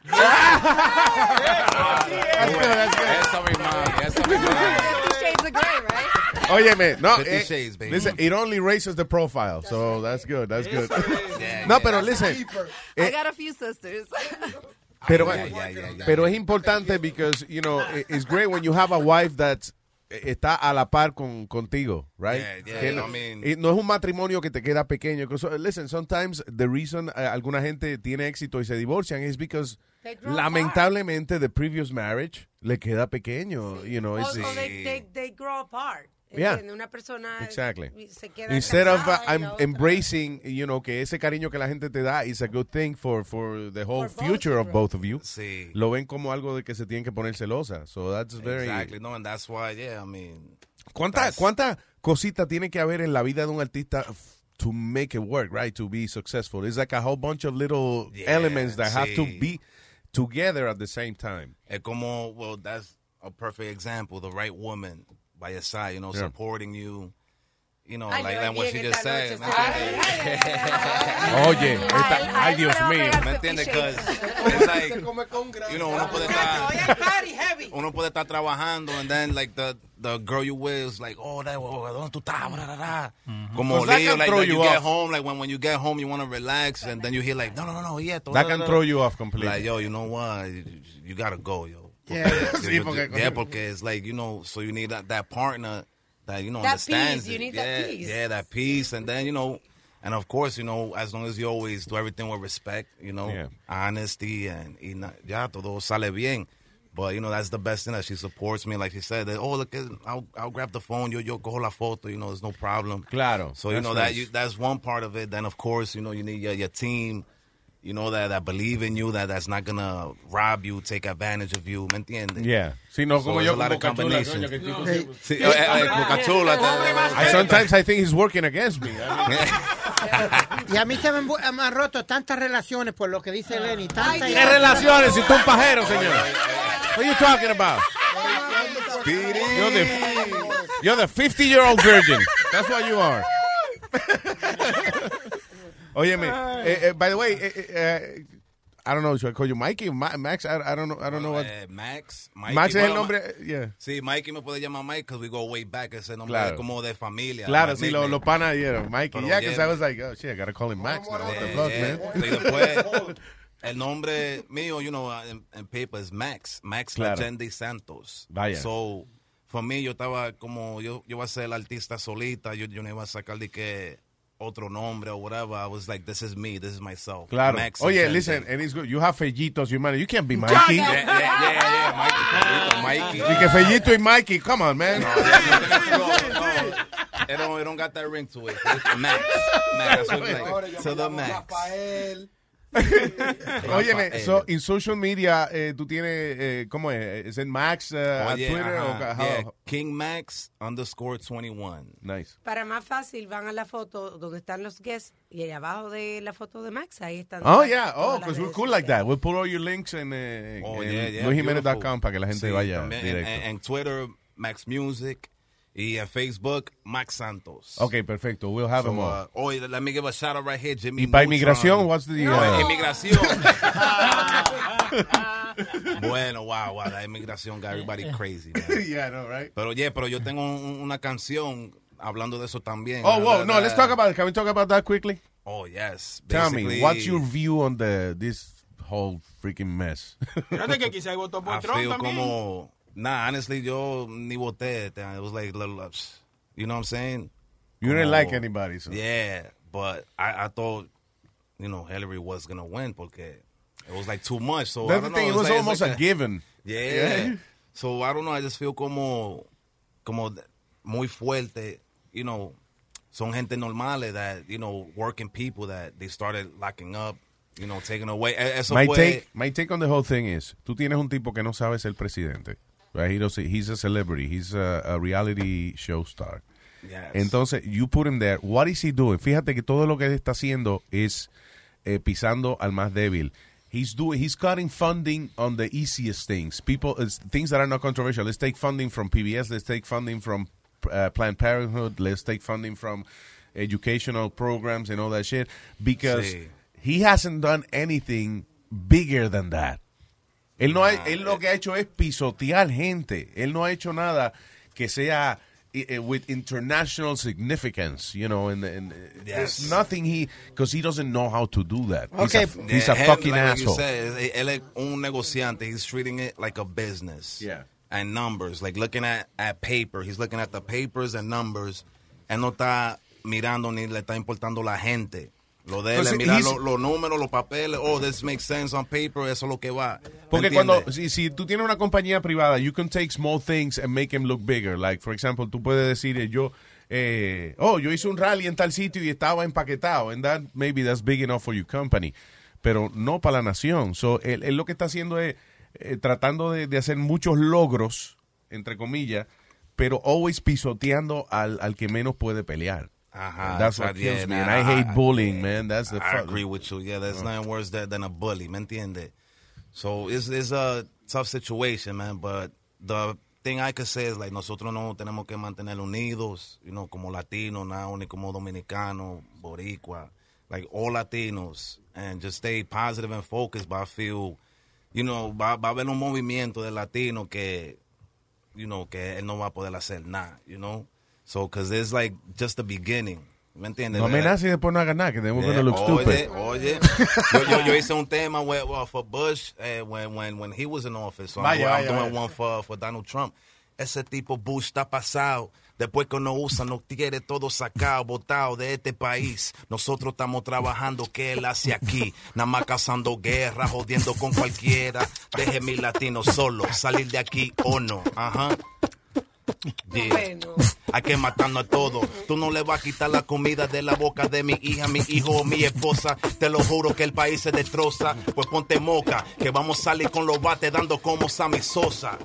Eso mismo. 50 Shades of Grey, right? Óyeme, no, 50 Shades, baby. listen, it only raises the profile, so that's good. No, pero listen. I got a few sisters. Pero es importante because, you know, it's great when you have a wife that's está a la par contigo, right? Yeah, I mean, no es un matrimonio que te queda pequeño. Listen, sometimes the reason alguna gente tiene éxito y se divorcian is because lamentablemente the previous marriage le queda pequeño, you know. They grow apart. Yeah. Una persona exactly. Se queda Instead of embracing, you know, que ese cariño que la gente te da is a good thing for the whole future of both of you. Sí. Lo ven como algo de que se tienen que poner celosa. So that's very... Exactly. No, and that's why, yeah, I mean... ¿Cuánta cosita tiene que haber en la vida de un artista to make it work, right? To be successful. It's like a whole bunch of little elements that have to be together at the same time. Es como, well, that's a perfect example. The right woman by your side, you know, supporting you. You know, like what she just said. Oye, ay, Dios mío. ¿Me entiendes? Because it's like, you know, uno puede estar trabajando and then like the girl you with is like, oh, ¿dónde tú estás? Como Leo, like you get home, like when you get home you want to relax and then you hear like, no, yeah. That can throw you off completely. Like, yo, you know what? You gotta go, yo. Yeah, porque it's like, you know, so you need that partner that, you know, that understands peace. You need that peace. Yeah, that peace. And then, you know, and of course, you know, as long as you always do everything with respect, you know, honesty, and ya todo sale bien. But, you know, that's the best thing, that she supports me. Like she said, that, oh, look, I'll grab the phone, yo cojo la foto, you know, there's no problem. Claro. So, you know, that's one part of it. Then, of course, you know, you need your team, you know, that believe in you, that's not going to rob you, take advantage of you, ¿me entiendes? Yeah. Sí, no, como yo, Boca Chula. Sometimes I think he's working against me. Y a mí se me han roto tantas relaciones por lo que dice Lenny. ¿Qué relaciones? Si tú un pajero, señor. What are you talking about? You're the 50-year-old virgin. That's what you are. Óyeme, by the way, I don't know, should I call you Mikey? Max, I don't know what. Max. Max es el nombre, yeah. Sí, Mikey me puede llamar Mike because we go way back. Ese nombre es como de familia. Claro, sí, los panas dieron Mikey. Yeah, because I was like, oh shit, I gotta call him Max now. What the fuck, man? Y después, el nombre mío, you know, en paper es Max Legendi Santos. Vaya. So, for me, yo estaba como, yo iba a ser el artista solita, yo no iba a sacar de que otro nombre or whatever. I was like, this is me, this is myself. Claro. Max Oye, Legendi. listen, and it's good. You have Fellitos, you man. You can't be Mikey. Yeah, Mikey. Sí, que Fellito y Mikey, come on, man. It don't got that ring to it. It's Max. That's what it's like. To the max. Oye, so in social media, tú tienes, ¿cómo es? ¿Es en Max Twitter? O, King Max _21. Nice. Para más fácil, van a la foto donde están los guests y ahí abajo de la foto de Max, ahí están. Oh, yeah. Oh, because we're cool like that. We'll put all your links in luisjimenez.com para que la gente vaya directo. En Twitter, Max Music. Y en Facebook, Max Santos. Okay, perfecto. We'll have them all. Let me give a shout out right here, Jimmy. ¿Y para inmigración? What's the... Inmigración. Bueno, wow, la inmigración got everybody crazy, man. Yeah, I know, right? Pero yo tengo una canción hablando de eso también. Oh, wow. No, let's talk about it. Can we talk about that quickly? Oh, yes. Tell me, what's your view on this whole freaking mess? Fíjate que quizá votó por Trump también. Como... Nah, honestly, yo ni voté. It was like, you know what I'm saying? You didn't like anybody, so. Yeah, but I thought, you know, Hillary was going to win porque it was like too much. So That's I don't the thing, know. it was like, almost a given. Yeah. So I don't know, I just feel como muy fuerte, you know, son gente normales that, you know, working people that they started locking up. You know, taking away. My take on the whole thing is, tú tienes un tipo que no sabe ser presidente. Right? He's a celebrity. He's a reality show star. Yes. Entonces, you put him there. What is he doing? Fíjate que todo lo que él está haciendo es pisando al más débil. He's cutting funding on the easiest things. Things that are not controversial. Let's take funding from PBS. Let's take funding from Planned Parenthood. Let's take funding from educational programs and all that shit. Because he hasn't done anything bigger than that. Él lo que ha hecho es pisotear gente. Él no ha hecho nada que sea with international significance, you know, and there's nothing because he doesn't know how to do that. Okay. He's a fucking asshole. You said, él es un negociante. He's treating it like a business. Yeah. And numbers, like looking at paper. He's looking at the papers and numbers. Él no está mirando ni le está importando la gente. Lo de él es mirar los números, los papeles. Oh, this makes sense on paper. Eso es lo que va. Porque si tú tienes una compañía privada, you can take small things and make them look bigger. Like, for example, tú puedes decir, yo hice un rally en tal sitio y estaba empaquetado. And maybe that's big enough for your company. Pero no para la nación. So, él lo que está haciendo es tratando de hacer muchos logros, entre comillas, pero always pisoteando al que menos puede pelear. That's what kills me. And I hate bullying, man. That's the I agree with you. Yeah, there's nothing worse than a bully. ¿Me entiendes? So it's a tough situation, man. But the thing I could say is, like, nosotros no tenemos que mantener unidos, you know, como latinos, now, ni como dominicanos, boricua, like all Latinos, and just stay positive and focused. But I feel, you know, va a haber un movimiento de latino que, you know, que él no va a poder hacer nada, you know? So, because it's like just the beginning. ¿Me entiendes? No amenaces y después no hagas nada, que they're going to look stupid. Oye. yo hice un tema for Bush when he was in office. So I'm doing one for Donald Trump. Ese tipo Bush está pasado. Después que no usa, nos quiere todo sacado, botado de este país. Nosotros estamos trabajando, ¿qué él hace aquí? Nada más cazando guerra, jodiendo con cualquiera. Deje mi latino solo, salir de aquí o no. Ajá. Yeah. Bueno. Hay que matarnos a todos. Tú no le vas a quitar la comida de la boca de mi hija, mi hijo o mi esposa. Te lo juro que el país se destroza. Pues ponte moca, que vamos a salir con los bates dando como Sammy Sosa.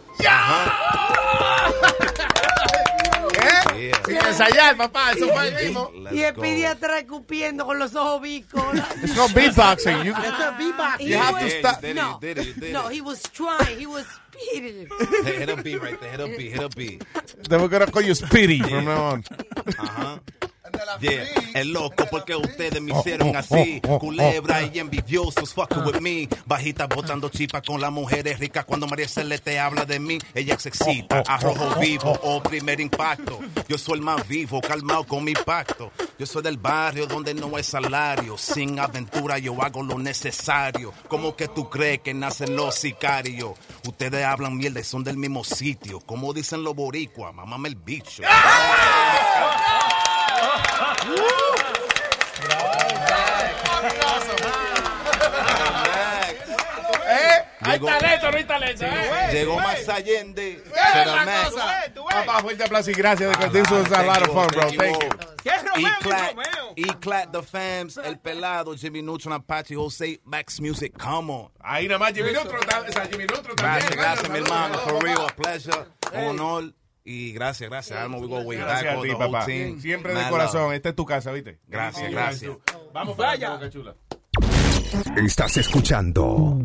Sin ensayar, papá. Eso fue el mismo. Y el pediatra escupiendo con los ojos bicos. It's not beatboxing. It's a beatbox. You have to stop. No, he was trying. He was speeding. Hit a beat right there. Hit a beat. Then we're going to call you Speedy from now on. Yeah, el loco porque ustedes me hicieron así. Culebra y envidiosos fucking with me. Bajita botando chipa con las mujeres ricas. Cuando María Celeste habla de mí, ella se excita. Arrojo vivo o primer impacto. Yo soy el más vivo, calmado con mi pacto. Yo soy del barrio donde no hay salario. Sin aventura yo hago lo necesario. ¿Cómo que tú crees que nacen los sicarios? Ustedes hablan mierda y son del mismo sitio. Como dicen los boricuas, mamame el bicho. Hay talento, no hay talento. Llegó más Allende. Papá, fuerte aplauso y gracias. This was a lot of fun, bro. Thank you. E-Clad, The Fams, El Pelado, Jimmy Neutron, Apache, Jose, Max Music, come on. Ahí nada más Jimmy Neutron. Gracias, mi hermano. For real, a pleasure, honor. Y gracias. I'm we go way back. Gracias a ti, papá. Siempre de corazón. Esta es tu casa, ¿viste? Gracias. Vamos para allá, Boca Chula. Estás escuchando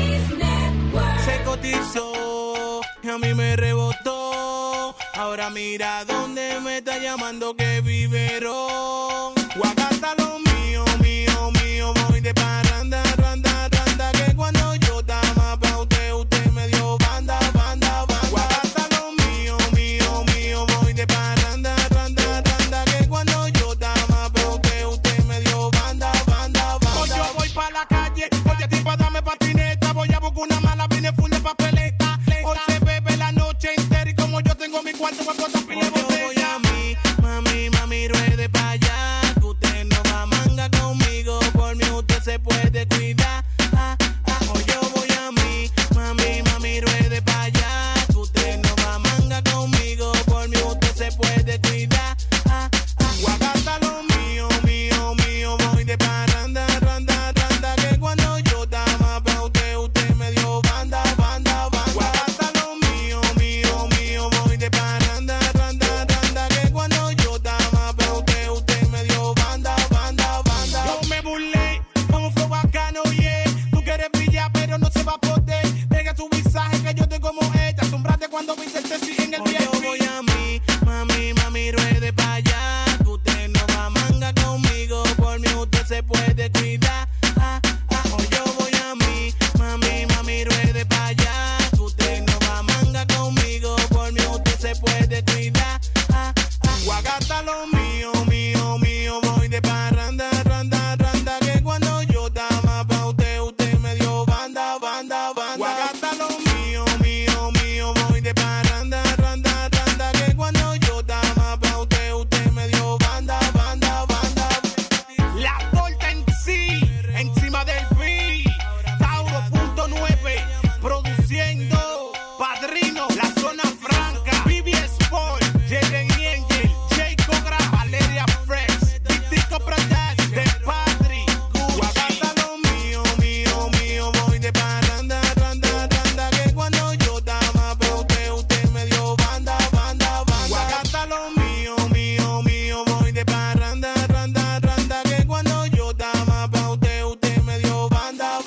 Se cotizó y a mí me rebotó. Ahora mira dónde me está llamando que vivero. Guagata lo mío, voy de parranda, randa, que cuando yo dama pa' usted me dio banda. Guagata lo mío, voy de parranda, randa, que cuando yo dama pa' usted me dio banda. Hoy yo voy pa' la calle, oye tipo dame patineta, voy a buscar una mala, vine full de papeleta. Hoy se bebe la noche entera y como yo tengo mi cuarto, voy a botar pile botella. Voy a mami, ruede pa' allá, que usted no va a manga conmigo, por mí usted se puede cuidar. Hoy yo voy a mami, ruede pa' allá, que usted no va a manga conmigo, por mí usted se puede cuidar. Guagata lo mío, voy de parranda, randa, que cuando yo dama pa' usted me dio banda. Guagata lo mío, voy de parranda, randa, que cuando yo dama pa' usted me dio banda. Yo me burlé con un flow bacano, yeah. Tú quieres brillar pero no se va a poder. Pega tu visaje que yo te como ella. Asombrate cuando viste el sexy en el VIP. Yo voy a mami, ruede pa' allá, que usted no va a manga conmigo, por mí usted se puede cuidar. Hoy yo voy a mami, ruede pa' allá, que usted no va a manga conmigo, por mí usted se puede cuidar. Guagata lo mío, voy de parranda, randa, que cuando yo dama pa' usted me dio banda. Guagata lo mío, voy de parranda, randa, que cuando yo dama pa' usted me dio banda. La torta en sí, encima del beat, Tauro.9, produciendo, Padrino, La Zona Franca, Vivi Sport, Jaden Angel, Jacob Gra, Valeria Fresh, Titico Production, The Padri, Guagata lo mío, voy de parranda, randa, que cuando yo dama pa' usted me dio banda. Guagata lo mío, voy de parranda, randa, que cuando yo dama pa' usted me dio banda.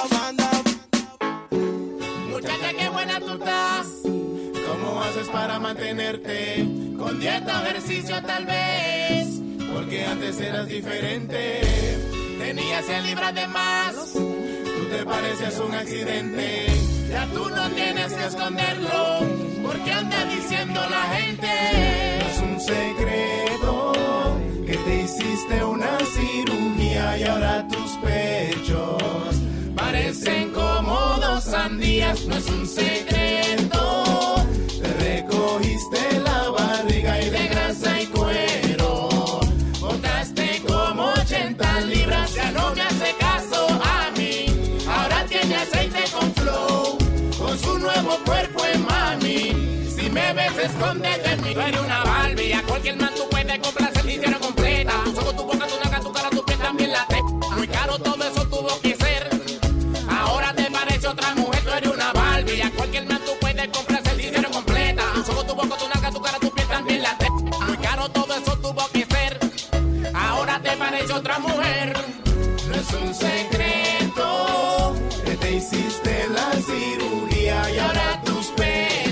Muchacha, qué buena tú estás. ¿Cómo haces para mantenerte? Con dieta o ejercicio tal vez. Porque antes eras diferente. Tenías 100 libras de más. Tú te pareces un accidente. Ya tú no tienes que esconderlo. Porque anda diciendo la gente. No es un secreto que te hiciste una cirugía y ahora tus pechos parecen como 2 sandías. No es un secreto. Te recogiste la barriga y de grasa y cuero. Botaste como 80 libras. Ya no me hace caso a mí. Ahora tiene aceite con flow. Con su nuevo cuerpo en mami. Si me ves, escóndete en mí. Tú eres una Barbie. A cualquier man tú puedes complacer. Te hicieron completa. Tus ojos, tu boca, tu naca, tu cara, tu piel, también la te. Muy caro todo eso tuvo que ser. Ahora te parece otra mujer. Tú eres una Barbie. A cualquier man tú puedes complacer. Te hicieron completa. Tus ojos, tu boca, tu naca, tu cara, tu piel, también la te. Muy caro todo eso tuvo que ser. Ahora te parece otra mujer. No es un secreto que te hiciste la cirugía y ahora tus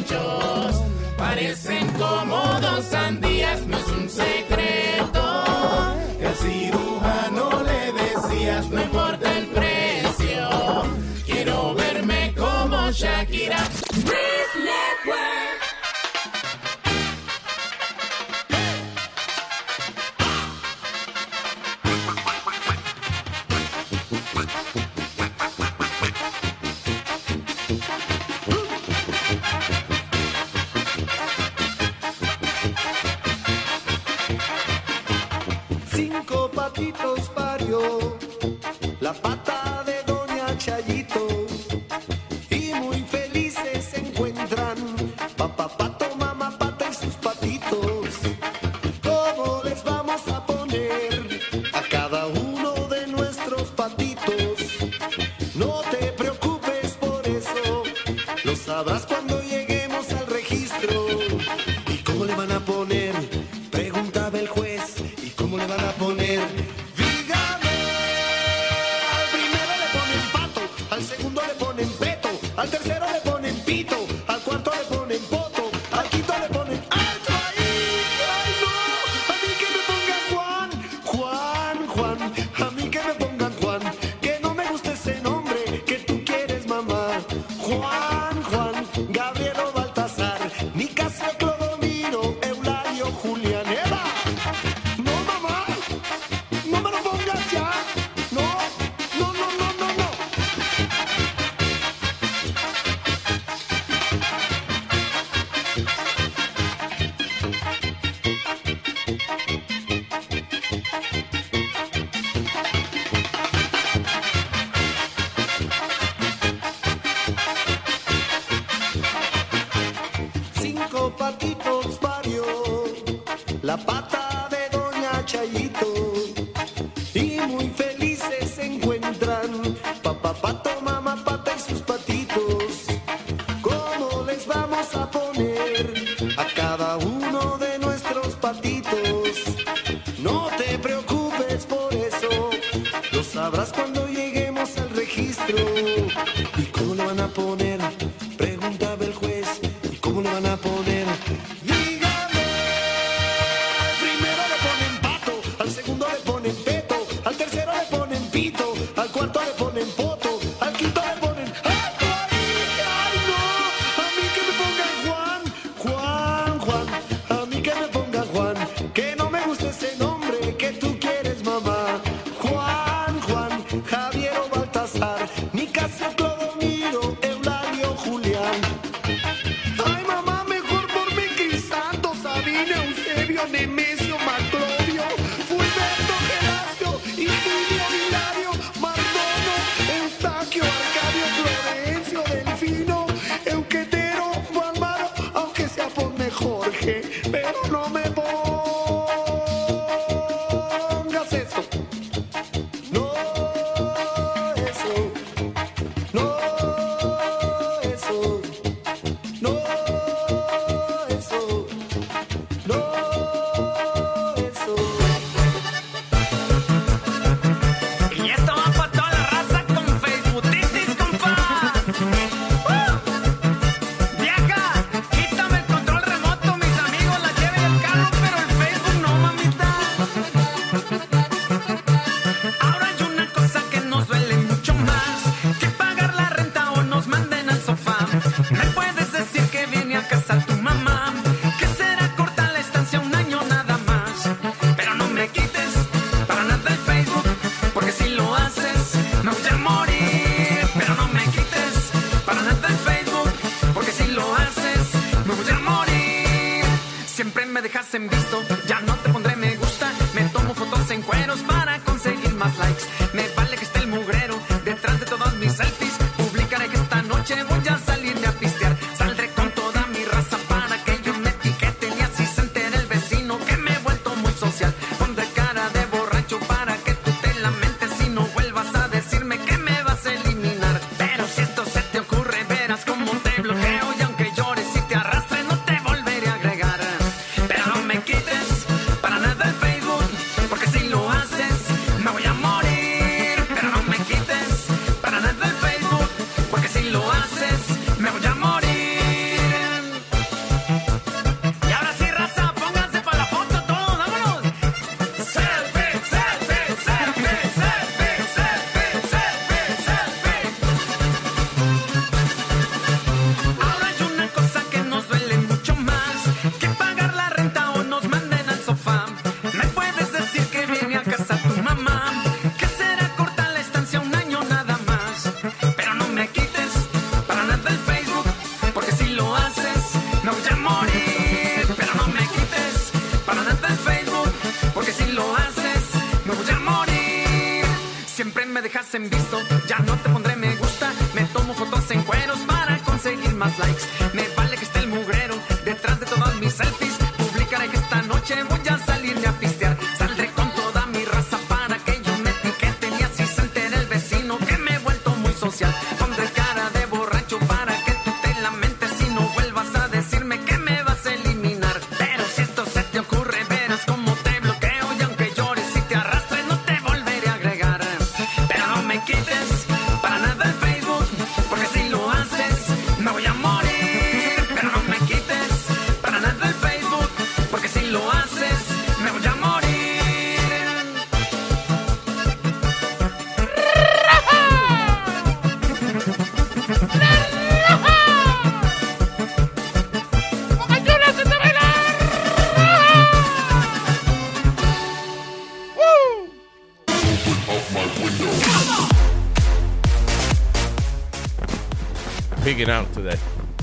pechos parecen como 2 sandías. No es un secreto. patitos parió la pata de doña Chayito y muy felices se encuentran papá pato, mamá pata y sus patitos. ¿Cómo les vamos a poner a cada uno de nuestros patitos? No te preocupes por eso, lo sabrás cuando lleguemos al registro. ¿Y cómo le van a poner? Preguntaba el juez. ¿Y cómo le van a poner? Dígame. Al primero le ponen pato, al segundo le ponen peto, al tercero le ponen pito, al cuarto le ponen poto, al quinto le ponen alto ahí. ¡Ay, no! A mí que me pongan Juan, Juan, Juan. A mí que me pongan Juan, que no me gusta ese nombre que tú quieres, mamá. Juan, Juan, Gabriel o Baltasar, Nicasio, Clodomiro, Eulalio, Julián, Eva. No, mamá, no me lo pongas ya. No, no, no, no, no, no. 5 patitos parió la pata de doña Chayito y muy felices se encuentran papá pato, mamá pata y sus patitos. ¿Cómo les vamos a poner a cada uno de nuestros patitos? No te preocupes por eso, lo sabrás cuando lleguemos al registro. ¿Y cómo le van a poner? Preguntaba el juez. ¿Y cómo le van a poner? Dígame. Al primero le ponen pato, al segundo le ponen peto, al tercero le ponen pito, al cuarto le ponen poto, al quinto le ponen alto ahí. ¡Ay, no! A mí que me pongan Juan, Juan, Juan. A mí que me pongan Juan, que no me gusta ese nombre que tú quieres, mamá. Juan, Juan, Javier o Baltasar, Nicasio, Clodomiro, Eulalio, Julián. Ay, mamá, mejor ponme Crisanto, Sabina, Eusebio, Nemesio, Maclovio, Fulberto, Gelasio, Itilio, Hilario, Mardono, Eustaquio, Arcadio, Florencio, Delfino, Euquetero, Juanmaro, aunque sea ponme Jorge, pero no me pongas eso. No, eso. No, eso. No, eso. No, eso. Y esto va para toda la raza con Facebookitis, compa. Vieja, quítame el control remoto, mis amigos la lleven el carro, pero el Facebook no, mamita. Ahora hay una cosa que nos duele mucho más que pagar la renta o nos manden al sofá. Me puedes decir que viene a casa tu mamá, que será corta la estancia, un año nada más. Pero no me quites para nada el Facebook, porque si lo haces me voy a morir. Pero no me quites para nada el Facebook, porque si lo haces me voy a morir. Siempre me dejas en visto, ya no te pondré me gusta. Me tomo fotos en cueros para conseguir más likes. Me vale que esté el mugrero detrás de todas mis selfies. Publicaré que esta noche voy a salirme a pistear. Saldré con toda mi raza para que ellos me etiqueten y así se entere el vecino que me he vuelto muy social. Pondré cara de borracho para que tú te lamentes y no vuelvas a decirme que me vas a eliminar. Pero si esto se te ocurre, verás cómo te bloqueo y aunque llores y te arrastre no te volveré a agregar. Pero no me quites para nada el Facebook, porque si lo haces me voy a morir. ya no te pondré me gusta. Me tomo fotos en cueros para conseguir más likes. Me vale que esté el mugrero detrás de todas mis selfies. Publicaré que esta noche voy a salirme a pistear. Saldré con toda mi raza para que ellos me etiqueten y así se entere el vecino que me he vuelto muy social. Pondré cara de borracho para que tú te lamentes y no vuelvas a decirme que me vas a eliminar. Pero si esto se te ocurre, verás cómo te bloqueo y aunque llores y te arrastres no te volveré a agregar. Pero no me quites para nada el Facebook, porque si lo haces me voy a morir. Pero no me quites para nada el Facebook, porque si lo haces me voy a morir. Picking out today.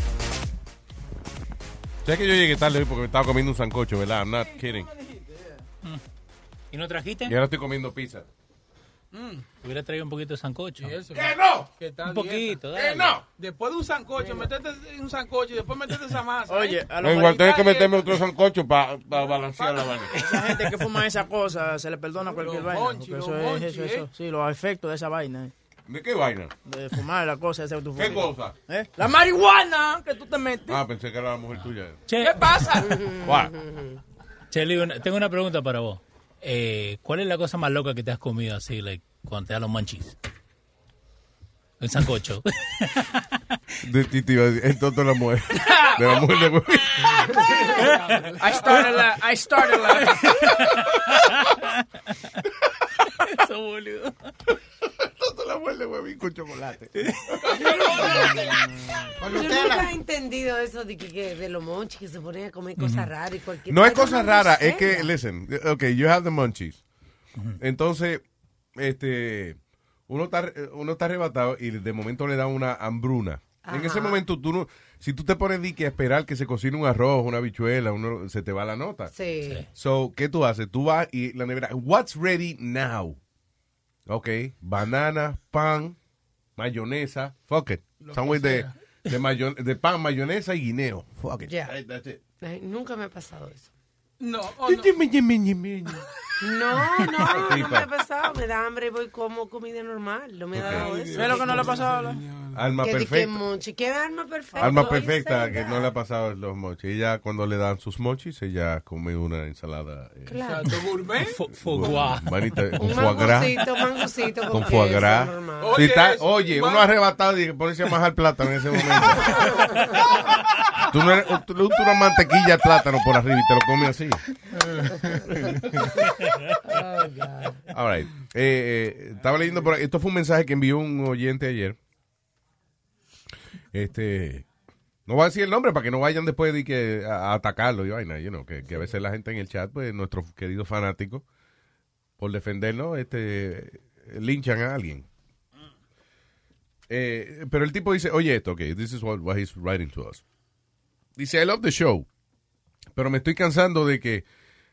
¿Sabes que yo llegué tarde hoy porque me estaba comiendo un sancocho, verdad? I'm not kidding. ¿Y no trajiste? Y ahora estoy comiendo pizza. Hubiera traído un poquito de sancocho. ¿Qué no? Un poquito, dieta. dale. no? Después de un sancocho, metete un sancocho y después metete esa masa. Oye, a No, igual tengo que meterme otro sancocho para balancear la vaina. esa gente que fuma esa cosa se le perdona cualquier vaina. Porque eso, sí, los efectos de esa vaina. ¿De qué vaina? De fumar la cosa esa que tú fumas. ¿Qué cosa? La marihuana que tú te metes. Ah, pensé que era la mujer tuya. Che, ¿Qué pasa? Cheli, tengo una pregunta para vos. ¿Cuál es la cosa más loca que te has comido así, like, cuando te dan los munchies? El sancocho. De ti te iba a decir, entonces de la mujer. De la mujer de huevo. I started la. Eso, boludo. Entonces la mujer de huevín con chocolate. Yo nunca he entendido eso de los monchis que se ponen a comer cosas raras y cualquier No es cosa rara, es que, listen, okay, you have the munchies. Entonces, uno está arrebatado y de momento le da una hambruna. Ajá. En ese momento, si tú te pones a esperar que se cocine un arroz, una habichuela, se te va la nota. Sí. So, ¿qué tú haces? Tú vas y la nevera, what's ready now? Ok, banana, pan, mayonesa, fuck it. Sándwich de pan, mayonesa y guineo. Fuck it. Yeah. That's it. Ay, nunca me ha pasado eso. No, No, no me ha pasado. Me da hambre y voy como comida normal. No me ha dado eso. ¿Qué es lo que no le ha pasado a la? Alma perfecta. ¿Qué alma perfecta? Alma perfecta que no le ha pasado los mochis. Ella cuando le dan sus mochis, ella come una ensalada. Claro. Gourmet. Manita, con Un foie gras. mangucito Con foie gras. Oye, uno arrebatado y ponerse a majar plátano en ese momento. Tú no una mantequilla de plátano por arriba y te lo comes así. Oh, God. All right. Estaba leyendo por ahí. Esto fue un mensaje que envió un oyente ayer. No voy a decir el nombre para que no vayan después de que a atacarlo y vaina, que a veces la gente en el chat, pues nuestros queridos fanáticos, por defendernos, linchan a alguien. Pero el tipo dice, oye esto, okay, this is what he's writing to us. Dice, I love the show, pero me estoy cansando de que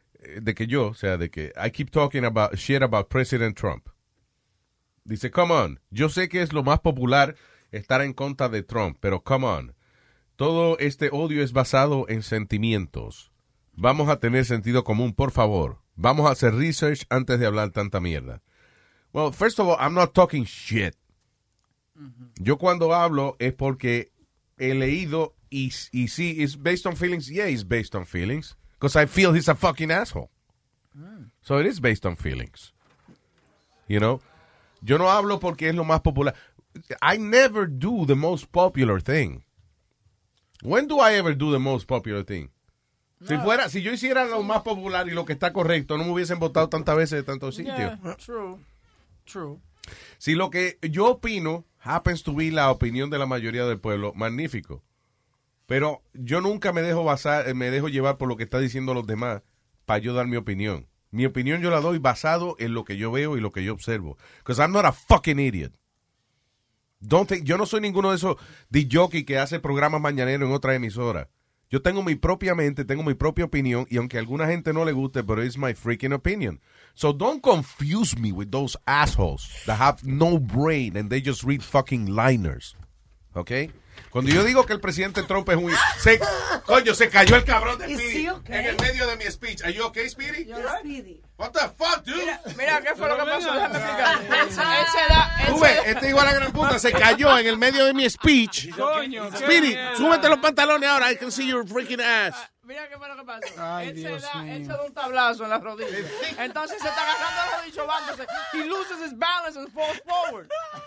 I keep talking about shit about President Trump. Dice, come on, yo sé que es lo más popular estar en contra de Trump, pero come on, todo este odio es basado en sentimientos. Vamos a tener sentido común, por favor. Vamos a hacer research antes de hablar tanta mierda. Well, first of all, I'm not talking shit. Yo cuando hablo es porque he leído y sí, it's based on feelings. Yeah, it's based on feelings. Because I feel he's a fucking asshole. So it is based on feelings. You know? Yo no hablo porque es lo más popular. I never do the most popular thing. When do I ever do the most popular thing? No. Si yo hiciera lo más popular y lo que está correcto, no me hubiesen votado tantas veces de tantos sitios. Yeah, true. Si lo que yo opino happens to be la opinión de la mayoría del pueblo, magnífico. Pero yo nunca me dejo llevar por lo que están diciendo los demás para yo dar mi opinión. Mi opinión yo la doy basado en lo que yo veo y lo que yo observo. Because I'm not a fucking idiot. Yo no soy ninguno de esos de jockey que hace programas mañaneros en otra emisora. Yo tengo mi propia mente, tengo mi propia opinión, y aunque a alguna gente no le guste, pero it's my freaking opinion. So don't confuse me with those assholes that have no brain and they just read fucking liners. ¿Ok? Cuando yo digo que el presidente Trump es un... Coño, se cayó el cabrón de Speedy en el medio de mi speech. Are you okay, Speedy? Speedy. What the fuck, dude? Mira, ¿qué fue lo que pasó? Déjame explicar. Tú ves, este igual a gran puta se cayó en el medio de mi speech. Coño, Speedy, súbete los pantalones ahora. I can see your freaking ass. Mira qué fue lo que pasó. Ay, él Dios él mío. se da un tablazo en la rodilla. Entonces se está agarrando la rodilla chovándose. He loses his balance and falls forward.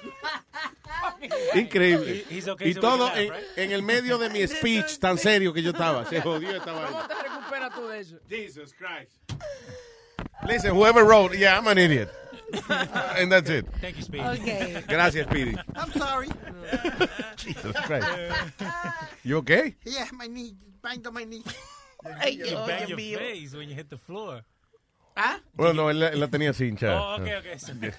Increíble. He's okay, Y so todo we can laugh, right? en el medio de mi speech tan serio que yo estaba. Se jodió esta ¿Cómo vaina. te recuperas tú de eso? Jesus Christ. Listen, whoever wrote, yeah, I'm an idiot. And that's it. Thank you, Speedy. Okay. Gracias, Speedy. I'm sorry. Jesus Christ. You okay? Yeah, my knee. Banged on my knee. You bang your face when you hit the floor. ¿Ah? Bueno, no, él la tenía así hinchada. Oh, okay.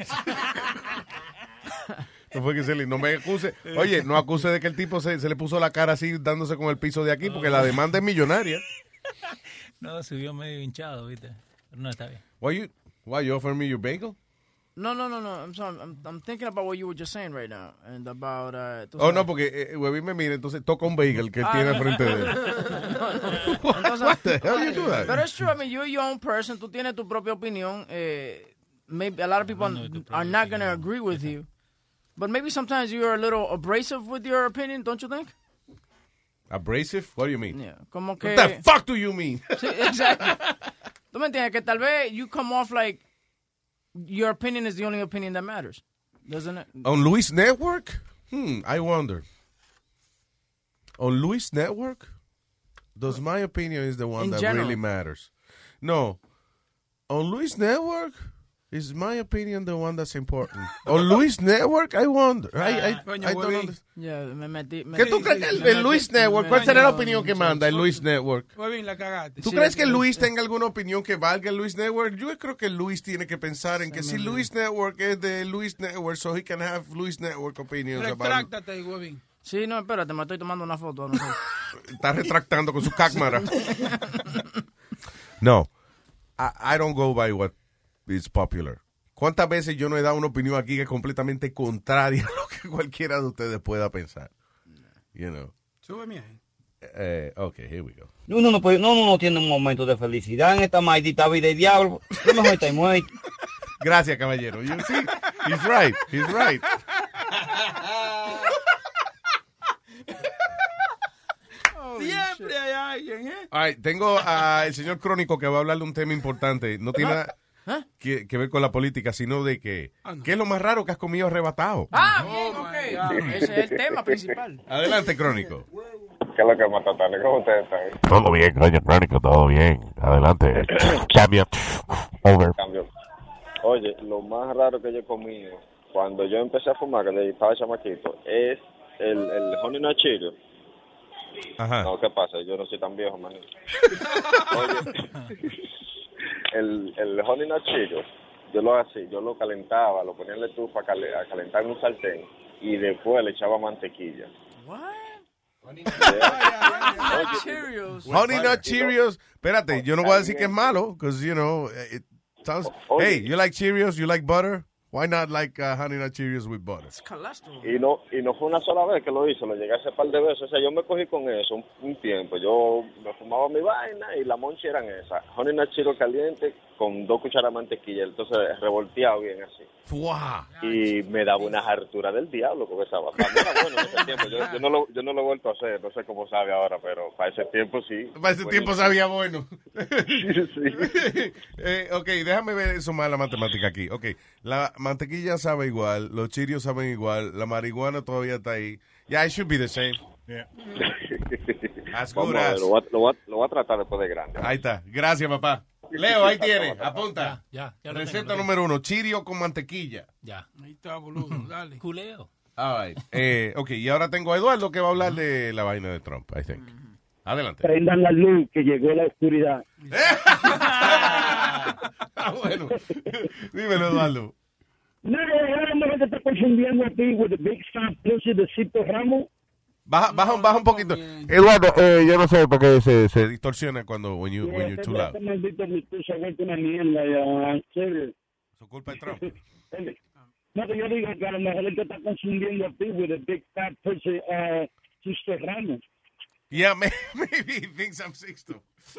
No fue que no me acuse. Oye, no acuse de que el tipo se le puso la cara así dándose con el piso de aquí porque la demanda es millonaria. No, subió medio hinchado, ¿viste? Pero no, está bien. Why you offer me your bagel? No. I'm sorry. I'm thinking about what you were just saying right now. And about... Oh, no, porque Webby me mira, entonces toca un bagel que él tiene al frente de él. What the hell you do that? But it's true. I mean, you're your own person. Tú tienes tu propia opinión. Maybe a lot of people are not going to agree with you. But maybe sometimes you're a little abrasive with your opinion, don't you think? Abrasive? What do you mean? Yeah. Como que... What the fuck do you mean? Sí, exactly. ¿Tú me entiendes? Que tal vez you come off like your opinion is the only opinion that matters. Doesn't it? On Luis Network? I wonder. On Luis Network? Does my opinion is the one In that general. really matters? No. On Luis Network? Is my opinion the one that's important? On Luis Network? I wonder. I don't understand. Yeah, me metí. ¿Qué tú crees que el Luis Network? ¿Cuál será la opinión que manda el Luis Network? Fue bien, la cagaste. ¿Tú crees que Luis tenga alguna opinión que valga el Luis Network? Yo creo que Luis tiene que pensar en que si Luis Network es de Luis Network, so he can have Luis Network opinions about... Retráctate, huevín. Sí, no, espérate, me estoy tomando una foto. No sé. Está retractando con su cámara. No, I don't go by what is popular. ¿Cuántas veces yo no he dado una opinión aquí que es completamente contraria a lo que cualquiera de ustedes pueda pensar? You know. Súbeme ahí. Okay, here we go. Uno no tiene un momento de felicidad en esta maldita vida de diablo. Lo mejor está muerto. Gracias, caballero. You see, he's right. He's right. Siempre hay alguien, ¿eh? All right, tengo al señor Crónico que va a hablar de un tema importante. No tiene nada que ver con la política, sino de que ¿qué es lo más raro que has comido arrebatado? Bien, ok. Ese es el tema principal. Adelante, Crónico. ¿Qué es lo que mata tarde? ¿Cómo ustedes están? Todo bien, coño, Crónico, todo bien. Adelante. Cambio. Over. Cambio. Oye, lo más raro que yo he comido cuando yo empecé a fumar, que estaba chamaquito, es el Honey Nut Cheerios. Ajá. No, ¿qué pasa? Yo no soy tan viejo, man. Oye, el Honey Nut Cheerios, yo lo calentaba, lo ponía en la estufa a calentar en un sartén y después le echaba mantequilla. Honey Nut Cheerios. Espérate, yo no voy a decir que es malo, because, you know, it sounds... Hey, you like Cheerios? You like butter? Why not like Honey Nut Cheerios with butter? Y no fue una sola vez que lo hice, lo llegué a hacer un par de veces. O sea, yo me cogí con eso un tiempo. Yo me fumaba mi vaina y la monchi eran esas. Honey Nut Cheerios caliente con 2 cucharadas de mantequilla. Entonces, revolteado bien así. ¡Fua! Y me daba una hartura del diablo con esa vaina. Era bueno en ese tiempo. Yo no lo he vuelto a hacer. No sé cómo sabe ahora, pero para ese tiempo sí. Para ese tiempo sabía bueno. Sí. Ok, déjame ver sumar la matemática aquí. Ok, la mantequilla sabe igual, los Cheerios saben igual, la marihuana todavía está ahí. Yeah, it should be the same. Yeah. As Vamos good a ver, as. lo voy a tratar después de grande. Ahí está. Gracias, papá. Leo, ahí tiene. Apunta. Ya lo Receta tengo. número 1, Cheerio con mantequilla. Ya. Ahí está, boludo. Dale. Culeo. All right. Ok, y ahora tengo a Eduardo que va a hablar de la vaina de Trump, I think. Adelante. Prendan la luz, que llegó la oscuridad. Bueno. Dímelo, Eduardo. No, ahora la mujer te está confundiendo a ti with the big fat pussy de Cito Ramos. Baja un poquito. Eduardo, yo no sé por qué se distorsiona cuando when you're too loud. Eso culpa de Trump. No, que yo digo que a lo mejor él te está confundiendo a ti with a big fat person, Sister Ramos. Yeah, maybe he thinks I'm 6'2".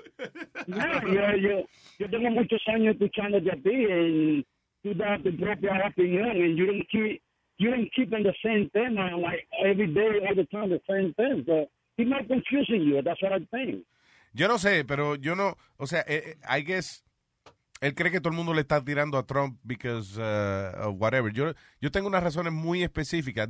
Yo tengo muchos años escuchándote a ti y tú das tu propia opinión and you don't keep in the same tema like every day, all the time, the same thing. So he's not confusing you. That's what I think. Yo no sé, pero yo no, o sea, I guess él cree que todo el mundo le está tirando a Trump because of whatever. Yo tengo unas razones muy específicas.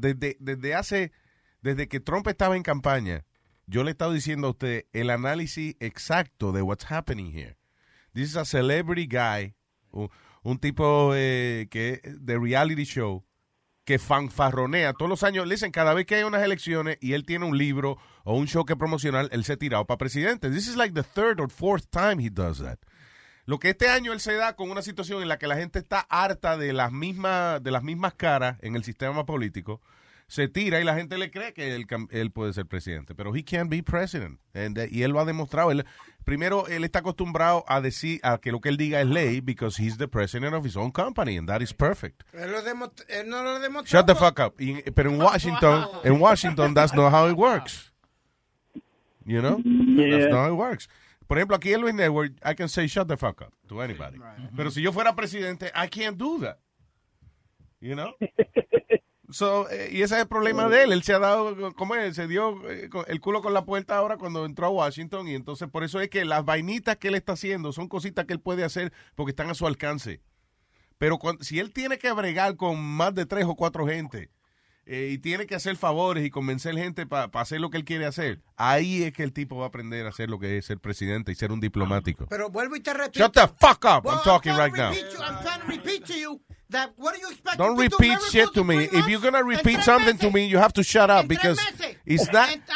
Desde que Trump estaba en campaña, yo le he estado diciendo a usted el análisis exacto de what's happening here. This is a celebrity guy, un tipo que de reality show que fanfarronea todos los años. Listen, cada vez que hay unas elecciones y él tiene un libro o un show que promocionar, él se ha tirado para presidente. This is like the third or fourth time he does that. Lo que este año él se da con una situación en la que la gente está harta de las mismas caras en el sistema político, se tira y la gente le cree que él puede ser presidente, pero he can't be president. Y él lo ha demostrado. Primero, él está acostumbrado a decir a que lo que él diga es ley because he's the president of his own company and that is perfect. Él no lo demostró. Shut the fuck up. Pero en Washington, that's not how it works. You know? Yeah. That's not how it works. Por ejemplo, aquí en Luis Network, I can say shut the fuck up to anybody. Right. Pero si yo fuera presidente, I can't do that. You know? So, y ese es el problema de él. Él se ha dado, ¿cómo es? Se dio el culo con la puerta ahora cuando entró a Washington y entonces por eso es que las vainitas que él está haciendo son cositas que él puede hacer porque están a su alcance. Pero si él tiene que bregar con más de 3 o 4 gente y tiene que hacer favores y convencer gente para hacer lo que él quiere hacer, ahí es que el tipo va a aprender a hacer lo que es ser presidente y ser un diplomático. Pero vuelvo y te repito. Shut the fuck up. I'm talking right now. I'm trying to repeat to you that what do you expect? Don't repeat shit to me. If you're going to repeat something to me, you have to shut up because it's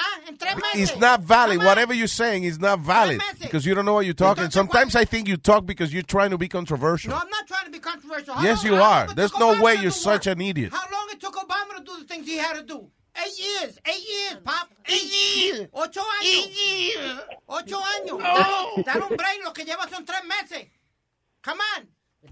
not valid. Whatever you're saying is not valid because you don't know what you're talking. Sometimes I think you talk because you're trying to be controversial. No, I'm not trying to be controversial. Yes, you are. There's no way you're such an idiot. How long it took Obama to do the things he had to do? 8 years. 8 years, Pop. 8 years. 8 años. 8 años. Dar un break, lo que lleva son 3 meses. Come on.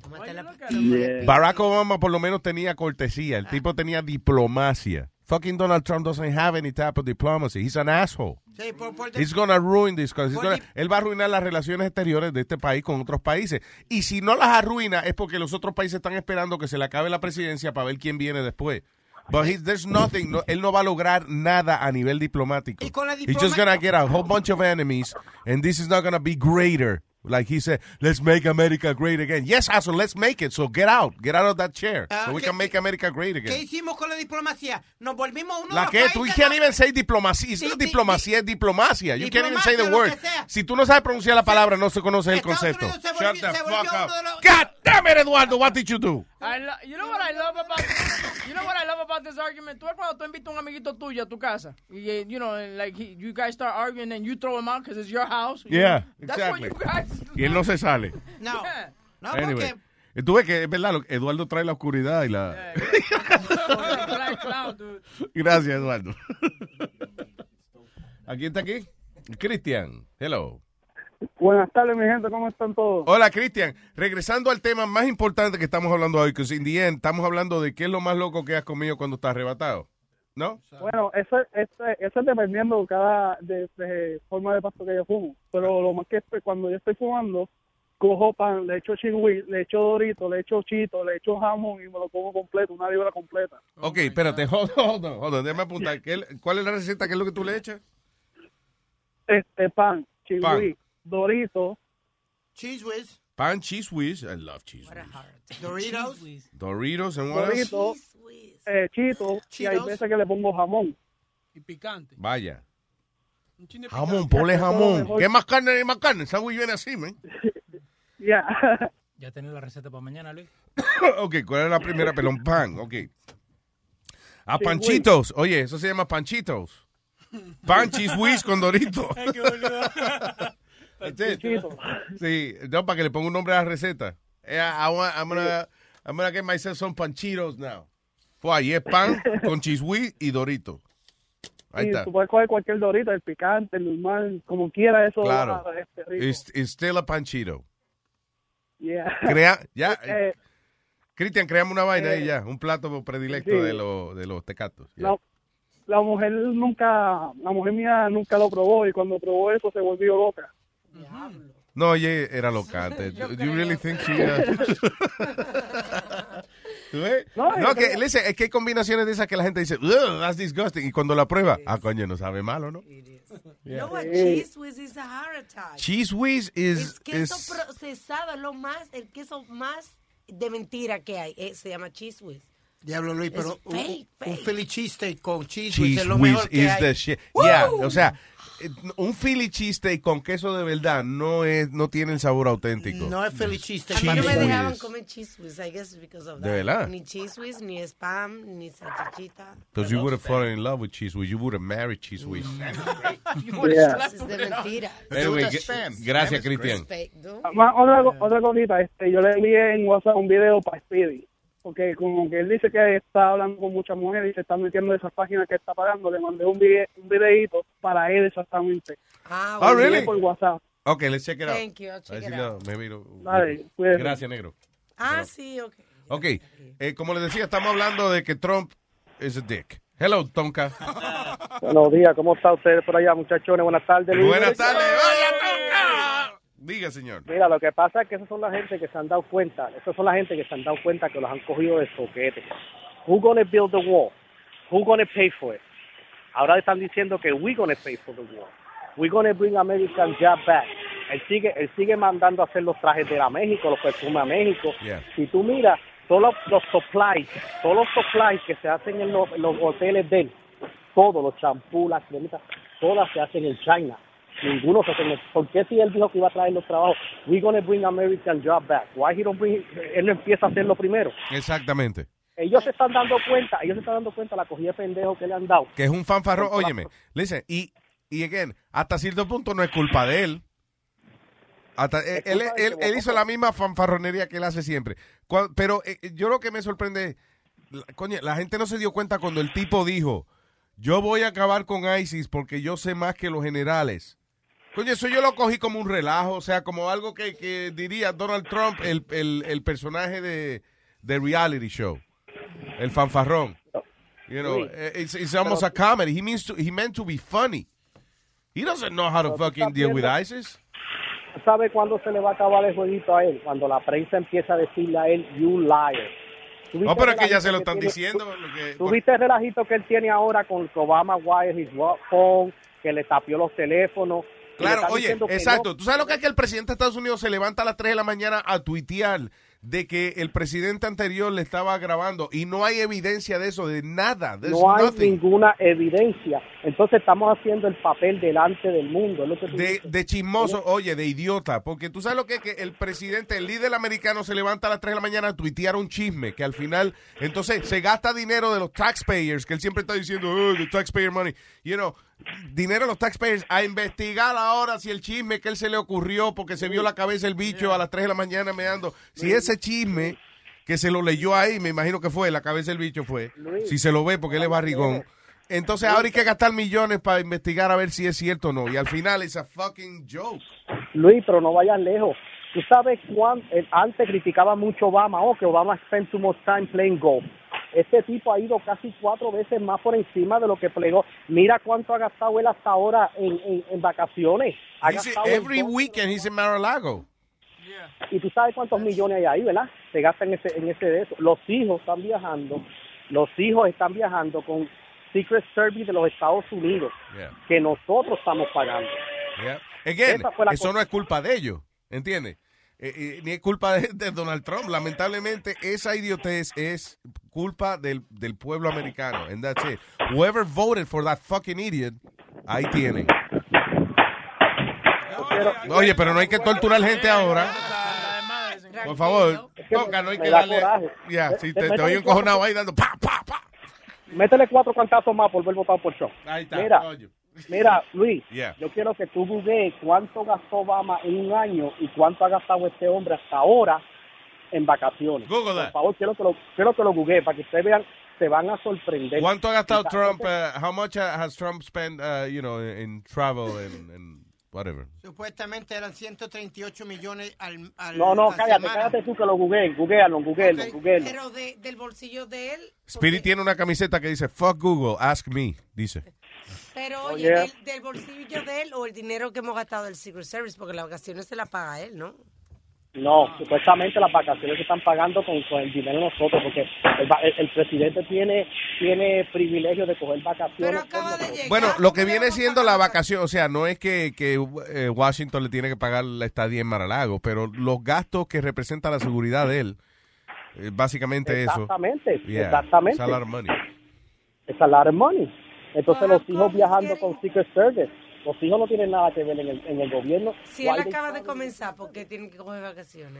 Barack Obama por lo menos tenía cortesía. El tipo tenía diplomacia. Fucking Donald Trump doesn't have any type of diplomacy. He's an asshole. Sí, He's gonna ruin this country. Él va a arruinar las relaciones exteriores de este país con otros países. Y si no las arruina es porque los otros países están esperando que se le acabe la presidencia para ver quién viene después. But there's nothing. Él no va a lograr nada a nivel diplomático. He's just gonna get a whole bunch of enemies and this is not gonna be greater. Like he said, let's make America great again. Yes, asshole, let's make it. So get out of that chair. So we can make America great again. ¿Qué hicimos con la diplomacia? Nos volvimos uno de ¿La los qué? países. Tú can't even say diplomacia. It's not diplomacia, es diplomacia. You can't even say the word. Si tú no sabes pronunciar la palabra, no se conoce el concepto. Shut the fuck up. God damn it, Eduardo, what did you do? You know what I love about this argument? Tú cuando tú invitas a un amiguito tuyo a tu casa, y, you know, like you guys start arguing and you throw him out because it's your house. Yeah, That's exactly. what you guys Y él no se sale. No. Yeah. No, anyway, porque... tú ves que es verdad, Eduardo trae la oscuridad y la... Black cloud, dude. Gracias, Eduardo. ¿A quién está aquí? Cristian. Hello. Buenas tardes, mi gente, ¿cómo están todos? Hola, Cristian. Regresando al tema más importante que estamos hablando hoy, que in the end, estamos hablando de qué es lo más loco que has comido cuando estás arrebatado, ¿no? Bueno, eso es dependiendo de forma de pasto que yo fumo. Pero lo más que cuando yo estoy fumando, cojo pan, le echo chigüí, le echo dorito, le echo chito, le echo jamón y me lo como completo, una libra completa. Ok, espérate, hold on, déjame apuntar. ¿Cuál es la receta? ¿Qué es lo que tú le echas? Pan, chigüí, dorito, Cheese whiz. Pan, cheese whiz. I love cheese whiz. Doritos and what else? Dorito, chito, y hay veces que le pongo jamón. Y picante. Vaya. Jamón, ponle jamón. ¿Qué más carne? Más carne. El sándwich viene así, man. Ya. ¿Ya tenés la receta para mañana, Luis? Ok, ¿cuál es la primera? Pelón, pan, ok. A panchitos. Oye, eso se llama panchitos. Pan, cheese whiz con dorito. Sí, no, para que le ponga un nombre a la receta. I'm gonna get myself some panchitos now. Pues ahí es pan con cheese whiz y dorito. Ahí Y está. tú puedes coger cualquier dorito, el picante, el normal, como quiera, eso Claro. es rico. It's still a panchito. Yeah. Ya, Cristian, creamos una vaina ahí ya, un plato predilecto sí. de los tecatos. Ya. La mujer mía nunca lo probó y cuando probó eso se volvió loca. No, oye, era locante. Do you really think she... ¿Tú ves? No, listen, es que hay combinaciones de esas que la gente dice, "Ugh, that's disgusting", y cuando la prueba, coño, no sabe malo, ¿no? You know what? Cheese whiz is a heart attack. Cheese whiz Es queso procesado, es el queso más de mentira que hay. Se llama cheese whiz. Diablo, Luis, Es pero fake. un Philly cheesesteak con cheese whiz Cheese es lo whiz mejor que is hay. the shit. ¡Woo! Yeah, o sea, un Philly cheesesteak con queso de verdad no tiene el sabor auténtico. No es Philly cheesesteak. A mí no me Cheese dejaban whiz. comer cheese whiz, I guess because of ¿De that. verdad? Ni cheese whiz, ni spam, ni salchichita. Because you would have fallen in love with cheese whiz. You would have married cheese whiz. Yeah. Es de mentira. Anyway, gracias, Cristian. Otra cosita, yo le envié en WhatsApp un video para Speedy, porque como que él dice que está hablando con muchas mujeres y se está metiendo en esas páginas que está pagando, le mandé un videíto para él exactamente. Oh, really? Por WhatsApp. Okay, let's check it out. Thank you, I'll check A ver it si out. Dale, cuídate. Gracias, negro. Sí, ok. Ok, como les decía, estamos hablando de que Trump is a dick. Hello, Tonka. Buenos días, ¿cómo está ustedes por allá, muchachones? Buenas tardes, Luis. Buenas tardes. Hola, Tonka. Diga, señor. Mira, lo que pasa es que esas son la gente que se han dado cuenta, que los han cogido de soquete. Who gonna build the wall? Who gonna pay for it? Ahora están diciendo que we gonna pay for the wall. We gonna bring American job back. Él sigue mandando a hacer los trajes de México, los perfumes a México. Yeah. Si tú miras, todos los supplies que se hacen en los hoteles de él, todos los champús, las cremitas, todas se hacen en China. Ninguno se hace. ¿Por qué si él dijo que iba a traer los trabajos? We're gonna bring American job back. Why he don't bring? Él no empieza a hacerlo primero. Exactamente. Ellos se están dando cuenta la cogida de pendejo que le han dado. Que es un fanfarrón. Óyeme, listen, y again, hasta cierto punto no es culpa de él. Él hizo la misma fanfarronería que él hace siempre. Pero yo lo que me sorprende, coño, la gente no se dio cuenta cuando el tipo dijo, yo voy a acabar con ISIS porque yo sé más que los generales. Coño, eso yo lo cogí como un relajo, o sea, como algo que diría Donald Trump, el personaje de reality show, el fanfarrón. You know, it's almost a comedy. He meant to be funny. He doesn't know how to fucking deal with ISIS. ¿Sabe cuándo se le va a acabar el jueguito a él? Cuando la prensa empieza a decirle a él, you liar. No, pero es que ya se lo están diciendo. ¿Tú viste el relajito que él tiene ahora con Obama Wire his phone, que le tapió los teléfonos? Claro, oye, exacto. No. ¿Tú sabes lo que es que el presidente de Estados Unidos se levanta a las 3 de la mañana a tuitear de que el presidente anterior le estaba grabando y no hay evidencia de eso, de nada? No hay ninguna evidencia. Entonces estamos haciendo el papel delante del mundo. Es lo que de chismoso, oye, de idiota. Porque tú sabes lo que es que el presidente, el líder americano se levanta a las 3 de la mañana a tuitear un chisme que al final, entonces se gasta dinero de los taxpayers, que él siempre está diciendo, the taxpayer money, you know, dinero de los taxpayers a investigar ahora si el chisme que él se le ocurrió porque se vio la cabeza el bicho a las 3 de la mañana meando, si ese chisme que se lo leyó ahí, me imagino que fue, la cabeza del bicho fue, si se lo ve porque él es barrigón, entonces ahora hay que gastar millones para investigar a ver si es cierto o no, y al final es a fucking joke. Luis, pero no vayas lejos. Tú sabes cuánto, antes criticaba mucho Obama, que Obama spent too much time playing golf. Este tipo ha ido casi 4 veces más por encima de lo que plegó. Mira cuánto ha gastado él hasta ahora en vacaciones. Every weekend he's in Mar-a-Lago. Y tú sabes cuántos millones hay ahí, ¿verdad? Se gastan en ese de eso. Los hijos están viajando con Secret Service de los Estados Unidos, que nosotros estamos pagando. Again, eso no es culpa de ellos, ¿entiendes? Ni es culpa de Donald Trump. Lamentablemente, esa idiotez es culpa del pueblo americano. And that's it. Whoever voted for that fucking idiot, ahí tienen. Oye, pero no hay que torturar gente ahora. Por favor, toca, no hay que darle. Ya, si te oí encojonado ahí dando pa, pa, pa. Métele 4 cantazos más por ver votado por show. Ahí está. Mira, Luis, yo quiero que tú googlees cuánto gastó Obama en un año y cuánto ha gastado este hombre hasta ahora en vacaciones. Google that. Por favor, quiero que lo googlees para que ustedes vean se van a sorprender. ¿Cuánto ha gastado Trump? How much has Trump spent, in travel and whatever? Supuestamente eran 138 millones al No, a cállate, semana. cállate tú que lo googlealo. Pero del bolsillo de él. Spirit tiene una camiseta que dice, fuck Google, ask me, dice. Pero Oye. del bolsillo de él o el dinero que hemos gastado del Secret Service, porque las vacaciones se las paga él, ¿no? No, supuestamente las vacaciones se están pagando con el dinero de nosotros, porque el presidente tiene privilegio de coger vacaciones. Bueno, lo que viene siendo la vacación, o sea, no es que Washington le tiene que pagar la estadía en Mar-a-Lago, pero los gastos que representa la seguridad de él, básicamente Exactamente, eso. Yeah, exactamente. it's a lot of money. It's a lot of money. Entonces los hijos viajando con Secret Service, los hijos no tienen nada que ver en el gobierno. Si él acaba de comenzar, ¿por qué tienen que coger vacaciones?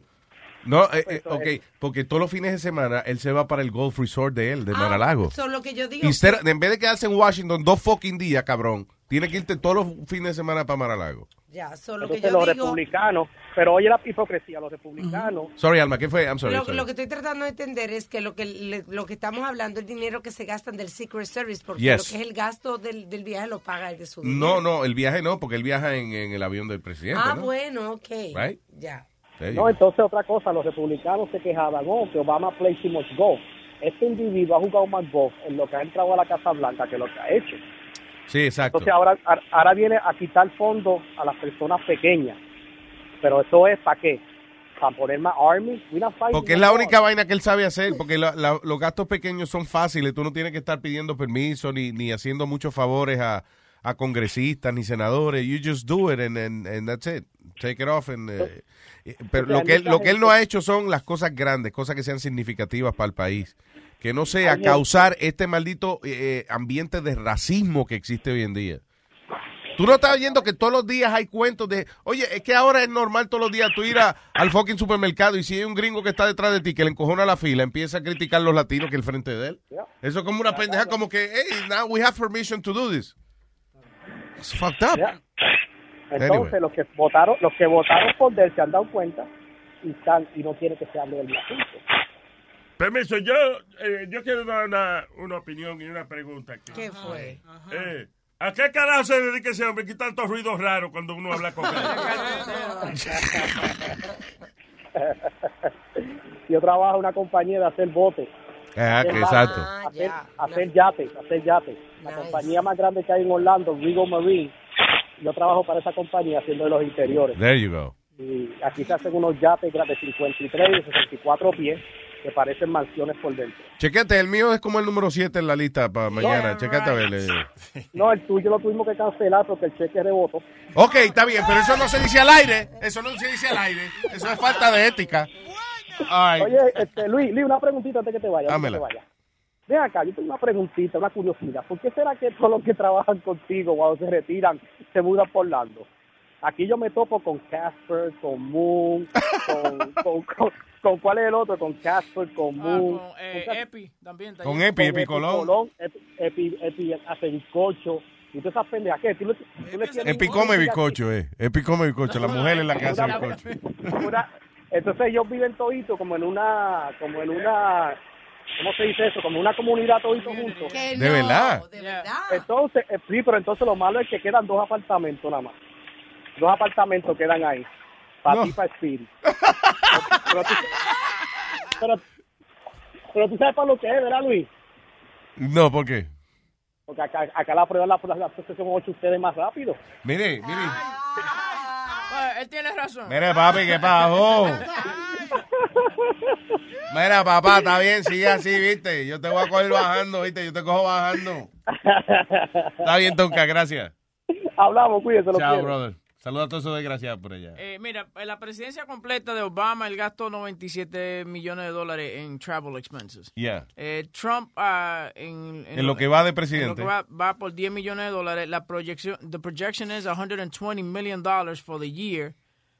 No, ok, porque todos los fines de semana él se va para el Golf Resort de él, de Mar-a-Lago. Eso es lo que yo digo. En vez de quedarse en Washington 2 fucking días, cabrón, tiene que irte todos los fines de semana para Mar-a-Lago. Ya, solo que Entonces yo los digo... republicanos, pero oye la hipocresía, los republicanos... Sorry, Alma, ¿qué fue? I'm sorry. Lo que estoy tratando de entender es que lo que estamos hablando, el dinero que se gastan del Secret Service, porque Yes. lo que es el gasto del viaje lo paga el de su dinero. No, el viaje no, porque él viaja en el avión del presidente, ¿no? Bueno, ok. Right? Ya. No, entonces otra cosa, los republicanos se quejaban, que Obama plays too much golf. Este individuo ha jugado más golf en lo que ha entrado a la Casa Blanca que lo que ha hecho. Sí, exacto. Entonces ahora viene a quitar fondos a las personas pequeñas. Pero eso es ¿para qué? ¿Para poner más army? Porque es la única vaina que él sabe hacer, porque los gastos pequeños son fáciles, tú no tienes que estar pidiendo permiso ni haciendo muchos favores a congresistas ni senadores. You just do it and that's it. Take it off. Pero lo que él no ha hecho son las cosas grandes, cosas que sean significativas para el país. Que no sea causar este maldito ambiente de racismo que existe hoy en día. Tú no estás viendo que todos los días hay cuentos de, oye, es que ahora es normal todos los días tú ir al fucking supermercado y si hay un gringo que está detrás de ti que le encojona la fila, empieza a criticar los latinos que el frente de él. Eso es como una pendeja, como que, hey, now we have permission to do this. It's fucked up. Entonces Anyway. los que votaron por él se han dado cuenta y no quieren que se hable del asunto. Permiso, yo quiero dar una opinión y una pregunta aquí. ¿Qué fue? ¿A qué carajo se dedica ese hombre que tantos ruidos raros cuando uno habla con él? Yo trabajo en una compañía de hacer botes. Exacto. Hacer yates. La compañía más grande que hay en Orlando, Regal Marine. Yo trabajo para esa compañía haciendo los interiores. There you go. Y aquí se hacen unos yates de 53 y 64 pies que parecen mansiones por dentro. Chequete, el mío es como el número 7 en la lista para mañana. Chequete a ver. No, el tuyo lo tuvimos que cancelar porque el cheque rebotó. Ok, está bien, pero eso no se dice al aire. Eso no se dice al aire. Eso es falta de ética. Ay. Oye, Luis, una preguntita antes que te vayas. Dámela. Ven acá, yo tengo una preguntita, una curiosidad. ¿Por qué será que todos los que trabajan contigo cuando se retiran se mudan por Orlando? Aquí yo me topo con Casper, con Moon, con ¿cuál es el otro? Con Casper, con Moon. Con Epi también. Está Con ahí. Epi, Epicolón. Epi hace bizcocho. Y todas esas pendejas. ¿Qué? Epi come bizcocho, Epi come bizcocho. La mujer es la que hace bizcocho. Entonces ellos viven toditos como en una, ¿cómo se dice eso? Como una comunidad toditos juntos. ¿De verdad? ¿De verdad? Entonces, sí, pero entonces lo malo es que quedan 2 apartamentos nada más. 2 apartamentos quedan ahí. Para ti, para Spirit. Pero tú sabes para lo que es, ¿verdad, Luis? No, ¿por qué? Porque acá la prueba la son 8 ustedes más rápido. Mire. Él tiene razón. Mire, papi, ¿qué pasó? Mira, papá, está bien, sigue así, ¿viste? Yo te voy a coger bajando, ¿viste? Yo te cojo bajando. Está bien, Tonka, gracias. Hablamos, cuídese. Chao, brother. Saludos a todos esos desgraciados por allá. Mira, en la presidencia completa de Obama, él gastó $97 millones en travel expenses. Yeah. Trump, en lo que va de presidente. En lo que va por $10 millones. The projection is $120 million for the year,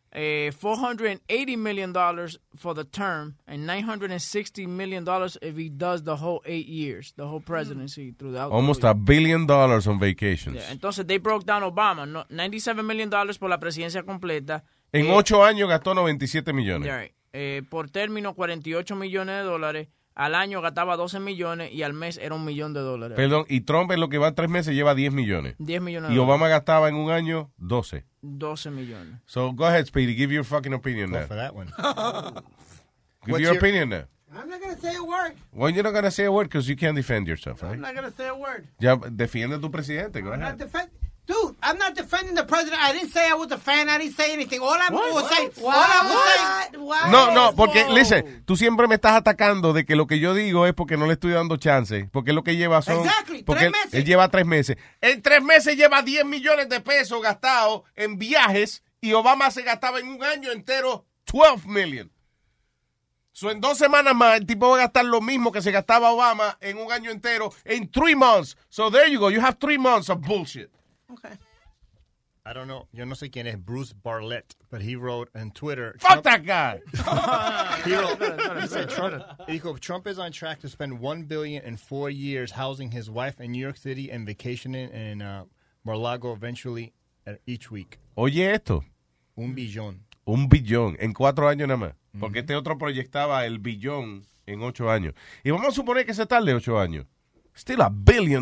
$480 million for the term, and $960 million if he does the whole 8 years, the whole presidency throughout. Almost $1 billion on vacations. Yeah, entonces, they broke down Obama, $97 million por la presidencia completa. En 8 años gastó 97 millones. Yeah, right. Por término, $48 millones. al año gastaba 12 millones y al mes era $1 millón. Perdón, y Trump en lo que va 3 meses lleva 10 millones. 10 millones. Y Obama gastaba en un año 12. 12 millones. So go ahead, Speedy, give your fucking opinion Go now. for that one. Give your opinion now. I'm not going to say a word. Well, you're not going to say a word because you can't defend yourself, right? I'm not going to say a word. Ya, defiende a tu presidente, go ahead. Dude, I'm not defending the president. I didn't say I was a fan. I didn't say anything. All I was saying. No, porque, listen, tú siempre me estás atacando de que lo que yo digo es porque no le estoy dando chance. Porque lo que lleva son... Exactly, porque 3 meses. Él lleva 3 meses. En 3 meses lleva 10 millones de pesos gastados en viajes y Obama se gastaba en un año entero 12 million. So, en 2 semanas más, el tipo va a gastar lo mismo que se gastaba Obama en un año entero en 3 months. So, there you go. You have 3 months of bullshit. Okay. I don't know. Yo no sé quién es Bruce Bartlett, but he wrote on Twitter. Fuck that guy. He said Trump is on track to spend $1 billion in 4 years housing his wife in New York City and vacationing in Mar-a-Lago eventually each week. Oye esto. $1 billón. $1 billón en 4 años nada más. Porque este otro proyectaba el billón en 8 años. Y vamos a suponer que se tarde 8 años. Still $1 billion.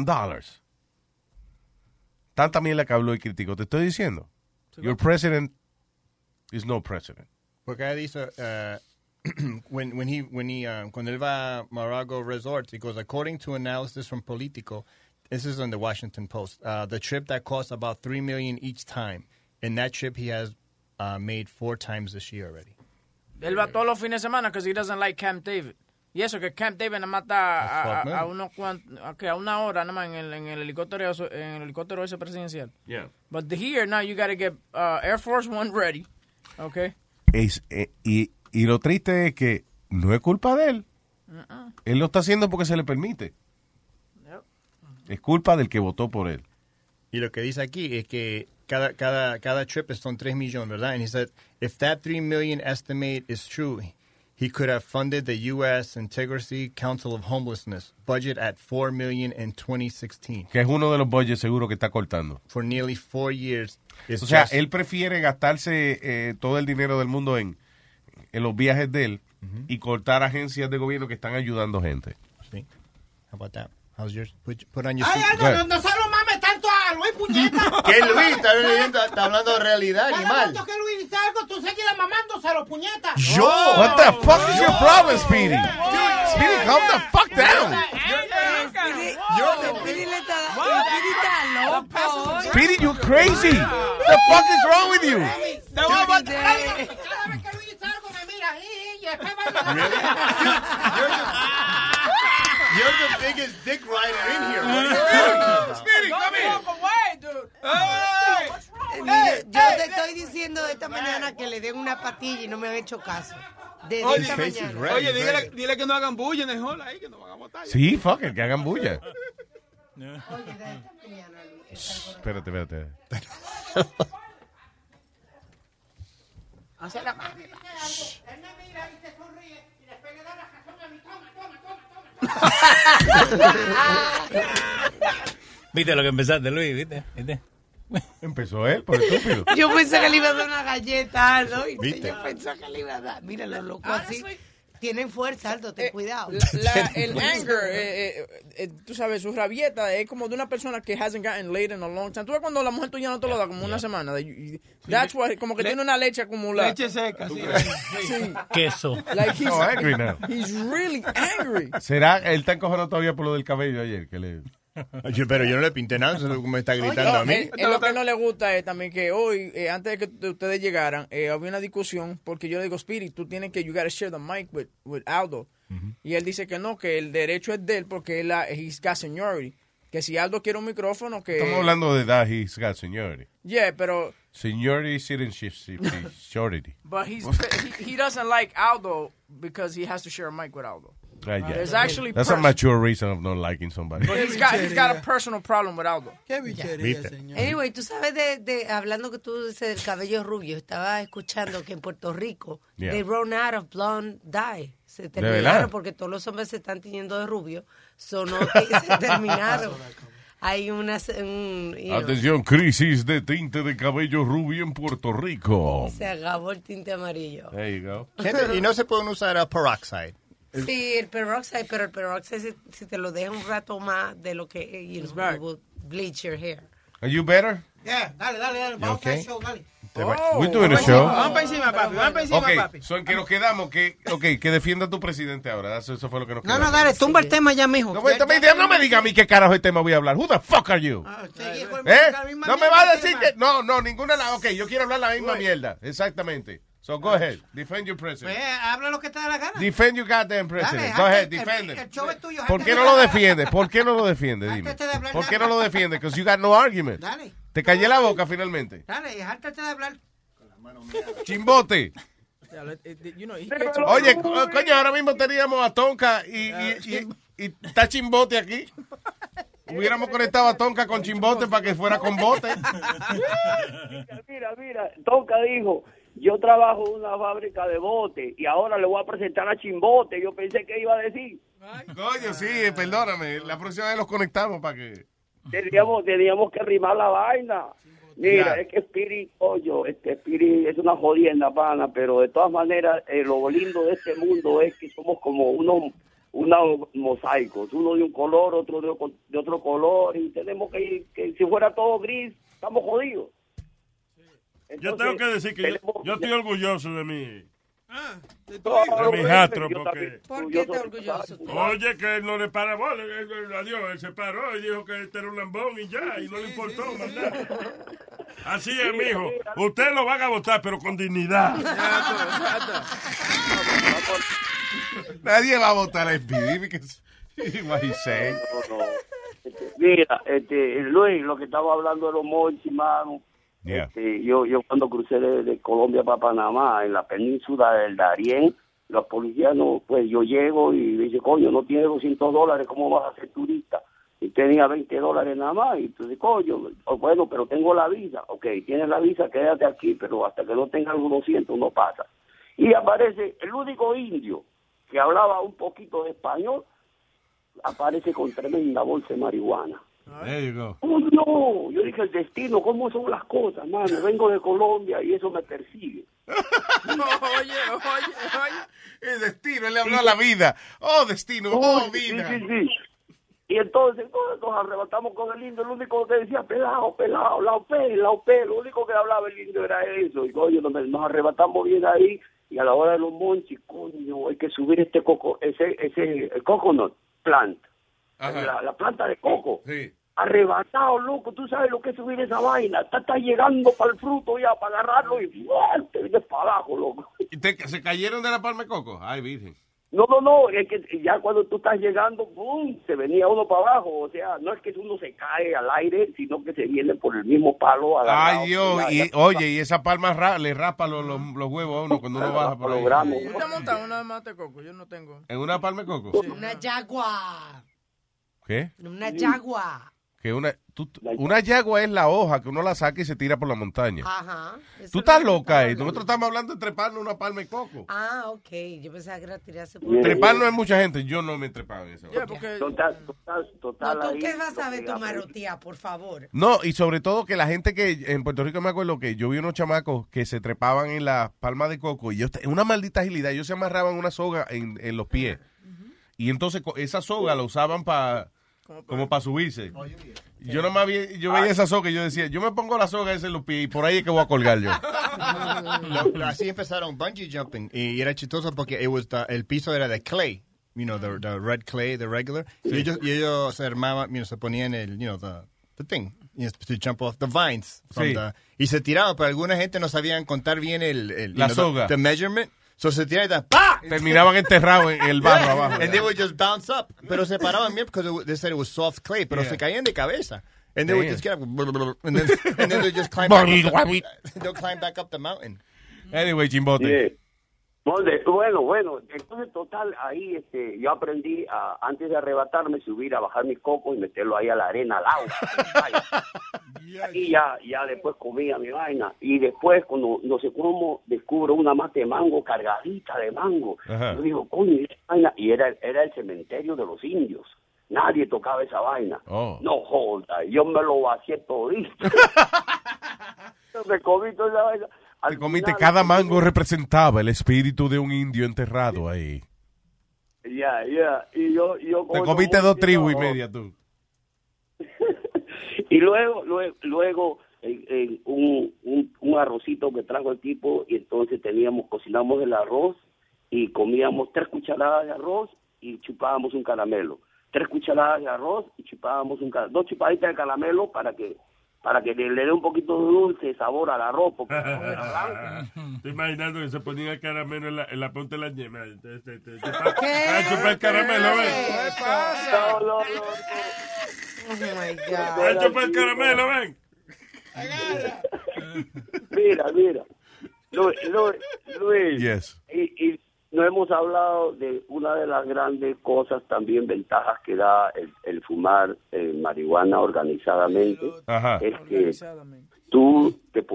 Tanta mierda que habló y criticó. Te estoy diciendo. Your president is no president. Porque dice, cuando él va a Mar-a-Lago Resorts, he goes, according to analysis from Politico, this is on the Washington Post, the trip that costs about $3 million each time. And that trip he has made 4 times this year already. Él va todos los fines de semana because he doesn't like Camp David. Y eso que Camp David nada más está a una hora nada más en el helicóptero ese presidencial. Yeah. But here now you got to get Air Force One ready. Okay. Y lo triste es que no es culpa de él. Él lo está haciendo porque se le permite. Yep. Es culpa del que votó por él. Y lo que dice aquí es que cada trip son 3 millones, ¿verdad? And he said, if that 3 million estimate is true, he could have funded the U.S. Integrity Council of Homelessness budget at $4 million in 2016. Que es uno de los budgets seguro que está cortando. For nearly 4 years. O sea, él prefiere gastarse todo el dinero del mundo en los viajes de él y cortar agencias de gobierno que están ayudando gente. Sí. How about that? How's yours? Put on your Ay, no se lo mames tanto a Luis, puñeta. ¿Qué Luis? Está hablando de realidad, animal. Tanto que Luis dice algo, tú seguirás mamándoselo, puñeta. Yo? What the fuck is your problem, Speedy? Speedy, calm the fuck down. Speedy, you crazy. The fuck is wrong with you? Cada vez que Luis dice algo, me mira y después You're the biggest dick rider in here. What are you talking about? Speedy, come here. Yo te estoy diciendo de esta mañana que le den una patilla y no me han hecho caso. Desde esta mañana. Oye, dile que no hagan bulla en el hall ahí, que no van a botar. Sí, fuck it, que hagan bulla. Espérate. Hace la mano. Él me mira y se sonríe y después le da la razón a mi toma. ¿Viste lo que empezaste, Luis? ¿Viste? Empezó él, por estúpido. Yo pensé que le iba a dar una galleta, ¿no? ¿Viste? Yo pensé que le iba a dar. Mira, los locos así. Tienen fuerza, Aldo, ten cuidado. El anger, tú sabes, su rabieta es como de una persona que hasn't gotten laid in a long time. Tú ves cuando la mujer tuya no te lo da como una semana. That's why, como que tiene una leche acumulada. Leche seca, sí. Queso. Like No, angry now. He's really angry. ¿Será? Él está encojonado todavía por lo del cabello ayer. Que le... Pero yo no le pinté nada, eso es lo que me está gritando a mí. Lo que no le gusta es también que hoy, antes de que ustedes llegaran, había una discusión porque yo le digo, Speedy, tú tienes que, you gotta share the mic with Aldo. Y él dice que no, que el derecho es de él porque he's got seniority. Que si Aldo quiere un micrófono, que... Estamos hablando de edad, he's got seniority. Yeah, pero... Seniority, citizenship, shorty. But he doesn't like Aldo because he has to share a mic with Aldo. Yeah. That's a mature reason of not liking somebody. But he's got a personal problem with Aldo. Qué bichería, señor. Anyway, tú sabes hablando que tú dices del cabello rubio, estaba escuchando que en Puerto Rico they run out of blonde dye. Se terminaron porque todos los hombres se están tiñendo de rubio. Sonó que se terminaron. Hay Atención, crisis de tinte de cabello rubio en Puerto Rico. Se acabó el tinte amarillo. There you go. Y no se pueden usar peroxide. Sí, el peroxide, pero el peroxide si te lo deja un rato más de lo que you know, it will bleach your hair. Are you better? Yeah, dale. Vamos a hacer show, dale. We're doing a show. Vamos para encima, papi. Okay, so en que nos quedamos, que defienda a tu presidente ahora. Eso fue lo que nos quedamos. No, dale, tumba el tema ya, mijo. No me diga a mí qué carajo el tema voy a hablar. Who the fuck are you? No me va a decir que... No, ninguna... Ok, yo quiero hablar la misma mierda. Exactamente. So go ahead. Defend your president. Habla lo que te da la gana. Defend your goddamn president. Dale, go ahead, defend him. El show es tuyo. ¿Por qué no lo defiende? Dime. ¿Por qué no lo defiende? Because you got no argument. Dale. Te callé la boca finalmente. Dale, jártate de hablar. Chimbote. Oye, coño, ahora mismo teníamos a Tonka y está Chimbote aquí. Hubiéramos conectado a Tonka con Chimbote para que fuera con bote. Mira, Tonka dijo, yo trabajo en una fábrica de bote y ahora le voy a presentar a Chimbote. Yo pensé que iba a decir. Coño, sí, perdóname. La próxima vez los conectamos para que... Teníamos que rimar la vaina. Mira, es que Spirit es una jodienda, pana, pero de todas maneras, lo lindo de este mundo es que somos como unos mosaicos, uno de un color, otro de otro color, y tenemos que si fuera todo gris, estamos jodidos. Entonces, yo tengo que decir que yo estoy orgulloso de mi... de mi jastro, porque... ¿Por qué estás orgulloso? Oye, que él no le para bola, adiós, él se paró y dijo que este era un lambón y ya, y no le importó más nada. Así es, mijo. Usted lo van a votar, pero con dignidad. Nadie va a votar a Speedy. Mira, Luis, lo que estaba hablando de los monchis, mano. Yeah. Yo cuando crucé de Colombia para Panamá, en la península del Darién, los policías, pues yo llego y dice, coño, no tiene $200, ¿cómo vas a ser turista? Y tenía $20 nada más, y entonces, coño, bueno, pero tengo la visa. Ok, tienes la visa, quédate aquí, pero hasta que no tengas los 200 no pasa. Y aparece el único indio que hablaba un poquito de español, aparece con tremenda bolsa de marihuana. There you go. Oh, no, yo dije, el destino, ¿cómo son las cosas, mano? Vengo de Colombia y eso me persigue. Oye. El destino, él le habló a la vida. Oh, destino, vida. Sí. Y entonces nos arrebatamos con el indio, el único que decía, pelado, la OP, lo único que hablaba el indio era eso. Y coño, nos arrebatamos bien ahí, y a la hora de los monchis, coño, hay que subir el coconut plant. La planta de coco. Sí. Arrebatado, loco, tú sabes lo que es subir esa vaina. Está llegando para el fruto ya, para agarrarlo y te vienes para abajo, loco. ¿Y se cayeron de la palma de coco? Ay, virgen. No, es que ya cuando tú estás llegando, ¡boom!, se venía uno para abajo. O sea, no es que uno se cae al aire, sino que se viene por el mismo palo. Ay, Dios, y esa palma le raspa los huevos a uno cuando uno baja por ahí. ¿Tú te montas una mata de coco? Yo no tengo. ¿En una palma de coco? Sí. Una yagua. ¿Qué? Una yagua. Que una yagua es la hoja que uno la saca y se tira por la montaña. Ajá. Tú estás loca, nosotros estamos hablando de treparnos una palma de coco. Ah, ok. Yo pensaba que era tirarse por... Treparnos es mucha gente, yo no me he trepado en eso. Total. No, ¿tú qué vas a ver tu marotía, por favor? No, y sobre todo que la gente que en Puerto Rico me acuerdo que yo vi unos chamacos que se trepaban en la palma de coco y en una maldita agilidad, ellos se amarraban una soga en los pies. Y entonces esa soga la usaban como para subirse. Yo nomás veía esa soga y yo decía, yo me pongo la soga esa en los pies y por ahí es que voy a colgar yo. Así empezaron bungee jumping y era chistoso porque el piso era de clay, the red clay, the regular. Sí. Y ellos se armaban, se ponían the thing, to jump off the vines. Y se tiraban, pero alguna gente no sabían contar bien la soga. The measurement. So se tiraban y ¡pah! Terminaban enterrados en el barro abajo. And they would just bounce up. Pero se paraban bien because they said it was soft clay, pero se caían de cabeza. And they would just get up and then they just climb back up the mountain. Anyway, Chimbote. Bueno, entonces total, ahí yo aprendí antes de arrebatarme, subir a bajar mi coco y meterlo ahí a la arena, al agua. Y ya después comía mi vaina. Y después, cuando no sé cómo, descubro una mata de mango cargadita de mango. Yo digo, coño, esa vaina. Y era el cementerio de los indios. Nadie tocaba esa vaina. No joda, yo me lo vacié todito. Me comí toda esa vaina. Te comiste, cada mango representaba el espíritu de un indio enterrado ahí. Ya. Y yo Te como comiste no, 2 tribus y no. media tú. Y luego un arrocito que trajo el tipo, y entonces cocinamos el arroz y comíamos 3 cucharadas de arroz y chupábamos un caramelo. 3 cucharadas de arroz y chupábamos 2 chupaditas de caramelo para que le dé un poquito de dulce sabor al arroz, porque el arroz era blanco. Estoy imaginando que se ponía el caramelo en la punta de la yema. A chupar el caramelo, ven. ¿Qué pasa? No. Oh my God. A chupar el caramelo, ven. Mira. Luis. Yes. Y no hemos hablado de una de las grandes cosas, también ventajas que da el fumar marihuana organizadamente. Ajá. Es que tú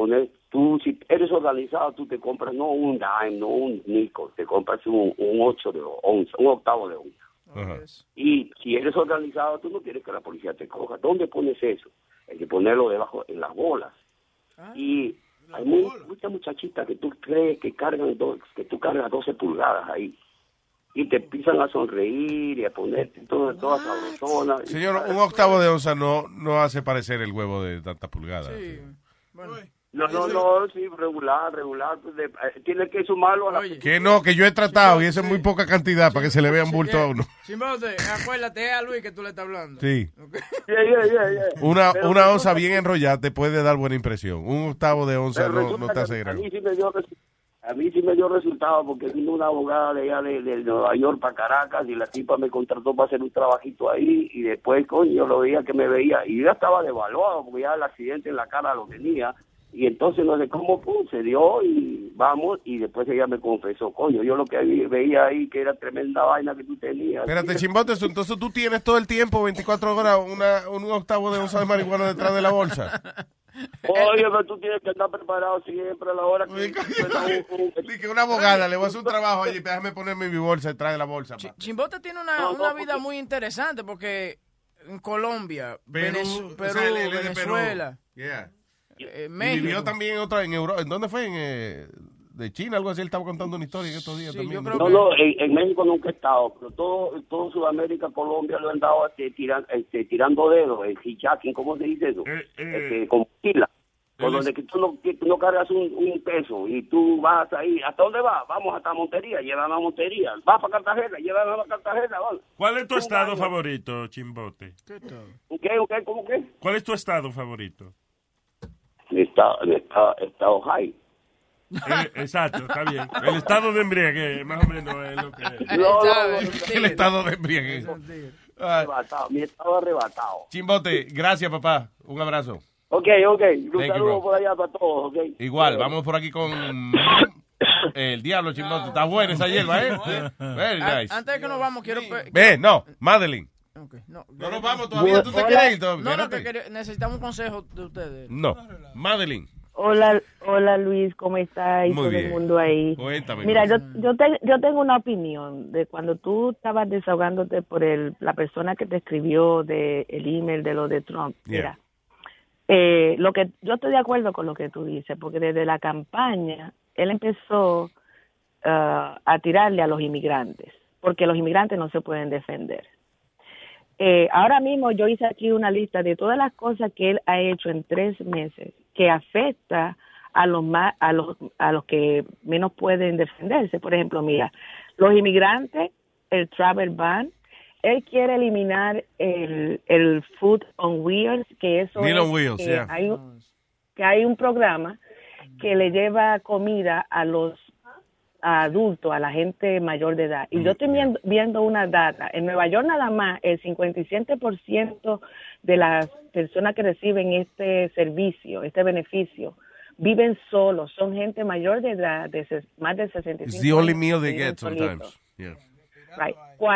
si eres organizado, tú te compras no un dime, no un nickel, te compras un 8 de onza, un octavo de onza. Ajá. Y si eres organizado, tú no quieres que la policía te coja. ¿Dónde pones eso? Hay que ponerlo debajo, en las bolas. Y hay muchas muchachitas que tú crees que que tú cargas 12 pulgadas ahí. Y te empiezan a sonreír y a ponerte todas sabrosona. Señor, un octavo de onza no hace parecer el huevo de tantas pulgadas. Sí. Bueno. No, sí, regular. Tiene que sumarlo a la... Que no, que yo he tratado y eso es muy poca cantidad para que se le vean bulto a uno. Chimbote, acuérdate, es a Luis que tú le estás hablando. Sí. Okay. Yeah. Una onza bien enrollada te puede dar buena impresión. Un octavo de onza no te hace gran. A mí sí me dio resultado, porque vino una abogada de allá de Nueva York para Caracas y la tipa me contrató para hacer un trabajito ahí, y después, coño, lo veía que me veía y yo ya estaba devaluado porque ya el accidente en la cara lo tenía. Y entonces no sé cómo se dio y vamos, y después ella me confesó, coño, yo lo que veía ahí que era tremenda vaina que tú tenías. Espérate, Chimbote, entonces tú tienes todo el tiempo, 24 horas, un octavo de onza de marihuana detrás de la bolsa. Oye, pero tú tienes que estar preparado siempre a la hora que... Que una abogada, le voy a hacer un trabajo allí, déjame ponerme mi bolsa detrás de la bolsa. Chimbote tiene una vida muy interesante, porque en Colombia, Perú, Venezuela... Yeah. México. Y vivió también en Europa. ¿En dónde fue? De China, algo así. Él estaba contando una historia en estos días también. En México nunca he estado, pero todo Sudamérica, Colombia lo han dado tirando dedos, hijacking, ¿cómo se dice eso? Con pila. Por donde que tú no cargas un peso y tú vas ahí. ¿Hasta dónde vas? Vamos hasta Montería, llévame a Montería. Vas para Cartagena, llévame a Cartagena. Vamos. ¿Cuál es tu estado favorito, Chimbote? ¿Qué? ¿Cómo qué? ¿Cuál es tu estado favorito? Estado high. Exacto, está bien. El estado de embriaguez, más o menos, es lo que es. El estado de embriaguez. Mi estado arrebatado. Chimbote, gracias, papá. Un abrazo. Ok. Un saludo por allá para todos, ok. Igual, vamos por aquí con el diablo, Chimbote. Está buena esa hierba, ¿eh? Very nice. Antes de que nos vamos, quiero... Madeline. Okay, no nos vamos todavía. ¿Tú te quieres ir todavía? No, necesitamos un consejo de ustedes. No. Madeline. Hola Luis, ¿cómo estás? Y muy todo bien. El mundo ahí. Cuéntame. Mira, yo tengo una opinión de cuando tú estabas desahogándote por la persona que te escribió el email de lo de Trump. Yeah. Mira, lo que yo estoy de acuerdo con lo que tú dices, porque desde la campaña él empezó a tirarle a los inmigrantes, porque los inmigrantes no se pueden defender. Ahora mismo yo hice aquí una lista de todas las cosas que él ha hecho en 3 meses que afecta a los que menos pueden defenderse. Por ejemplo, mira, los inmigrantes, el travel ban, él quiere eliminar el food on wheels, que eso Meal es on wheels, que, yeah. hay un programa que le lleva comida a los adultos, a la gente mayor de edad. Y yo estoy viendo una data. En Nueva York nada más, el 57% de las personas que reciben este servicio, este beneficio, viven solos. Son gente mayor de edad, más de 65 It's the only meal they viven get solitos. sometimes. Yeah. Right.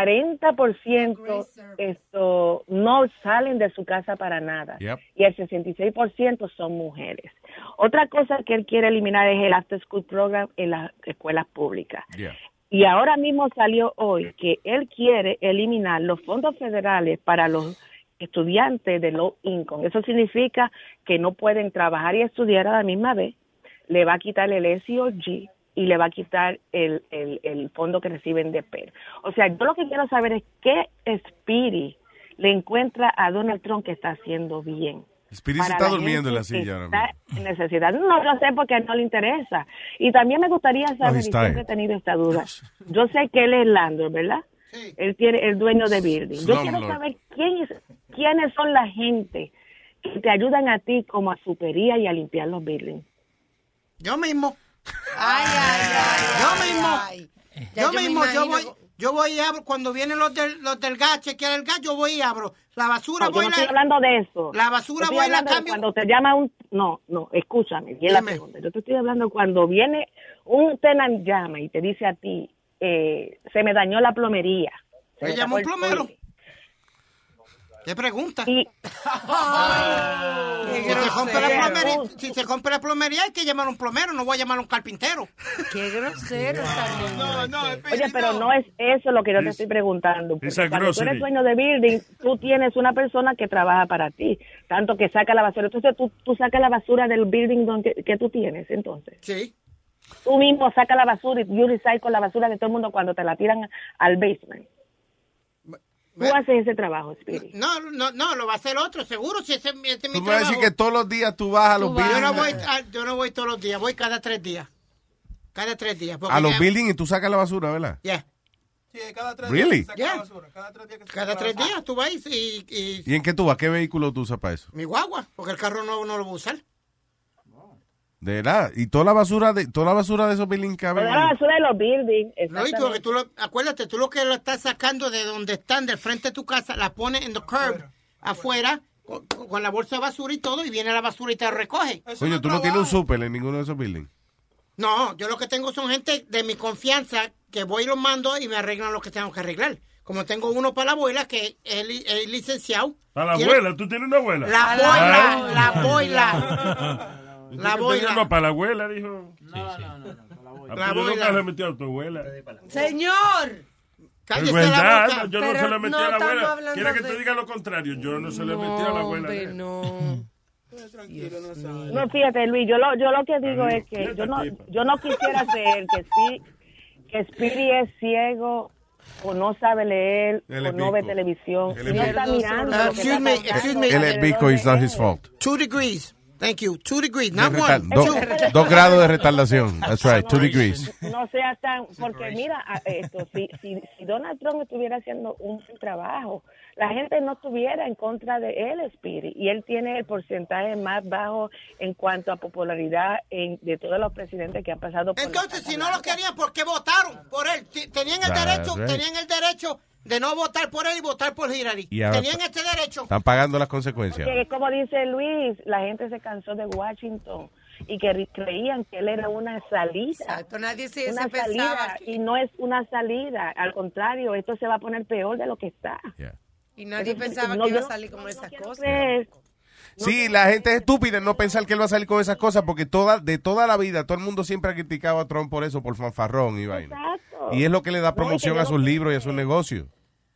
40% no salen de su casa para nada. Yep. Y el 66% son mujeres. Otra cosa que él quiere eliminar es el after school program en las escuelas públicas. Yeah. Y ahora mismo salió hoy que él quiere eliminar los fondos federales para los estudiantes de low income. Eso significa que no pueden trabajar y estudiar a la misma vez. Le va a quitar el SEOG y le va a quitar el fondo que reciben de PER. O sea, yo lo que quiero saber es qué Speedy le encuentra a Donald Trump que está haciendo bien. Speedy se está durmiendo en la silla ahora mismo. Está en necesidad. No lo sé porque no le interesa. Y también me gustaría saber, y siempre he tenido esta duda. Yo sé que él es landlord, ¿verdad? Sí. Él tiene el dueño de building. Yo quiero saber quiénes son la gente que te ayudan a ti como a supería y a limpiar los buildings. Yo mismo. Yo voy y abro, cuando vienen los del gas, chequear el gas, yo voy y abro. La basura voy no estoy hablando de eso. La basura voy y la cambio. Cuando te llama No, escúchame, bien la pregunta. Yo te estoy hablando cuando viene un tenant llama y te dice a ti, se me dañó la plomería. ¿Me llamó un plomero? ¿Qué pregunta? Si se compra la plomería hay que llamar a un plomero, no voy a llamar a un carpintero. Qué grosero. Oye, pero no es eso lo que yo te estoy preguntando. Cuando tú eres dueño de building, tú tienes una persona que trabaja para ti, tanto que saca la basura. Entonces tú sacas la basura del building que tú tienes, entonces. Sí. Tú mismo sacas la basura y you recycle la basura de todo el mundo cuando te la tiran al basement. ¿Tú haces ese trabajo, Speedy? No, lo va a hacer otro, seguro, si ese es mi trabajo. Tú vas a decir que todos los días tú vas a los buildings. Yo no voy todos los días, voy cada 3 días. Cada 3 días. A los buildings y tú sacas la basura, ¿verdad? Yeah. Sí, cada 3 really? días. Saca la basura. Cada 3 días tú vas y... ¿Y en qué tú vas? ¿Qué vehículo tú usas para eso? Mi guagua, porque el carro no lo voy a usar. De verdad, y toda la basura de esos buildings cabe. Toda la basura de los buildings. No, y acuérdate, tú lo que lo estás sacando de donde están, del frente de tu casa, la pones en the curb, afuera, con la bolsa de basura y todo, y viene la basura y te recoge. Oye, tú no tienes un súper en ninguno de esos buildings. No, yo lo que tengo son gente de mi confianza que voy y los mando y me arreglan lo que tengo que arreglar. Como tengo uno para la abuela, que es licenciado. ¿Para la abuela? ¿Tú tienes una abuela? La boila. La boila. No, para la abuela, dijo. No. La boila. Nunca le metió a tu abuela. Señor. Cállese la boca. Yo no se le metí a la abuela. ¿Quieres que de... te diga lo contrario? Yo no se le metí a la abuela. No, fíjate, Luis, yo lo que digo es que yo no quisiera creer que Speedy es ciego o no sabe leer o no ve televisión. No está mirando. Excuse me. Él es bico, it's not his fault. 2 degrees. Thank you. 2 degrees, not 1. 2 grados de retardación. That's right, 2 degrees. No sea tan... Porque mira, si Donald Trump estuviera haciendo un trabajo, la gente no estuviera en contra de él, Speedy. Y él tiene el porcentaje más bajo en cuanto a popularidad de todos los presidentes que han pasado por... Entonces, si no lo querían, ¿por qué votaron por él? Tenían el derecho de no votar por él y votar por Hillary. Tenían este derecho. Están pagando las consecuencias. Porque, como dice Luis, la gente se cansó de Washington y que creían que él era una salida. Exacto, nadie se pensaba salida, y no es una salida. Al contrario, esto se va a poner peor de lo que está. Yeah. Y nadie pensaba que iba a salir con esas cosas. Sí, la gente es estúpida en no pensar que él va a salir con esas cosas porque de toda la vida todo el mundo siempre ha criticado a Trump por eso, por fanfarrón y vaina. Y es lo que le da promoción a sus libros y a sus negocios.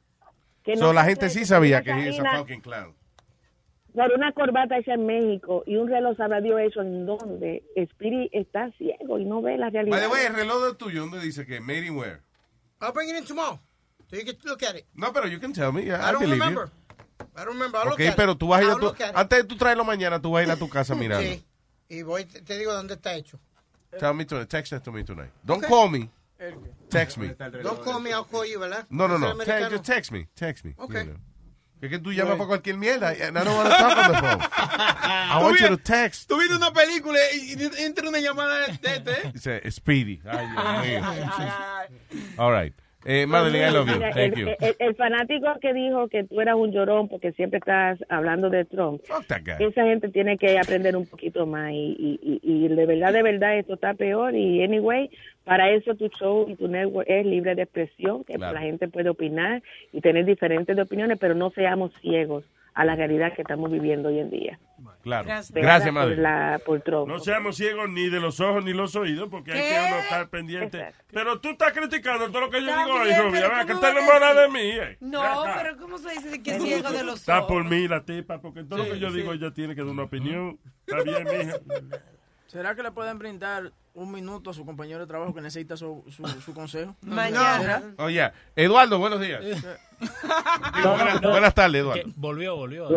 La gente sí sabía que es a fucking clown. Por una corbata hecha en México y un reloj sabrá Dios hecho en donde Speedy está ciego y no ve la realidad. By the way, el reloj tuyo, ¿dónde dice que made in where? I'll bring it in tomorrow. So you can look at it. No, pero you can tell me. I don't remember. I don't remember. I'll look at pero it. tú vas a ir antes de tú traerlo mañana, tú vas a ir a tu casa mirando. Sí. Y te digo dónde está hecho. Tell me tonight. Text it to me tonight. Don't call me. Text me. Don't call me, I'll call you, ¿verdad? No. Just text me. Okay. You know. Es que tú llamas para cualquier mierda. I don't want to talk on the phone. I want you to text. Tú viste una película y entra una llamada de este. Dice Speedy. Ay, Dios mío. All right. Madeline, I love you. Thank you. El fanático que dijo que tú eras un llorón porque siempre estás hablando de Trump. Fuck that guy. Esa gente tiene que aprender un poquito más y de verdad esto está peor y anyway, para eso tu show y tu network es libre de expresión, que la gente puede opinar y tener diferentes opiniones, pero no seamos ciegos a la realidad que estamos viviendo hoy en día. Claro. Gracias, madre. Por Trump. No seamos ciegos ni de los ojos ni los oídos, porque hay que uno estar pendiente. Exacto. Pero tú estás criticando todo lo que yo digo hoy, Rubia. Que te enamoras de mí. No, pero ¿cómo se dice que es ciego de los ojos? Está por mí la tipa, porque todo lo que yo digo ella tiene que dar una opinión. Está bien, mija. ¿Será que le pueden brindar un minuto a su compañero de trabajo que necesita su consejo? Mañana. Oye, Eduardo, buenos días. Buenas tardes, Eduardo. Volvió. Volvió,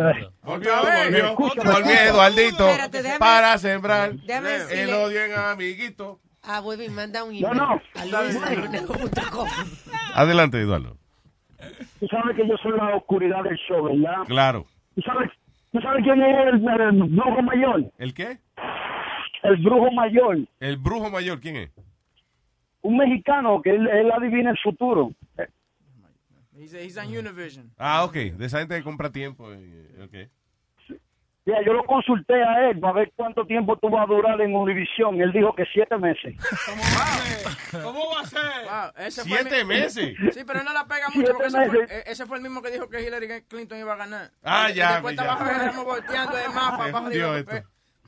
Eduardito, Espérate, déjame- para sembrar déjame decirle- el odio en amiguito. Webby, manda un email. No. A luis@lunes.com. Adelante, Eduardo. Tú sabes que yo soy la oscuridad del show, ¿verdad? Claro. ¿Tú sabes quién es el brujo mayor? ¿El qué? El brujo mayor. El brujo mayor, ¿quién es? Un mexicano que él adivina el futuro. He's on Univision. Ah, ok. De esa gente que compra tiempo. Okay. Ya, yo lo consulté a él para ver cuánto tiempo tú vas a durar en Univision. Él dijo que 7 meses. ¿Cómo va a ser? Wow, ese 7 meses. Sí, pero no la pega mucho porque 7 ese fue el mismo que dijo que Hillary Clinton iba a ganar. Ah, Y ya. después estaba Jorge Ramos volteando el mapa. abajo de Dios, la- esto.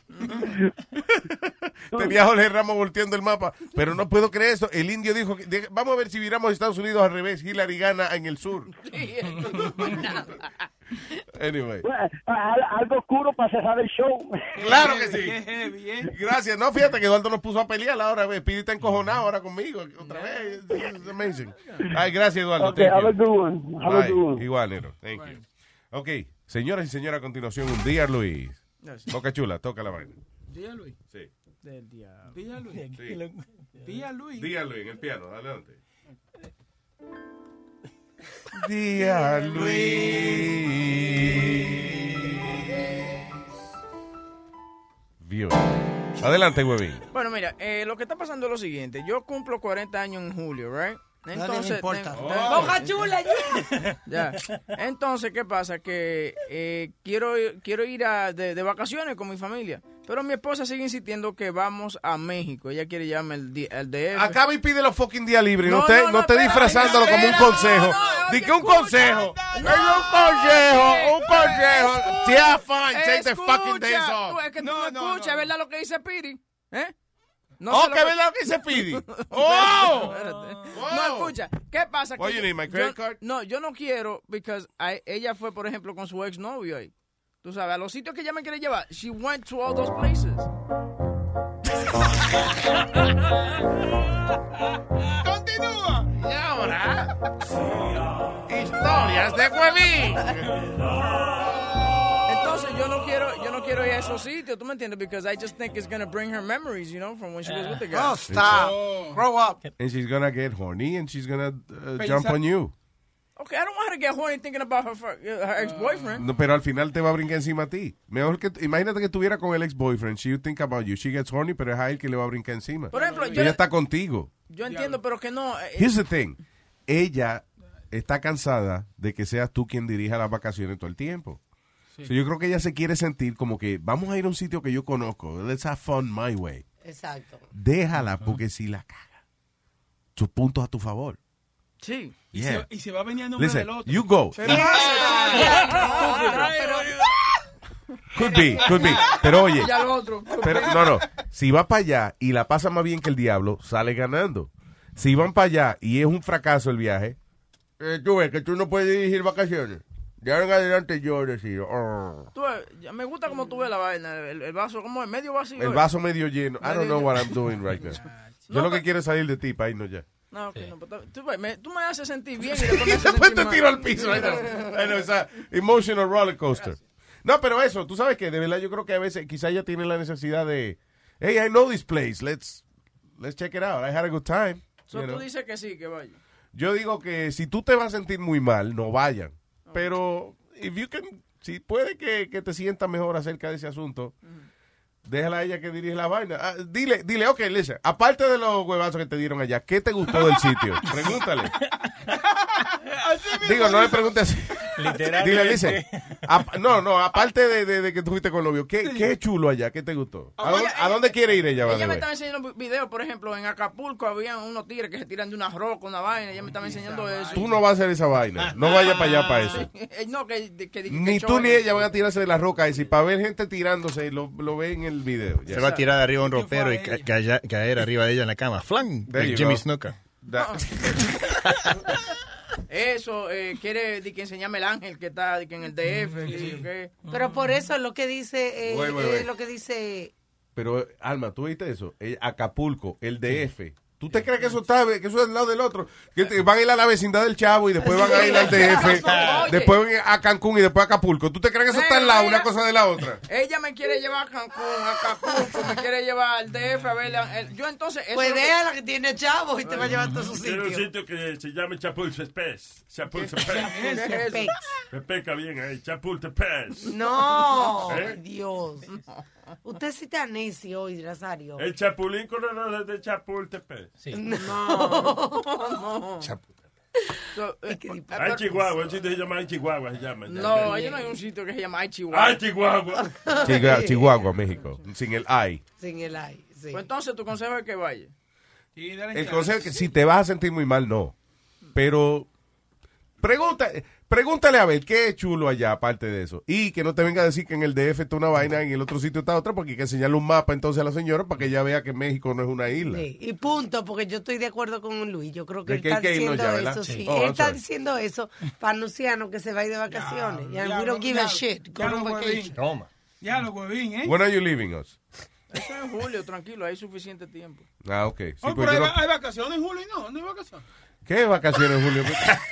Tenía Jorge Ramos volteando el mapa, pero no puedo creer eso. El indio dijo, vamos a ver si viramos Estados Unidos al revés. Hillary gana en el sur. Anyway. Bueno, algo oscuro para cerrar el show. Claro que sí. Gracias. No, fíjate que Eduardo nos puso a pelear ahora. Speedy está encojonado ahora conmigo. Otra vez. It's amazing. Ay, gracias, Eduardo. Okay, have a good one. Have a Bye. good one. Igual, Nero. Thank you. Ok, señoras y señores, a continuación, un día, Luis. Boca Chula, toca la vaina. Día Luis. Sí. Del diablo. Día Luis. Sí. Día Luis. Día Luis, en el piano, adelante. Día Luis. Vio. Adelante, huevín. Bueno, mira, lo que está pasando es lo siguiente. Yo cumplo 40 años en julio, ¿right? Entonces, me importa. Boca Chula, ya. Entonces, ¿qué pasa? Que quiero ir de vacaciones con mi familia. Pero mi esposa sigue insistiendo que vamos a México. Ella quiere llevarme el DF. Acaba y pide los fucking días libres. No, No, esté no, esté espera, disfrazándolo como un espera, consejo. Di que un consejo. Es un consejo. Yeah, fine. Take the fucking days Tú, off. es que tú no escuchas, ¿verdad lo que dice Piri? ¿Eh? Oh, sé ¿qué verdad lo que dice Pidi? ¡Oh! Espérate. No, escucha. ¿Qué pasa? What, you need my credit card? No, yo no quiero, because ella fue, por ejemplo, con su exnovio ahí. Tú sabes, a los sitios que ella me quiere llevar. She went to all those places. Continúa. Y ahora, historias de Huevín. Entonces yo no quiero ir a esos sitios, ¿tú me entiendes? Because I just think it's gonna bring her memories, you know, from when she was with the guy. Oh, stop. Grow up. And she's gonna get horny and she's gonna jump on you. Okay, I don't want her to get horny thinking about her ex-boyfriend. No, pero al final te va a brincar encima a ti. Mejor que imagínate que estuviera con el ex-boyfriend. She would think about you. She gets horny, pero es a él que le va a brincar encima. Por ejemplo, ella está contigo. Yo entiendo, pero que no. Here's the thing. Ella está cansada de que seas tú quien dirija las vacaciones todo el tiempo. Sí. So, yo creo que ella se quiere sentir como que vamos a ir a un sitio que yo conozco. Let's have fun my way. Exacto. Déjala, porque si la caga, sus puntos a tu favor. Sí. Yeah. Y se va a venir a nombre Listen, del otro. you go. Could be. Pero oye, Ya lo otro. pero no. Si va para allá y la pasa más bien que el diablo, sale ganando. Si van para allá y es un fracaso el viaje, tú ves que tú no puedes dirigir vacaciones. De ahora en adelante yo decido. Tú ves, me gusta como tú ves la vaina, el vaso, como es medio vacío. El vaso medio lleno. I don't know what I'm doing right now. Yo lo que quiero es salir de ti, para irnos ya. No, okay, no, pero tú me haces sentir bien y después me haces Después sentir te mal. tiro al piso. I know, it's a emotional roller coaster. No, pero eso, tú sabes que de verdad yo creo que a veces quizá ella tiene la necesidad de, hey, I know this place, let's check it out. I had a good time. So, You know? tú dices que sí, que vaya. Yo digo que si tú te vas a sentir muy mal, no vayan. Pero si puede que te sientas mejor acerca de ese asunto, déjala a ella que dirige la vaina. Dile, ok, listen, aparte de los huevazos que te dieron allá, ¿qué te gustó del sitio? Pregúntale. Digo, no le preguntes así. Literalmente. Dile, listen, aparte de que tú fuiste con el novio, ¿qué es chulo allá? ¿Qué te gustó? ¿A dónde quiere ir ella? Ella me estaba enseñando videos, por ejemplo, en Acapulco había unos tigres que se tiran de una roca, una vaina, ella me estaba enseñando eso. Tú no vas a hacer esa vaina. No vayas para allá para eso. No, Ni tú ni ella van a tirarse de la roca. Y si para ver gente tirándose, lo ve en el video. Se va a tirar de arriba un ropero y caer arriba de ella en la cama. Flan, There you Jimmy go. Snuka. Eso, quiere que enseñarme el ángel que está que en el DF. Que sí, okay. Pero por eso es lo que dice, Wait. lo que dice Pero, Alma, ¿tú viste eso? Acapulco, el DF. ¿Tú te crees que eso está, que eso es al lado del otro? Que van a ir a la vecindad del Chavo y después van a ir al DF, después van a Cancún y después a Acapulco. ¿Tú te crees que eso está al lado una cosa de la otra? Ella me quiere llevar a Cancún, a Acapulco, me quiere llevar al DF a ver. Yo entonces... Eso pues déjala que tiene Chavo y te va a llevar a todos sus Tiene sitios. un sitio que se llama Chapultepec. Chapultepec. Me peca bien ahí, Chapultepec. No, ¿Eh? Dios. Usted sí está necio hoy, Nazario. El Chapulín Colorado de Chapultepec. Sí. No. Ay, Chihuahua, el sitio se llama Ay, Chihuahua, se llama. No, ahí no hay un sitio que se llama Ay, Chihuahua. Ay, Chihuahua. Chihuahua, México, sin el ay. Sin el ay, sí. Pues entonces tu consejo es que vaya. El consejo es que si te vas a sentir muy mal, no. Pero pregúntale a ver qué es chulo allá, aparte de eso. Y que no te venga a decir que en el DF está una vaina, en el otro sitio está otra, porque hay que enseñarle un mapa entonces a la señora para que ella vea que México no es una isla. Sí, y punto, porque yo estoy de acuerdo con Luis. Yo creo que ¿De él qué está hay que irnos diciendo ya, verdad? eso. Sí. Sí. Oh, Él I'm está sorry. diciendo eso para Luciano que se va a ir de vacaciones. And we don't give a shit. Go on vacation. Toma. Ya lo huevín, ¿eh? When are you leaving us? Eso es en julio, tranquilo, hay suficiente tiempo. Ah, ok. Sí, Oh, pues pero yo hay vacaciones en julio, no hay vacaciones. ¿Qué vacaciones, Julio?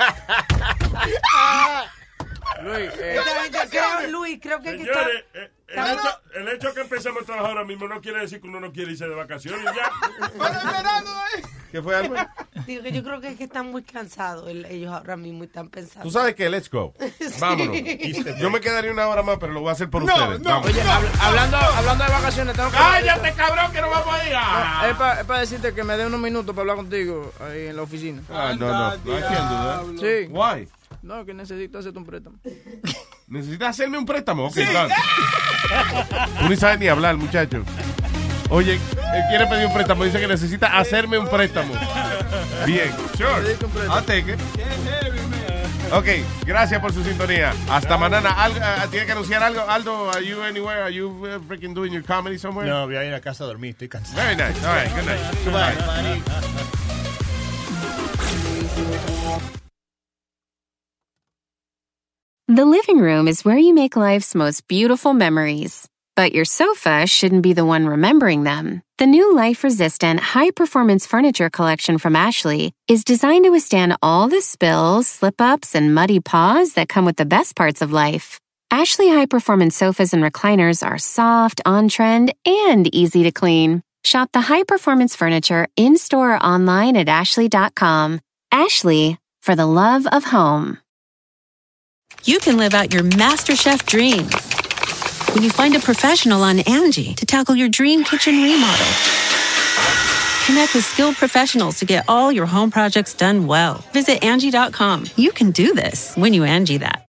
Luis, creo que hay que Señores, estar... el hecho que empecemos a trabajar ahora mismo no quiere decir que uno no quiere irse de vacaciones y ya. ¿Qué fue, algo? Digo que yo creo que es que están muy cansados ellos ahora mismo y están pensando. Tú sabes que let's go. Vámonos. Sí. Yo me quedaría una hora más, pero lo voy a hacer por No, ustedes. no, Vamos. oye, hablando de vacaciones, tengo que... ¡Cállate, cabrón, que no vamos a ir! No, es para decirte que me dé unos minutos para hablar contigo ahí en la oficina. Ah, no, I can't do that. Sí. Why? No, que necesito hacerte un préstamo. ¿Necesitas hacerme un préstamo? Ok, dale. Tú ni sabes ni hablar, muchacho. Oye, él quiere pedir un préstamo. Dice que necesita hacerme un préstamo. Bien, sure. I'll take it. Ok, gracias por su sintonía. Hasta mañana. ¿Tiene que anunciar algo? Aldo, are you anywhere? Are you freaking doing your comedy somewhere? No, voy a ir a casa a dormir. Estoy cansado. Very nice. All right, good night. Goodbye. The living room is where you make life's most beautiful memories. But your sofa shouldn't be the one remembering them. The new life-resistant, high-performance furniture collection from Ashley is designed to withstand all the spills, slip-ups, and muddy paws that come with the best parts of life. Ashley high-performance sofas and recliners are soft, on-trend, and easy to clean. Shop the high-performance furniture in-store or online at ashley.com. Ashley, for the love of home. You can live out your MasterChef dreams when you find a professional on Angie to tackle your dream kitchen remodel. Connect with skilled professionals to get all your home projects done well. Visit Angie.com. You can do this when you Angie that.